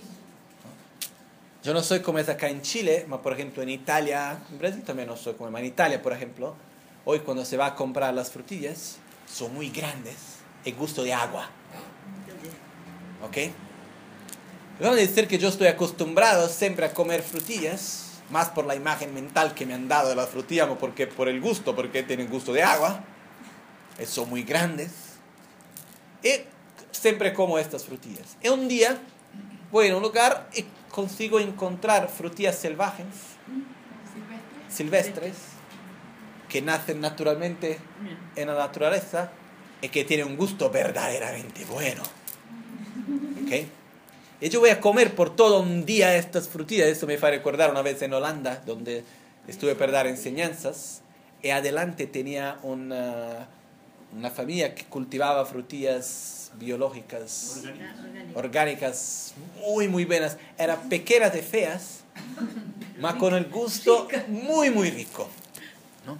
S1: Yo no soy como es acá en Chile, pero por ejemplo en Italia, en Brasil también no soy como en Italia, por ejemplo, hoy cuando se va a comprar las frutillas, son muy grandes, el gusto de agua. ¿Ok? Vamos a decir que yo estoy acostumbrado siempre a comer frutillas, más por la imagen mental que me han dado de las frutillas, porque por el gusto, porque tienen gusto de agua, son muy grandes. Y siempre como estas frutillas. Y un día voy a un lugar y consigo encontrar frutillas silvestres, que nacen naturalmente en la naturaleza y que tienen un gusto verdaderamente bueno. ¿Okay? Y yo voy a comer por todo un día estas frutillas. Eso me hace recordar una vez en Holanda, donde estuve para dar enseñanzas, y adelante tenía una familia que cultivaba frutillas biológicas, orgánicas, muy, muy buenas. Eran pequeñas y feas, pero con el gusto muy, muy rico, ¿no?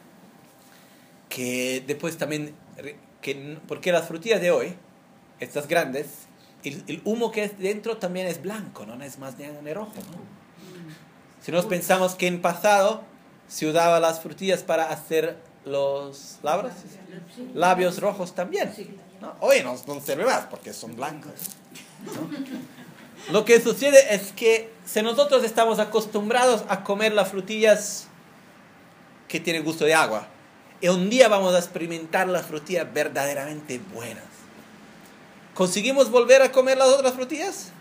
S1: Que después también, porque las frutillas de hoy, estas grandes, el humo que es dentro también es blanco, no es más de rojo, ¿no? Si nos pensamos que en pasado se usaba las frutillas para hacer los labios rojos también, ¿no? Hoy no sirve más porque son blancos, ¿no? Lo que sucede es que si nosotros estamos acostumbrados a comer las frutillas que tienen gusto de agua, y un día vamos a experimentar las frutillas verdaderamente buenas, ¿conseguimos volver a comer las otras frutillas?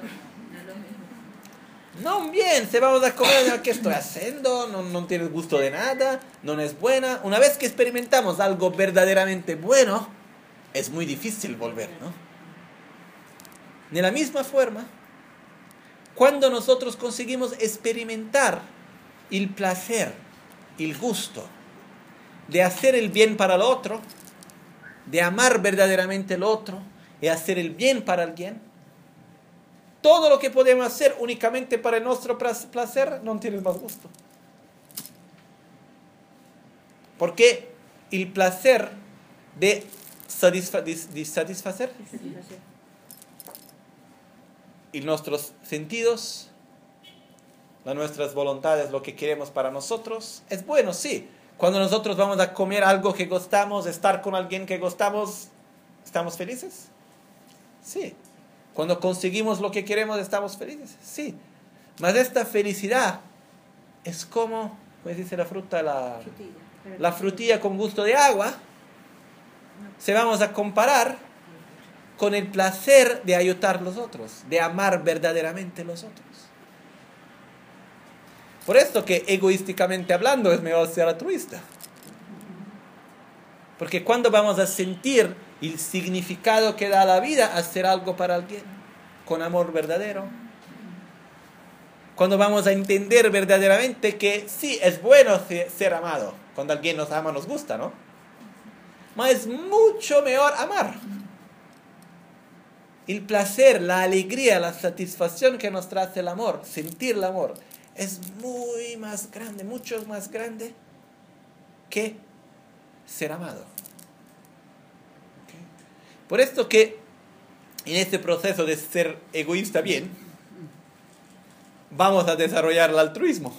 S1: No, bien, se vamos a comer, ¿qué estoy haciendo? No tiene gusto de nada, no es buena. Una vez que experimentamos algo verdaderamente bueno, es muy difícil volver, ¿no? De la misma forma, cuando nosotros conseguimos experimentar el placer, el gusto de hacer el bien para el otro, de amar verdaderamente al otro, y hacer el bien para alguien, todo lo que podemos hacer únicamente para nuestro placer no tiene más gusto. Porque el placer de satisfacer y nuestros sentidos, nuestras voluntades, lo que queremos para nosotros, es bueno, sí. Cuando nosotros vamos a comer algo que gustamos, estar con alguien que gustamos, ¿estamos felices? Sí. Cuando conseguimos lo que queremos, ¿estamos felices? Sí. Mas esta felicidad es como ¿cómo se dice la fruta? La frutilla con gusto de agua, se vamos a comparar con el placer de ayudar a los otros, de amar verdaderamente a los otros. Por esto que egoísticamente hablando es mejor ser altruista. Porque cuando vamos a sentir el significado que da la vida hacer algo para alguien con amor verdadero, cuando vamos a entender verdaderamente que sí, es bueno ser amado, cuando alguien nos ama nos gusta, ¿no? Pero es mucho mejor amar. El placer, la alegría, la satisfacción que nos trae el amor, sentir el amor, es muy más grande, mucho más grande que ser amado. ¿Okay? Por esto que en este proceso de ser egoísta bien, vamos a desarrollar el altruismo.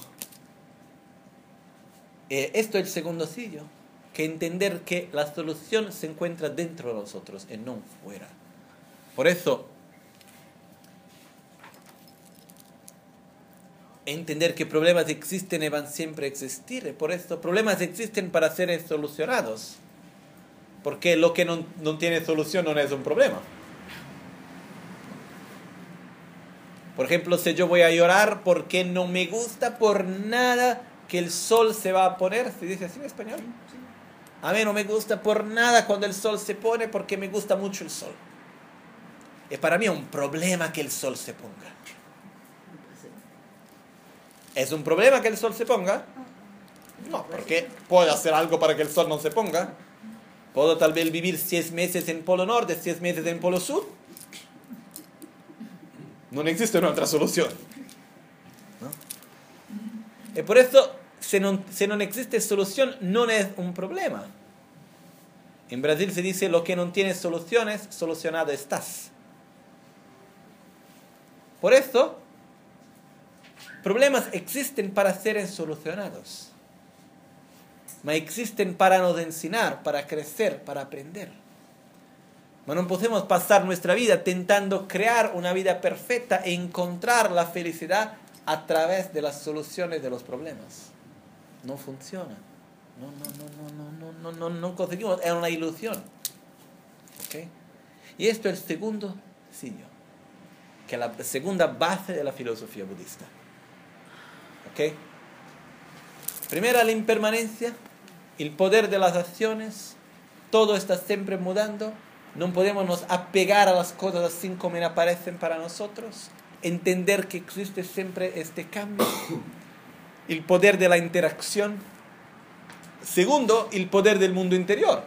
S1: Esto es el segundo sello, que entender que la solución se encuentra dentro de nosotros y no fuera. Por eso, entender que problemas existen y van siempre a existir. Por esto, problemas existen para ser solucionados. Porque lo que no tiene solución no es un problema. Por ejemplo, si yo voy a llorar porque no me gusta por nada que el sol se va a poner, ¿se dice así en español? A mí no me gusta por nada cuando el sol se pone porque me gusta mucho el sol. Es para mí un problema que el sol se ponga. ¿Es un problema que el sol se ponga? No, porque puedo hacer algo para que el sol no se ponga. Puedo tal vez vivir 6 meses en Polo Norte, 6 meses en Polo Sur. No existe una otra solución. ¿No? Y por eso, si no existe solución, no es un problema. En Brasil se dice, lo que no tiene soluciones, solucionado estás. Por eso, problemas existen para ser solucionados. Mas existen para nos enseñar, para crecer, para aprender. Mas no podemos pasar nuestra vida intentando crear una vida perfecta e encontrar la felicidad a través de las soluciones de los problemas. No funciona. No conseguimos. Es una ilusión. ¿Okay? Y esto es el segundo sello, que es la segunda base de la filosofía budista. ¿Okay? Primera, la impermanencia, el poder de las acciones, todo está siempre mudando, no podemos nos apegar a las cosas así como aparecen para nosotros, entender que existe siempre este cambio, el poder de la interacción. Segundo, el poder del mundo interior.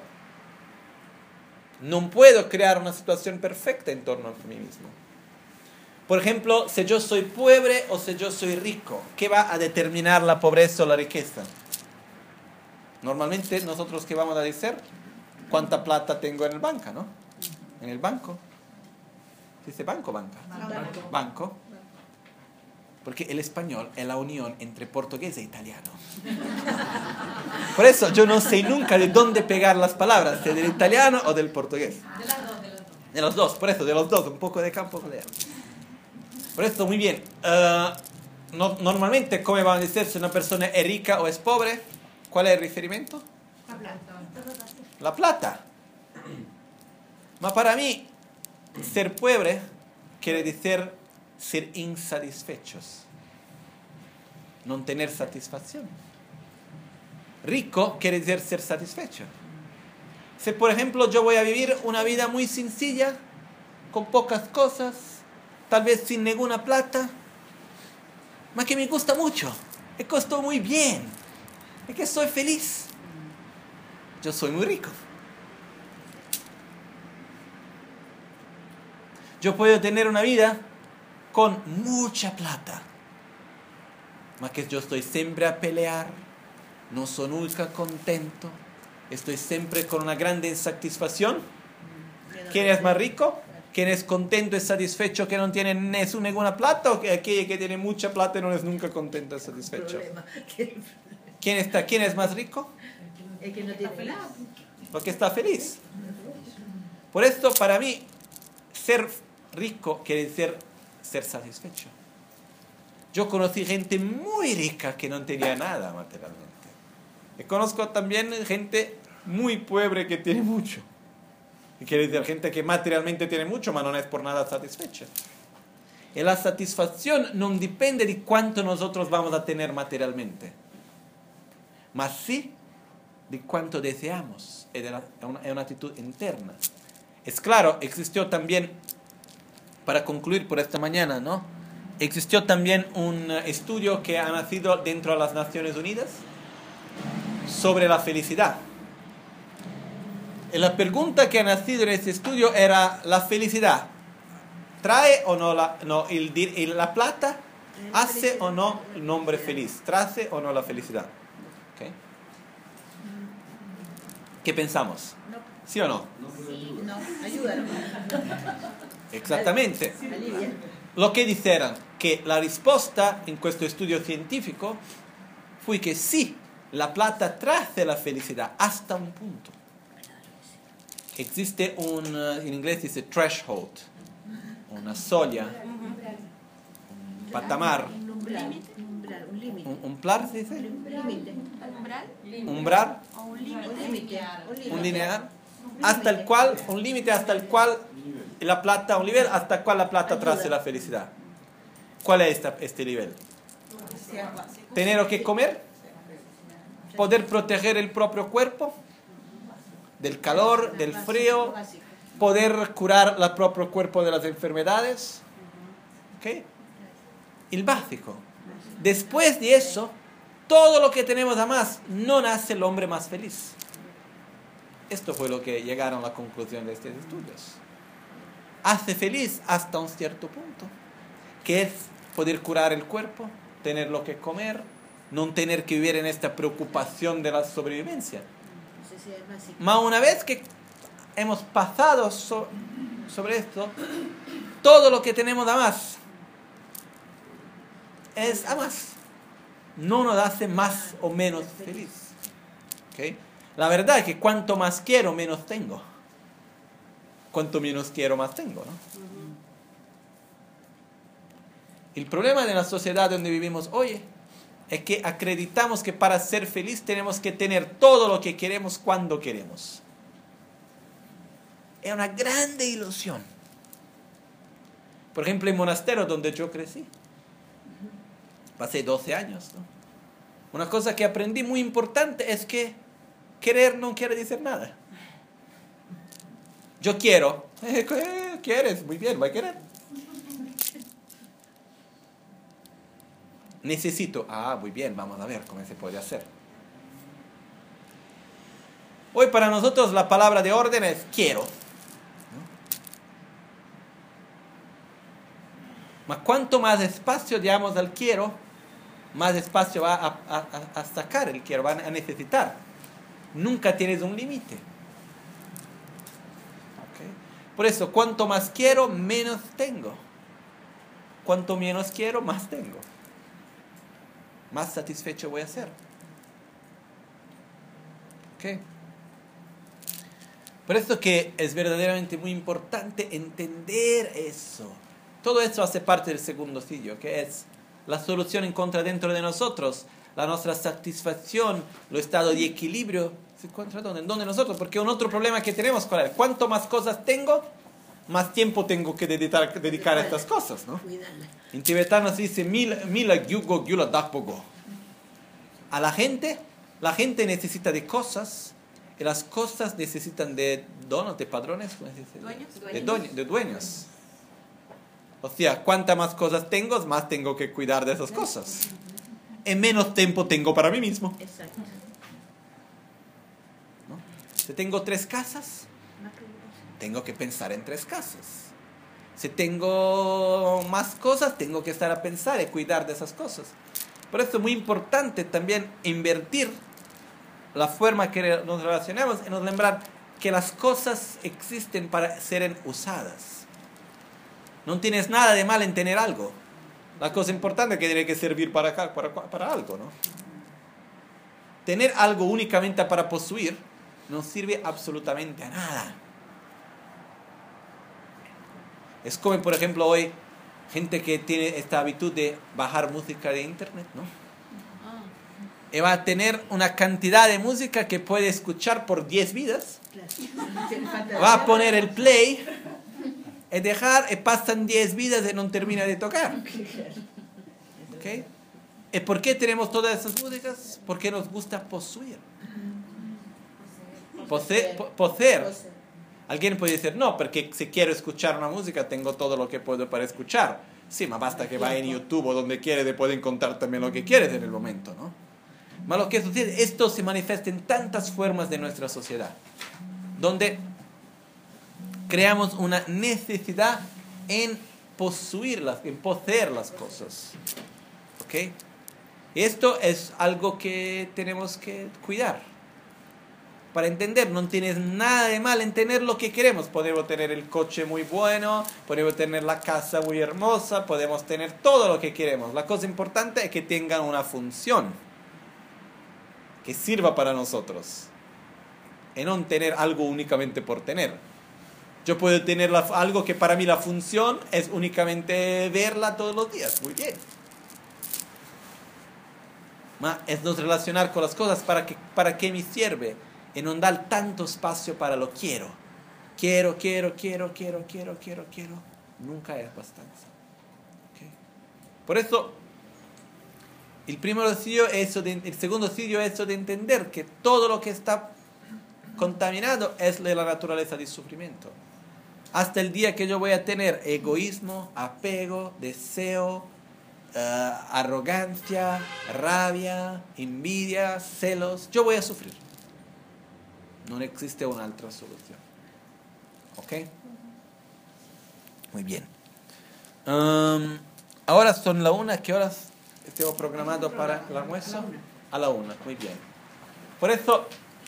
S1: No puedo crear una situación perfecta en torno a mí mismo. Por ejemplo, si yo soy pobre o si yo soy rico, ¿qué va a determinar la pobreza o la riqueza? Normalmente nosotros, ¿qué vamos a decir? ¿Cuánta plata tengo en el banco, no? En el banco. ¿Se dice banco o banca? Banco. Porque el español es la unión entre portugués e italiano. Por eso yo no sé nunca de dónde pegar las palabras, si del italiano o del portugués. De los dos, por eso, de los dos, un poco de campo, un poco de allá. Por esto, muy bien. Normalmente, ¿cómo van a decir si una persona es rica o es pobre? ¿Cuál es el referimiento?
S3: La plata.
S1: La plata. Pero para mí, ser pobre quiere decir ser insatisfechos. No tener satisfacción. Rico quiere decir ser satisfecho. Si, por ejemplo, yo voy a vivir una vida muy sencilla, con pocas cosas, tal vez sin ninguna plata, mas que me gusta mucho, me costó muy bien, es que soy feliz, yo soy muy rico. Yo puedo tener una vida con mucha plata, mas que yo estoy siempre a pelear, no soy nunca contento, estoy siempre con una grande insatisfacción. ¿Quién es más rico? ¿Quién es contento y satisfecho que no tiene ninguna plata? ¿O aquel que tiene mucha plata y no es nunca contento y satisfecho? ¿Quién es más rico?
S2: El que no tiene plata.
S1: Porque está feliz. Por esto, para mí, ser rico quiere decir ser satisfecho. Yo conocí gente muy rica que no tenía nada materialmente. Y conozco también gente muy pobre que tiene mucho. Y quiere decir gente que materialmente tiene mucho, pero no es por nada satisfecha. Y la satisfacción no depende de cuánto nosotros vamos a tener materialmente, mas sí de cuánto deseamos. Es una actitud interna. Es claro, existió también, para concluir por esta mañana, ¿no? Existió también un estudio que ha nacido dentro de las Naciones Unidas sobre la felicidad. Y la pregunta que ha nacido en este estudio era: ¿la felicidad trae o no la plata? ¿Hace o no el hombre feliz? ¿Trae o no la felicidad? ¿Okay? ¿Qué pensamos? ¿Sí o no?
S2: No, ayúdanos.
S1: Exactamente.
S2: Alivia.
S1: Lo que dijeron que la respuesta en este estudio científico fue que sí, la plata trae la felicidad hasta un punto. Existe en inglés dice threshold, una soglia, un patamar,
S2: Un límite.
S1: un plar, ¿se dice?
S2: Un límite.
S1: Umbral,
S4: O un límite.
S2: Un límite.
S1: un lineal, hasta el cual, un límite hasta el cual la plata, un nivel hasta el cual la plata trae la felicidad. ¿Cuál es este nivel? Tener que comer, poder proteger el propio cuerpo del calor, del frío, poder curar el propio cuerpo de las enfermedades. ¿Okay? El básico. Después de eso, todo lo que tenemos a más no hace el hombre más feliz. Esto fue lo que llegaron a la conclusión de estos estudios. Hace feliz hasta un cierto punto, que es poder curar el cuerpo, tener lo que comer, no tener que vivir en esta preocupación de la sobrevivencia. Mas una vez que hemos pasado sobre esto, todo lo que tenemos a más es a más. No nos hace más o menos feliz. ¿Okay? La verdad es que cuanto más quiero, menos tengo. Cuanto menos quiero, más tengo, ¿no? El problema de la sociedad donde vivimos hoy es que acreditamos que para ser feliz tenemos que tener todo lo que queremos cuando queremos. Es una grande ilusión. Por ejemplo, en monasterio donde yo crecí, pasé 12 años, ¿no? Una cosa que aprendí muy importante es que querer no quiere decir nada. Yo quiero. ¿Qué quieres? Muy bien, voy a querer. Necesito. Muy bien, vamos a ver cómo se puede hacer. Hoy para nosotros la palabra de orden es quiero. ¿No? Mas cuanto más espacio damos al quiero, más espacio va a sacar el quiero, va a necesitar. Nunca tienes un límite. ¿Okay? Por eso, cuanto más quiero, menos tengo. Cuanto menos quiero, más tengo. Más satisfecho voy a ser. ¿Okay? Por eso que es verdaderamente muy importante entender eso. Todo eso hace parte del segundo sitio, que es la solución encuentra dentro de nosotros. La nuestra satisfacción, el estado de equilibrio, se encuentra ¿dónde nosotros? Porque un otro problema que tenemos, ¿cuál es? Cuanto más cosas tengo, más tiempo tengo que dedicar a estas cosas, ¿no? En tibetano se dice mila gyugo gyula dapogo. A la gente necesita de cosas, y las cosas necesitan de donos, de padrones, ¿cómo se dice? De dueños. O sea, cuantas más cosas tengo, más tengo que cuidar de esas cosas. Y menos tiempo tengo para mí mismo.
S2: Exacto.
S1: ¿No? Si tengo 3 casas, tengo que pensar en 3 casas. Si tengo más cosas, tengo que estar a pensar y cuidar de esas cosas. Por eso es muy importante también invertir la forma que nos relacionamos y nos lembrar que las cosas existen para ser usadas. No tienes nada de mal en tener algo. La cosa importante es que tiene que servir para algo, ¿no? Tener algo únicamente para poseer no sirve absolutamente a nada. Es como, por ejemplo, hoy gente que tiene esta habitud de bajar música de internet, ¿no? Y va a tener una cantidad de música que puede escuchar por 10 vidas. Va a poner el play y dejar, y pasan 10 vidas y no termina de tocar. ¿Okay? ¿Y por qué tenemos todas esas músicas? Porque nos gusta poseer. Poseer. Alguien puede decir, no, porque si quiero escuchar una música, tengo todo lo que puedo para escuchar. Sí, más basta que vaya en YouTube o donde quieres y puede encontrar también lo que quieres en el momento, ¿no? Mas lo que sucede, esto se manifiesta en tantas formas de nuestra sociedad, donde creamos una necesidad en poseer las cosas. ¿Ok? Esto es algo que tenemos que cuidar. Para entender, no tienes nada de mal en tener lo que queremos. Podemos tener el coche muy bueno, podemos tener la casa muy hermosa, podemos tener todo lo que queremos. La cosa importante es que tengan una función que sirva para nosotros, y no tener algo únicamente por tener. Yo puedo tener algo que para mí la función es únicamente verla todos los días. Muy bien. Es nos relacionar con las cosas para qué me sirve y no dar tanto espacio para lo quiero. Quiero. Nunca es bastante. ¿Okay? Por eso, el segundo sitio es eso de entender que todo lo que está contaminado es de la naturaleza del sufrimiento. Hasta el día que yo voy a tener egoísmo, apego, deseo, arrogancia, rabia, envidia, celos, yo voy a sufrir. No existe una otra solución. ¿Ok? Muy bien. Ahora son la 1. ¿Qué horas tengo programado para el almuerzo? A la 1. Muy bien. Por eso,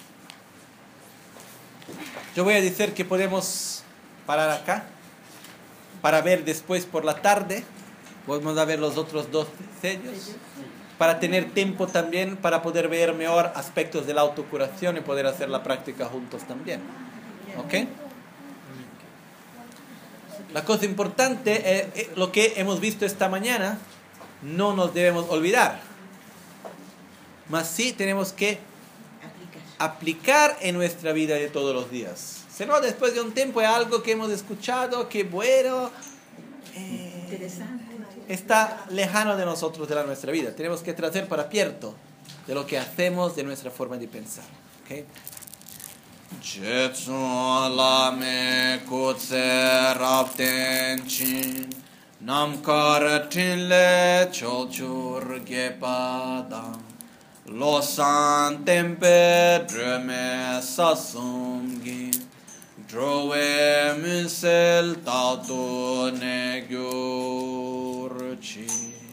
S1: yo voy a decir que podemos parar acá para ver después por la tarde. Vamos a ver los otros 2 sellos para tener tiempo también para poder ver mejor aspectos de la autocuración y poder hacer la práctica juntos también. ¿Ok? La cosa importante es lo que hemos visto esta mañana. No nos debemos olvidar, mas sí tenemos que aplicar en nuestra vida de todos los días. Si no, después de un tiempo es algo que hemos escuchado, que bueno, está lejano de nosotros, de nuestra vida. Tenemos que tratar para pierto de lo que hacemos, de nuestra forma de pensar. ¿Okay? Namkaratinle cholchur gepadam losan tempe dreme sasumgi drove musel tautoegyurchi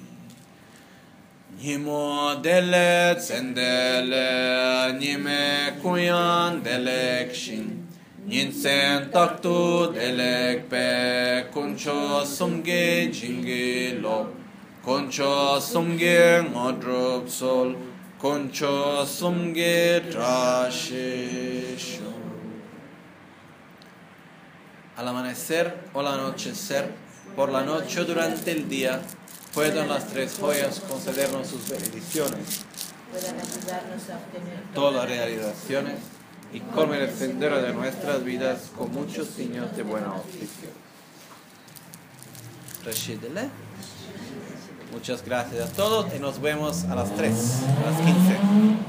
S1: nimo dele tsendele nime kuyan delekshin Ninsen taktu delek pe kuncho sumge jingi lop kuncho sumge ngodrup sol kuncho sumge trashisho. Al amanecer o al anochecer, por la noche o durante el día, puedan las 3 joyas concedernos sus bendiciones,
S2: puedan ayudarnos a obtener
S1: todas las realizaciones y colme el sendero de nuestras vidas con muchos signos de buena auspicio. Rashidele. Muchas gracias a todos y nos vemos a las 3, a las 15.